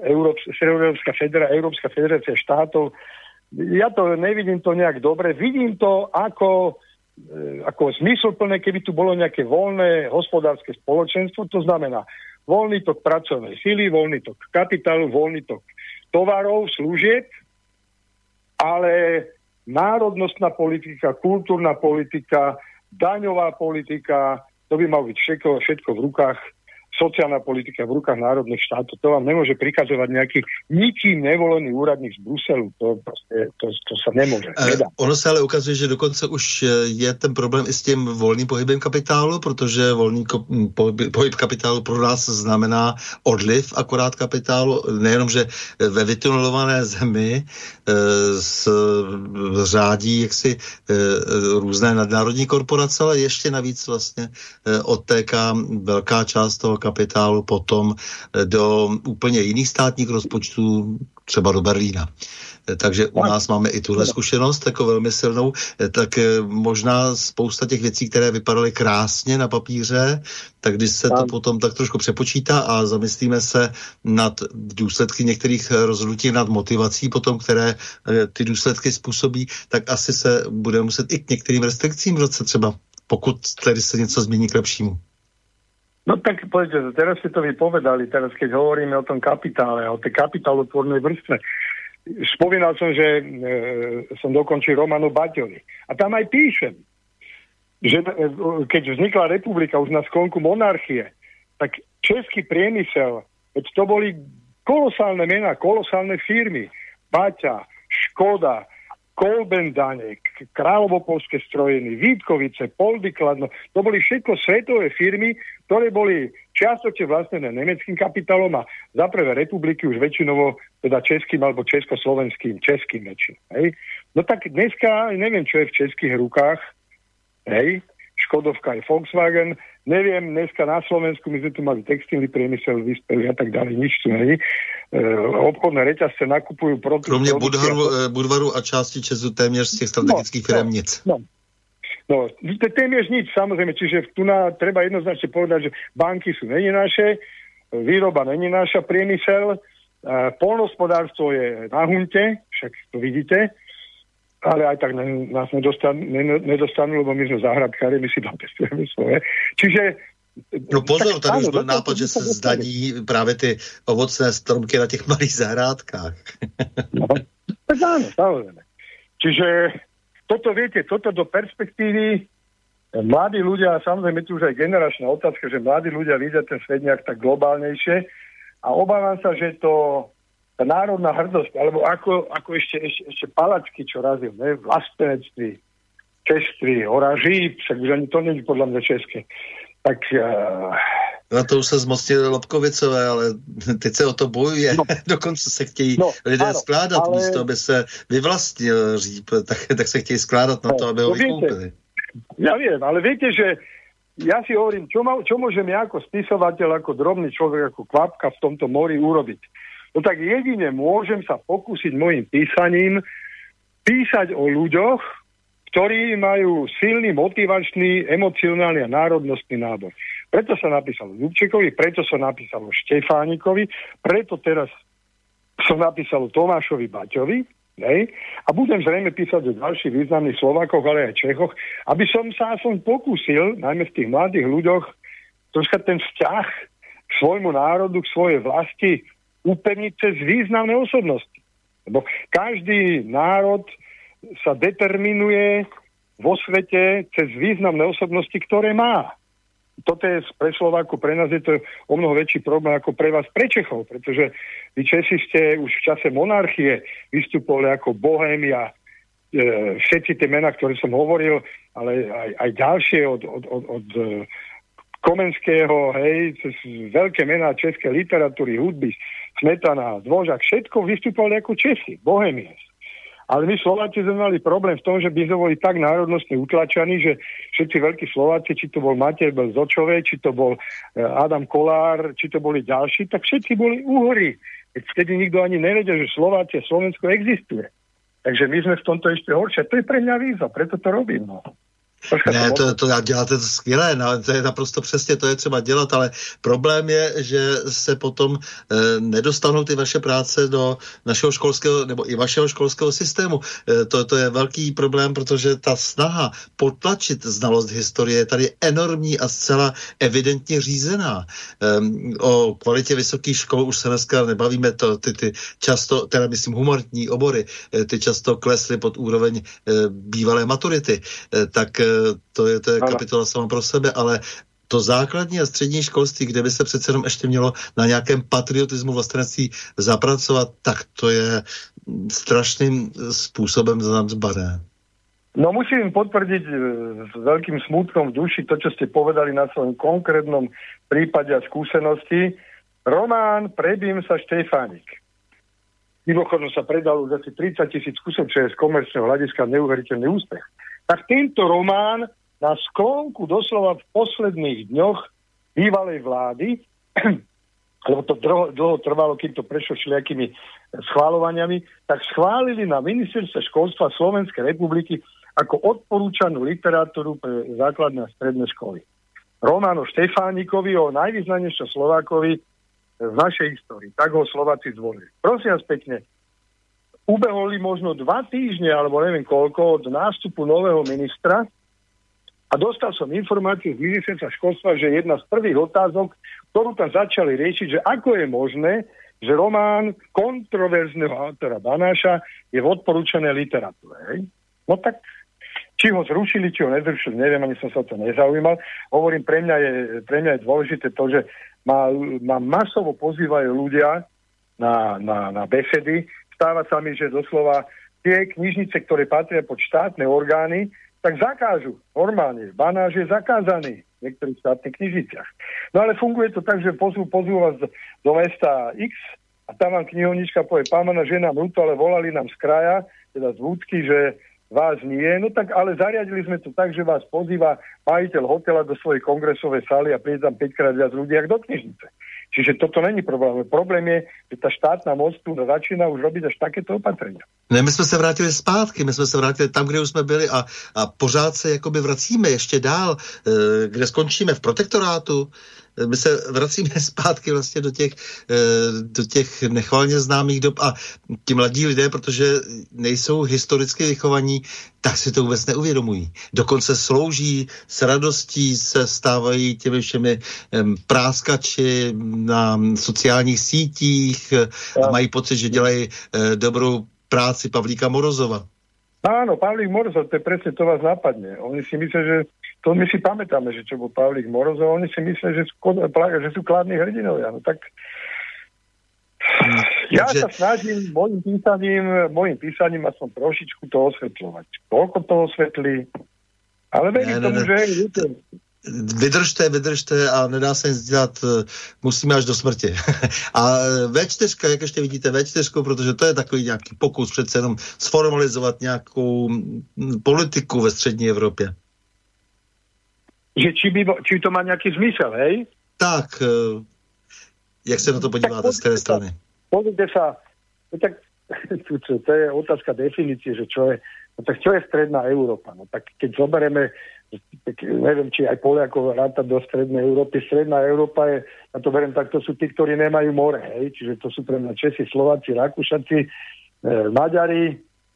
Európska federácia štátov, ja to nevidím to nejak dobre. Vidím to ako zmysluplné, keby tu bolo nejaké voľné hospodárske spoločenstvo, to znamená voľný tok pracovnej sily, voľný tok kapitálu, voľný tok tovarov, služieb, ale národnostná politika, kultúrna politika, daňová politika, to by malo byť všetko v rukách, sociálna politika v rukách národných štátov. To vám nemôže prikazovať nejaký nikým nevolený úradník z Bruselu. To sa nemôže. Nedá. Ono se ale ukazuje, že dokonce už je ten problém i s tím volným pohybem kapitálu, protože volný pohyb kapitálu pro nás znamená odliv akorát kapitálu. Nejenom, že ve vytunelované zemi řádí jaksi různé nadnárodní korporace, ale ještě navíc vlastně odtéká velká část toho kapitálu potom do úplně jiných státních rozpočtů, třeba do Berlína. Takže u nás máme i tuhle zkušenost jako velmi silnou, tak možná spousta těch věcí, které vypadaly krásně na papíře, tak když se to potom tak trošku přepočítá a zamyslíme se nad důsledky některých rozhodnutí, nad motivací potom, které ty důsledky způsobí, tak asi se bude muset i k některým restrikcím vracet třeba, pokud tedy se něco změní k lepšímu. No tak povedete, teraz ste to vypovedali, teraz keď hovoríme o tom kapitále, o tej kapitálotvornej vrstve. Spomínal som, že som dokončil román o Baťovi. A tam aj píšem, že keď vznikla republika už na sklonku monarchie, tak český priemysel, veď to boli kolosálne mená, kolosálne firmy. Baťa, Škoda, Kolbendanek, Kráľovopolské strojeny, Vítkovice, Poldy Kladno, to boli všetko svetové firmy, ktoré boli čiastočne vlastnené nemeckým kapitálom a za prvé republiky už väčšinovo teda českým alebo československým, väčšinou. Hej. No tak dneska neviem, čo je v českých rukách. Hej. Škodovka aj Volkswagen. Neviem, dneska na Slovensku my sme tu mali textilný priemysel, vyspelý a tak ďalej, nič tu není. Obchodné reťazce nakupujú produkty. Kromě Budvaru a části Česu téměř z těch strategických firm nic. No, téměř nič, samozrejme, čiže tu treba jednoznačne povedať, že banky sú není naše, výroba není naša, priemysel, poľnohospodárstvo je na hunte, však to vidíte, ale aj tak nás nedostanú, lebo my sme záhradkári, my si dopestujeme svoje. Čiže... No pozor, tady už byl nápad, že se zdaní právě ty ovocné stromky na těch malých zahrádkách. No, tak áno, samozrejme. Čiže toto do perspektívy mladí ľudia, samozrejme tu už aj generačná otázka, že mladí ľudia vidia ten svet nejak tak globálnejšie a obávam sa, že tá národná hrdosť, alebo ako ešte Palacký, čo razil, ne? Vlastenectví, čeství, oraží, však už ani to není podľa mňa české. Tak... Na to už se zmocnili Lobkovicové, ale teď se o to bojuje. No. Dokonce se chtějí lidé skládat, ale... místo, aby se vyvlastnil říp, tak se chtějí skládat na to, aby ho vykoupili. Ja viem, ale viete, že ja si hovorím, čo môžem ja ako spisovateľ, ako drobný človek, ako kvapka v tomto mori urobiť? No tak jedine môžem sa pokúsiť mojim písaním písať o ľuďoch, ktorí majú silný, motivačný, emocionálny a národnostný nábor. Preto sa napísalo Ľubčekovi, preto sa napísalo Štefánikovi, preto teraz som napísal Tomášovi Baťovi, nej? A budem zrejme písať o ďalších významných Slovákoch, ale aj Čechoch, aby som sa aspoň pokúsil, najmä v tých mladých ľuďoch, troška ten vzťah k svojmu národu, k svojej vlasti upevniť cez významné osobnosti. Lebo každý národ sa determinuje vo svete cez významné osobnosti, ktoré má. Toto je pre Slováku, pre nás je to o mnoho väčší problém ako pre vás, pre Čechov, pretože vy Česi ste už v čase monarchie vystupovali ako Bohémia, všetci tie mená, ktoré som hovoril, ale aj ďalšie od Komenského, hej, cez veľké mená českej literatúry, hudby, Smetana, Dvořák, všetko vystupovali ako Česi, Bohémie. Ale my Slováci sme mali problém v tom, že by sme boli tak národnostne utlačaní, že všetci veľkí Slováci, či to bol Matej Zočové, či to bol Adam Kolár, či to boli ďalší, tak všetci boli Uhori. Vtedy nikto ani nevedel, že Slováci a Slovensko existuje. Takže my sme v tomto ešte horšie. To je pre mňa výzva, preto to robím. No. Ne, děláte to skvělé, no, to je naprosto přesně, to je třeba dělat, ale problém je, že se potom nedostanou ty vaše práce do našeho školského, nebo i vašeho školského systému. To je velký problém, protože ta snaha potlačit znalost historie je tady enormní a zcela evidentně řízená. O kvalitě vysokých škol už se dneska nebavíme, ty často, teda myslím humanitní obory, ty často klesly pod úroveň bývalé maturity, tak to je kapitola sama pro sebe, ale to základní a střední školství, kde by se přece jenom ještě mělo na nějakém patriotismu vlastenectví zapracovat, tak to je strašným způsobem zanedbané. No musím potvrdiť s veľkým smútkom v duši to, čo ste povedali na svojom konkrétnom prípade a skúsenosti. Román Prebím sa Štefánik. Mimochodom sa predal už asi 30,000 kusov, čo je z komerčného hľadiska neuveriteľný úspech. Tak tento román na sklonku doslova v posledných dňoch bývalej vlády, lebo to dlho trvalo, kým to prešlo všelijakými schváľovaniami, tak schválili na ministerstve školstva Slovenskej republiky ako odporúčanú literatúru pre základné a stredné školy. Román o Štefánikovi, o najvýznamnejšom Slovákovi v našej histórii. Tak ho Slováci zvolili. Prosím vás pekne, ubeholi možno 2 týždne, alebo neviem koľko, od nástupu nového ministra a dostal som informáciu z ministerstva školstva, že jedna z prvých otázok, ktorú tam začali riešiť, že ako je možné, že román kontroverzného autora Banáša je v odporúčanej literatúre. Hej? No tak, či ho zrušili, či ho nezrušili, neviem, ani som sa to nezaujímal. Hovorím, pre mňa je dôležité to, že ma masovo pozývajú ľudia na besedy. Stáva sa mi, že doslova tie knižnice, ktoré patria pod štátne orgány, tak zakážu. Normálne. Banáš je zakázaný v niektorých štátnych knižniciach. No ale funguje to tak, že pozvú vás do mesta X a tam vám knihovnička povie, pán Banáš, je nám ľúto, ale volali nám z kraja, teda z Vúcky, že vás nie, no tak ale zariadili sme to tak, že vás pozýva majiteľ hotela do svojej kongresovej sály a príde tam 5-krát viac ľudí, ako do knižnice. Čiže toto není problém. Problém je, že ta štátna moc tu začíná už robiť až takéto opatrenia. Ne, my jsme se vrátili zpátky, my jsme se vrátili tam, kde už jsme byli a pořád se jakoby vracíme ještě dál, kde skončíme v protektorátu. My se vracíme zpátky vlastně do těch nechvalně známých dob a ti mladí lidé, protože nejsou historicky vychovaní, tak si to vůbec neuvědomují. Dokonce slouží s radostí, se stávají těmi všemi práskači na sociálních sítích a mají pocit, že dělají dobrou práci Pavlíka Morozova. Áno, Pavlík Morozov, to je presne, to vás napadne. Oni si myslia, že to my si pamätáme, že čo bol Pavlík Morozov, oni si myslia, že sú kladní hrdinovia. No tak ja sa snažím mojim písaním aspoň trošičku to osvetľovať. Koľko to osvetlí, ale verím tomu, že Vydržte a nedá se nic dělat, musíme až do smrti. A V4, jak ještě vidíte V4, protože to je takový nějaký pokus přece jenom sformalizovat nějakou politiku ve střední Evropě. Že či to má nějaký zmysel, hej? Tak, jak se na to podíváte z té strany? Pozrite sa, tak to je otázka definície, že čo je, no tak čo je stredná Európa? No tak keď zoberieme, tak neviem, či aj Poliakov rátať do strednej Európy. Stredná Európa je, ja to beriem tak, to sú tí, ktorí nemajú more, hej? Čiže to sú pre mňa Česi, Slováci, Rakúšaci, Maďari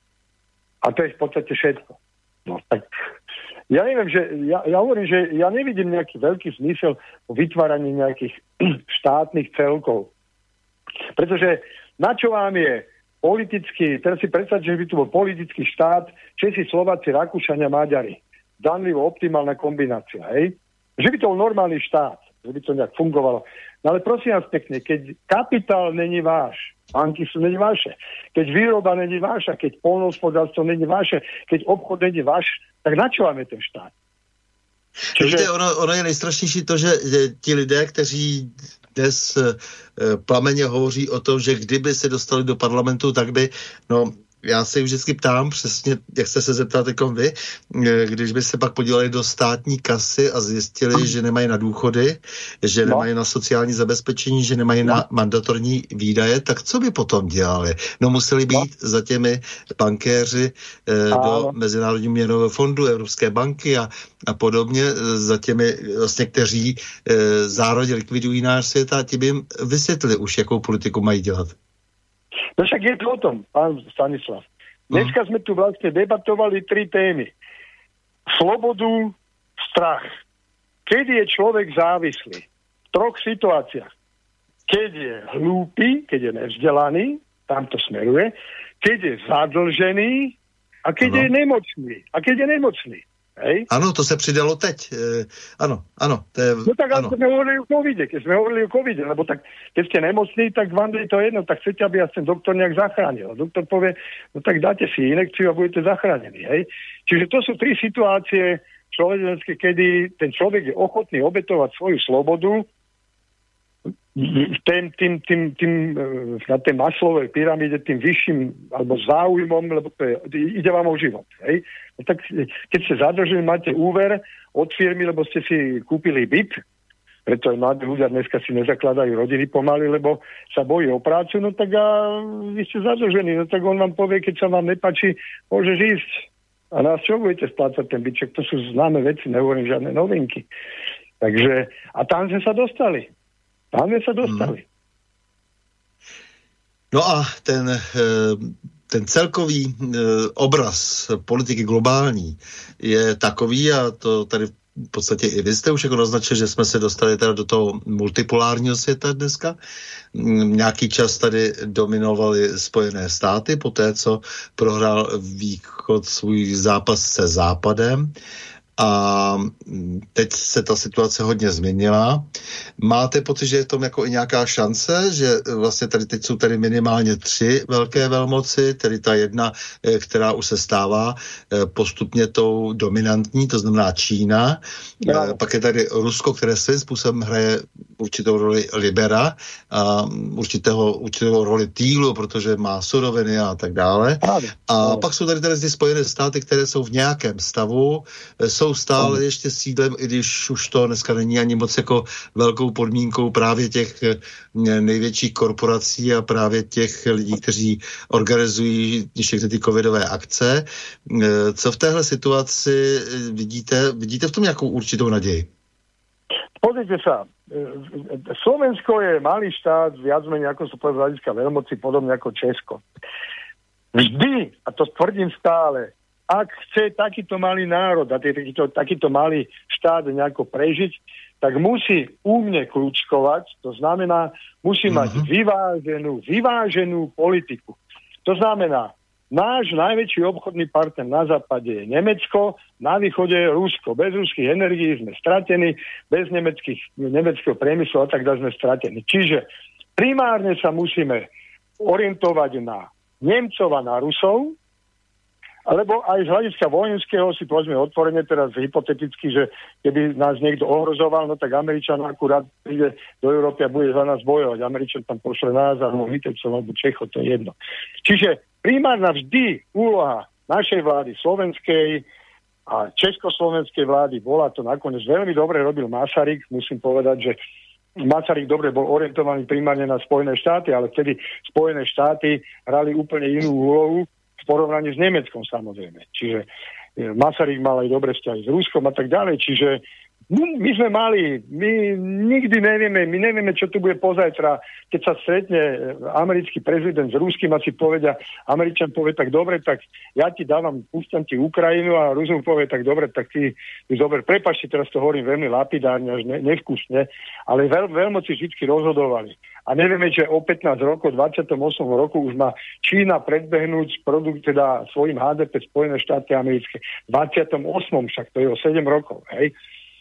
a to je v podstate všetko. No tak ja neviem, že ja hovorím, že ja nevidím nejaký veľký zmysel o vytváraní nejakých štátnych celkov. Pretože na čo vám je politický, teraz si predstavte, že by tu bol politický štát, Česi, Slováci, Rakúšania, Maďari. Danlivo optimálna kombinácia, hej? Že by to bol normálny štát, že by to nejak fungovalo. No ale prosím vás pekne, keď kapitál není váš, banky sú není vaše, keď výroba není váša, keď poľnohospodárstvo není vaše, keď obchod není váš, tak na čo máme ten štát? Čiže ono je nejstrašnější to, že ti lidé, kteří dnes plameně hovoří o tom, že kdyby se dostali do parlamentu, tak by, no, já se vždycky ptám přesně, jak jste se zeptal teďkom vy, když by se pak podívali do státní kasy a zjistili, že nemají na důchody, že nemají na sociální zabezpečení, že nemají na mandatorní výdaje, tak co by potom dělali? No museli být za těmi bankéři do Mezinárodního měnového fondu, Evropské banky a podobně, za těmi vlastně, kteří zároveň likvidují náš svět a ti by jim vysvětlili už, jakou politiku mají dělat. No však je to o tom, pán Stanislav. Dneska sme tu vlastne debatovali 3 témy. Slobodu, strach. Kedy je človek závislý? V 3 situáciách. Keď je hlúpy, keď je nevzdelaný, tam to smeruje. Keď je zadlžený a keď je nemocný. A keď je nemocný. Hej? Ano, to se přidalo teď. Ano. To je, no tak ano. Sme hovorili o covide, lebo tak, keď ste nemocní, tak vám je to jedno, tak chcete, aby vás ten doktor nejak zachránil. A doktor povie, no tak dáte si inekciu a budete zachránení. Hej? Čiže to sú 3 situácie človeče, kedy ten človek je ochotný obetovať svoju slobodu na tej Maslovej pyramíde tým vyšším alebo záujmom, lebo to je, ide vám o život. Hej? No tak keď ste zadržili, máte úver od firmy, lebo ste si kúpili byt, preto aj mladí ľudia dneska si nezakladajú rodiny pomaly, lebo sa bojí o prácu, no tak a vy ste zadržení, no tak on vám povie, keď sa vám nepáči, môžeš ísť. A nás čo budete splácať ten byček? To sú známe veci, nehovorím žiadne novinky. Takže, a tam sme sa dostali. No a ten celkový obraz politiky globální je takový, a to tady v podstatě i vy jste už jako naznačil, že jsme se dostali teda do toho multipolárního světa dneska. Nějaký čas tady dominovaly Spojené státy, poté co prohrál Východ svůj zápas se Západem. A teď se ta situace hodně změnila. Máte pocit, že je v tom jako i nějaká šance, že vlastně tady teď jsou tady minimálně 3 velké velmoci, tedy ta jedna, která už se stává postupně tou dominantní, to znamená Čína. Pak je tady Rusko, které svým způsobem hraje určitou roli libera a určitou roli týlu, protože má suroviny a tak dále. A pak jsou tady ty Spojené státy, které jsou v nějakém stavu, jsou stále ještě sídlem, i když už to dneska není ani moc jako velkou podmínkou právě těch největších korporací a právě těch lidí, kteří organizují všechny ty covidové akce. Co v téhle situaci vidíte v tom nějakou určitou naději? Pozrite sa, Slovensko je malý štát, viac menej ako sú povedal hľadiska veľmoci, podobne ako Česko. Vždy, a to tvrdím stále, ak chce takýto malý národ a takýto malý štát nejako prežiť, tak musí úmne kľúčkovať, to znamená, musí mať vyváženú politiku. To znamená, náš najväčší obchodný partner na západe je Nemecko, na východe je Rusko. Bez ruských energií sme stratení, bez nemeckého priemyslu a tak ďalej sme stratení. Čiže primárne sa musíme orientovať na Nemcov a na Rusov, alebo aj z hľadiska vojenského si povedzme otvorene teraz hypoteticky, že keby nás niekto ohrozoval, no tak Američan akurát príde do Európy a bude za nás bojovať. Američan tam pošle nás alebo Vitebcov alebo Čechov, to je jedno. Čiže primárna vždy úloha našej vlády slovenskej a československej vlády bola, to nakoniec veľmi dobre robil Masaryk, musím povedať, že Masaryk dobre bol orientovaný primárne na Spojené štáty, ale vtedy Spojené štáty hrali úplne inú úlohu v porovnaní s Nemeckom samozrejme. Čiže Masaryk mal aj dobré vzťahy s Ruskom a tak ďalej, čiže my sme mali, my nikdy nevieme, čo tu bude pozajtra. Keď sa stretne americký prezident s ruským a si povedia, Američan povie, tak dobre, tak ja ti dávam, púšťam ti Ukrajinu a Rusov povie, tak dobre, tak ty dobre, prepáčte, teraz to hovorím veľmi lapidárne, až nevkusne, ale veľmoci vždy rozhodovali. A nevieme, že o 15 rokov, 28 roku už má Čína predbehnúť produkt, teda svojim HDP Spojené štáty americké. 28, však to je o 7 rokov, hej.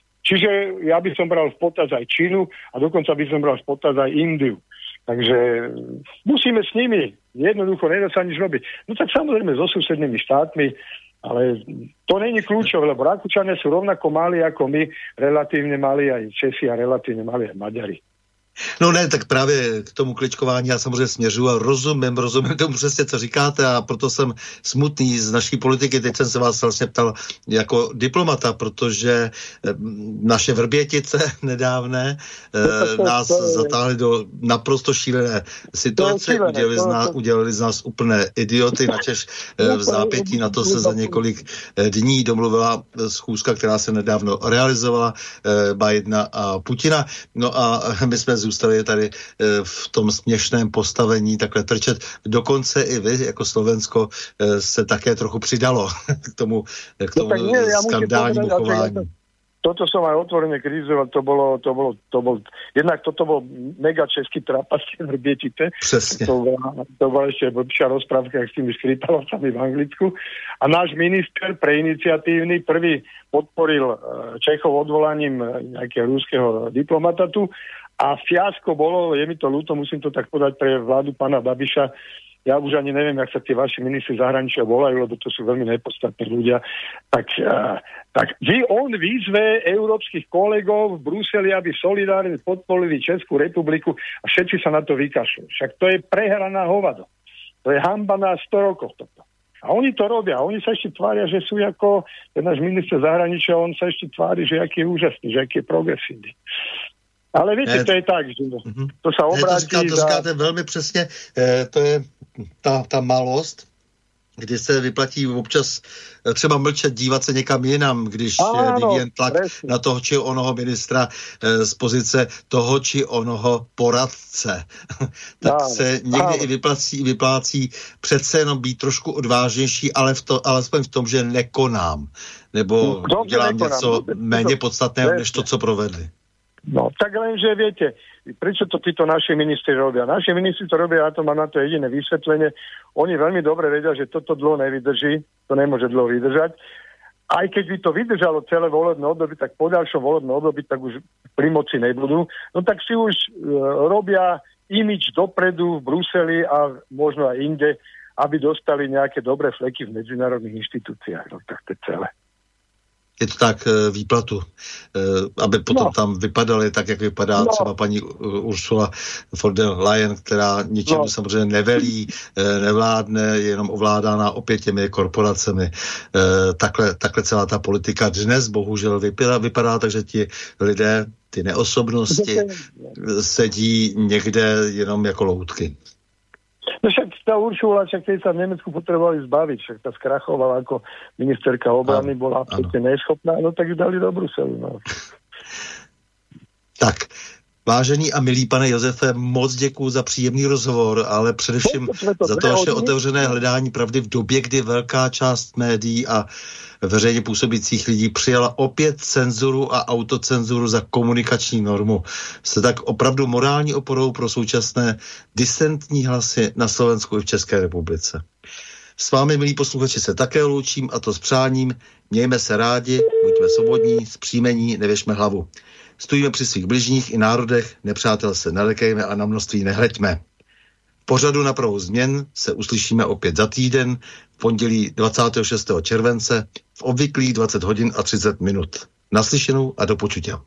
Čiže ja by som bral v potaz aj Čínu a dokonca by som bral v potaz aj Indiu. Takže musíme s nimi, jednoducho nedá sa nič robiť. No tak samozrejme so susednými štátmi, ale to není kľúčové, lebo Rakúčania sú rovnako malí ako my, relatívne malí aj Česi a relatívne malí aj Maďari. No ne, tak právě k tomu kličkování já samozřejmě směřuji a rozumím tomu přesně, co říkáte a proto jsem smutný z naší politiky. Teď jsem se vás vlastně ptal jako diplomata, protože naše Vrbětice nedávné nás zatáhli do naprosto šílené situace, udělali z nás úplné idioty, načež v zápětí na to se za několik dní domluvila schůzka, která se nedávno realizovala, Bidena a Putina. No a my jsme zůstali tady v tom směšném postavení takhle trčet. Dokonce i vy, jako Slovensko, se také trochu přidalo k tomu skandálnímu chování. Toto som aj otvorene kritizoval, jednak toto bol mega český trapas Vrbětice. Přesně. To bola ešte blbšia rozprávka, jak s tými Skripalovcami v Anglicku. A náš minister preiniciatívny prvý podporil Čechov odvolaním nejakého ruského diplomata tu. A fiasko bolo, je mi to ľúto, musím to tak podať pre vládu pána Babiša. Ja už ani neviem, jak sa tie vaši ministri zahraničia volajú, lebo to sú veľmi nepodstatní ľudia. Tak on výzve európskych kolegov v Bruseli, aby solidárne podporili Českú republiku a všetci sa na to vykašľú. Však to je prehraná hovado. To je hanba na 100 rokov toto. A oni to robia. Oni sa ešte tvária, že sú ako ten náš minister zahraničia, on sa ešte tvári, že aký je úžasný, že aký je progresívny. Ale viete, to je tak, že to sa obrátí... To říkáte velmi přesně, to je ta malost, kdy se vyplatí občas třeba mlčet, dívat se někam jinam, když vyvíjen tlak na toho či onoho ministra z pozice toho či onoho poradce. Tak se někdy i vyplácí přece jenom být trošku odvážnější, ale alespoň v tom, že nekonám. Nebo dělám něco méně podstatného, než to, co provedli. No, tak lenže viete, prečo to títo naši ministri robia? Naši ministri to robia, ja to mám na to jediné vysvetlenie. Oni veľmi dobre vedia, že toto dlho nevydrží, to nemôže dlho vydržať. Aj keď by to vydržalo celé volebné obdobie, tak po ďalšom volebnom období tak už pri moci nebudú. No tak si už robia imič dopredu v Bruseli a možno aj inde, aby dostali nejaké dobré fleky v medzinárodných inštitúciách. No tak to je celé. je to tak, výplatu, aby potom tam vypadaly tak, jak vypadá třeba paní Ursula von der Leyen, která ničemu samozřejmě nevelí, nevládne, je jenom ovládána opět těmi korporacemi. Takhle celá ta politika dnes bohužel vypadá, takže ti lidé, ty neosobnosti sedí někde jenom jako loutky. No však tá Uršula, keď sa v Nemecku potrebovali zbaviť, však tá skrachovala ako ministerka obrany, bola absolútne neschopná, no tak ju dali do Bruselu. No. Tak, vážený a milý pane Josefe, moc děkuju za příjemný rozhovor, ale především za to vaše otevřené hledání pravdy v době, kdy velká část médií a veřejně působících lidí přijala opět cenzuru a autocenzuru za komunikační normu. Jste tak opravdu morální oporou pro současné disentní hlasy na Slovensku i v České republice. S vámi, milí posluchači, se také loučím, a to s přáním: mějme se rádi, buďme svobodní, zpříjmení, nevěšme hlavu. Stojíme při svých bližních i národech, nepřátel se nelekejme a na množství nehleďme. V pořadu Na pravou změn se uslyšíme opět za týden, v pondělí 26. července, v obvyklých 20 hodin a 30 minut. Naslyšenou a do počutia.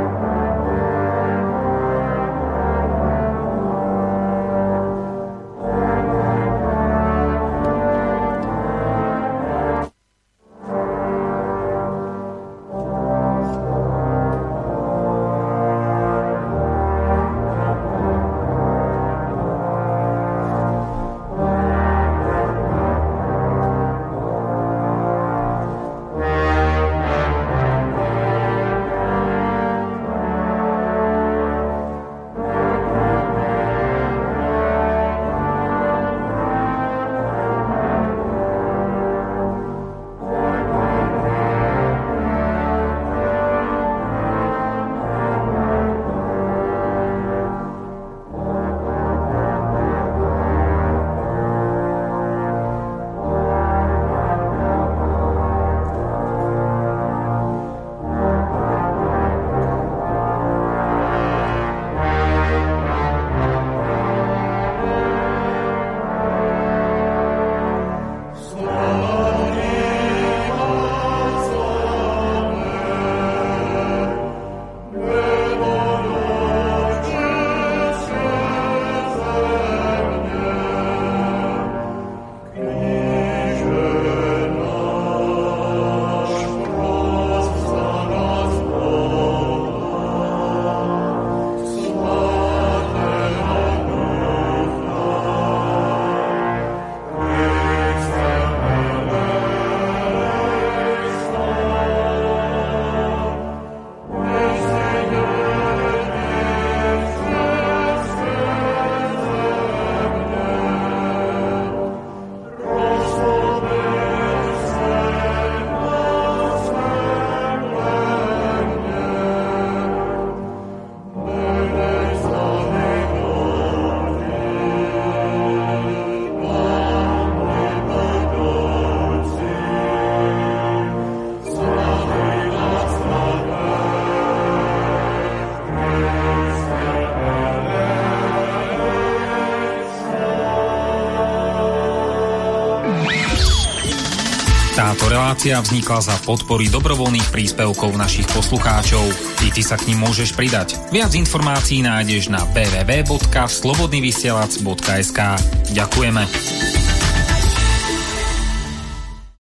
Táto relácia vznikla za podpory dobrovoľných príspevkov našich poslucháčov. I ty sa k nim môžeš pridať. Viac informácií nájdeš na www.slobodnyvysielac.sk. Ďakujeme.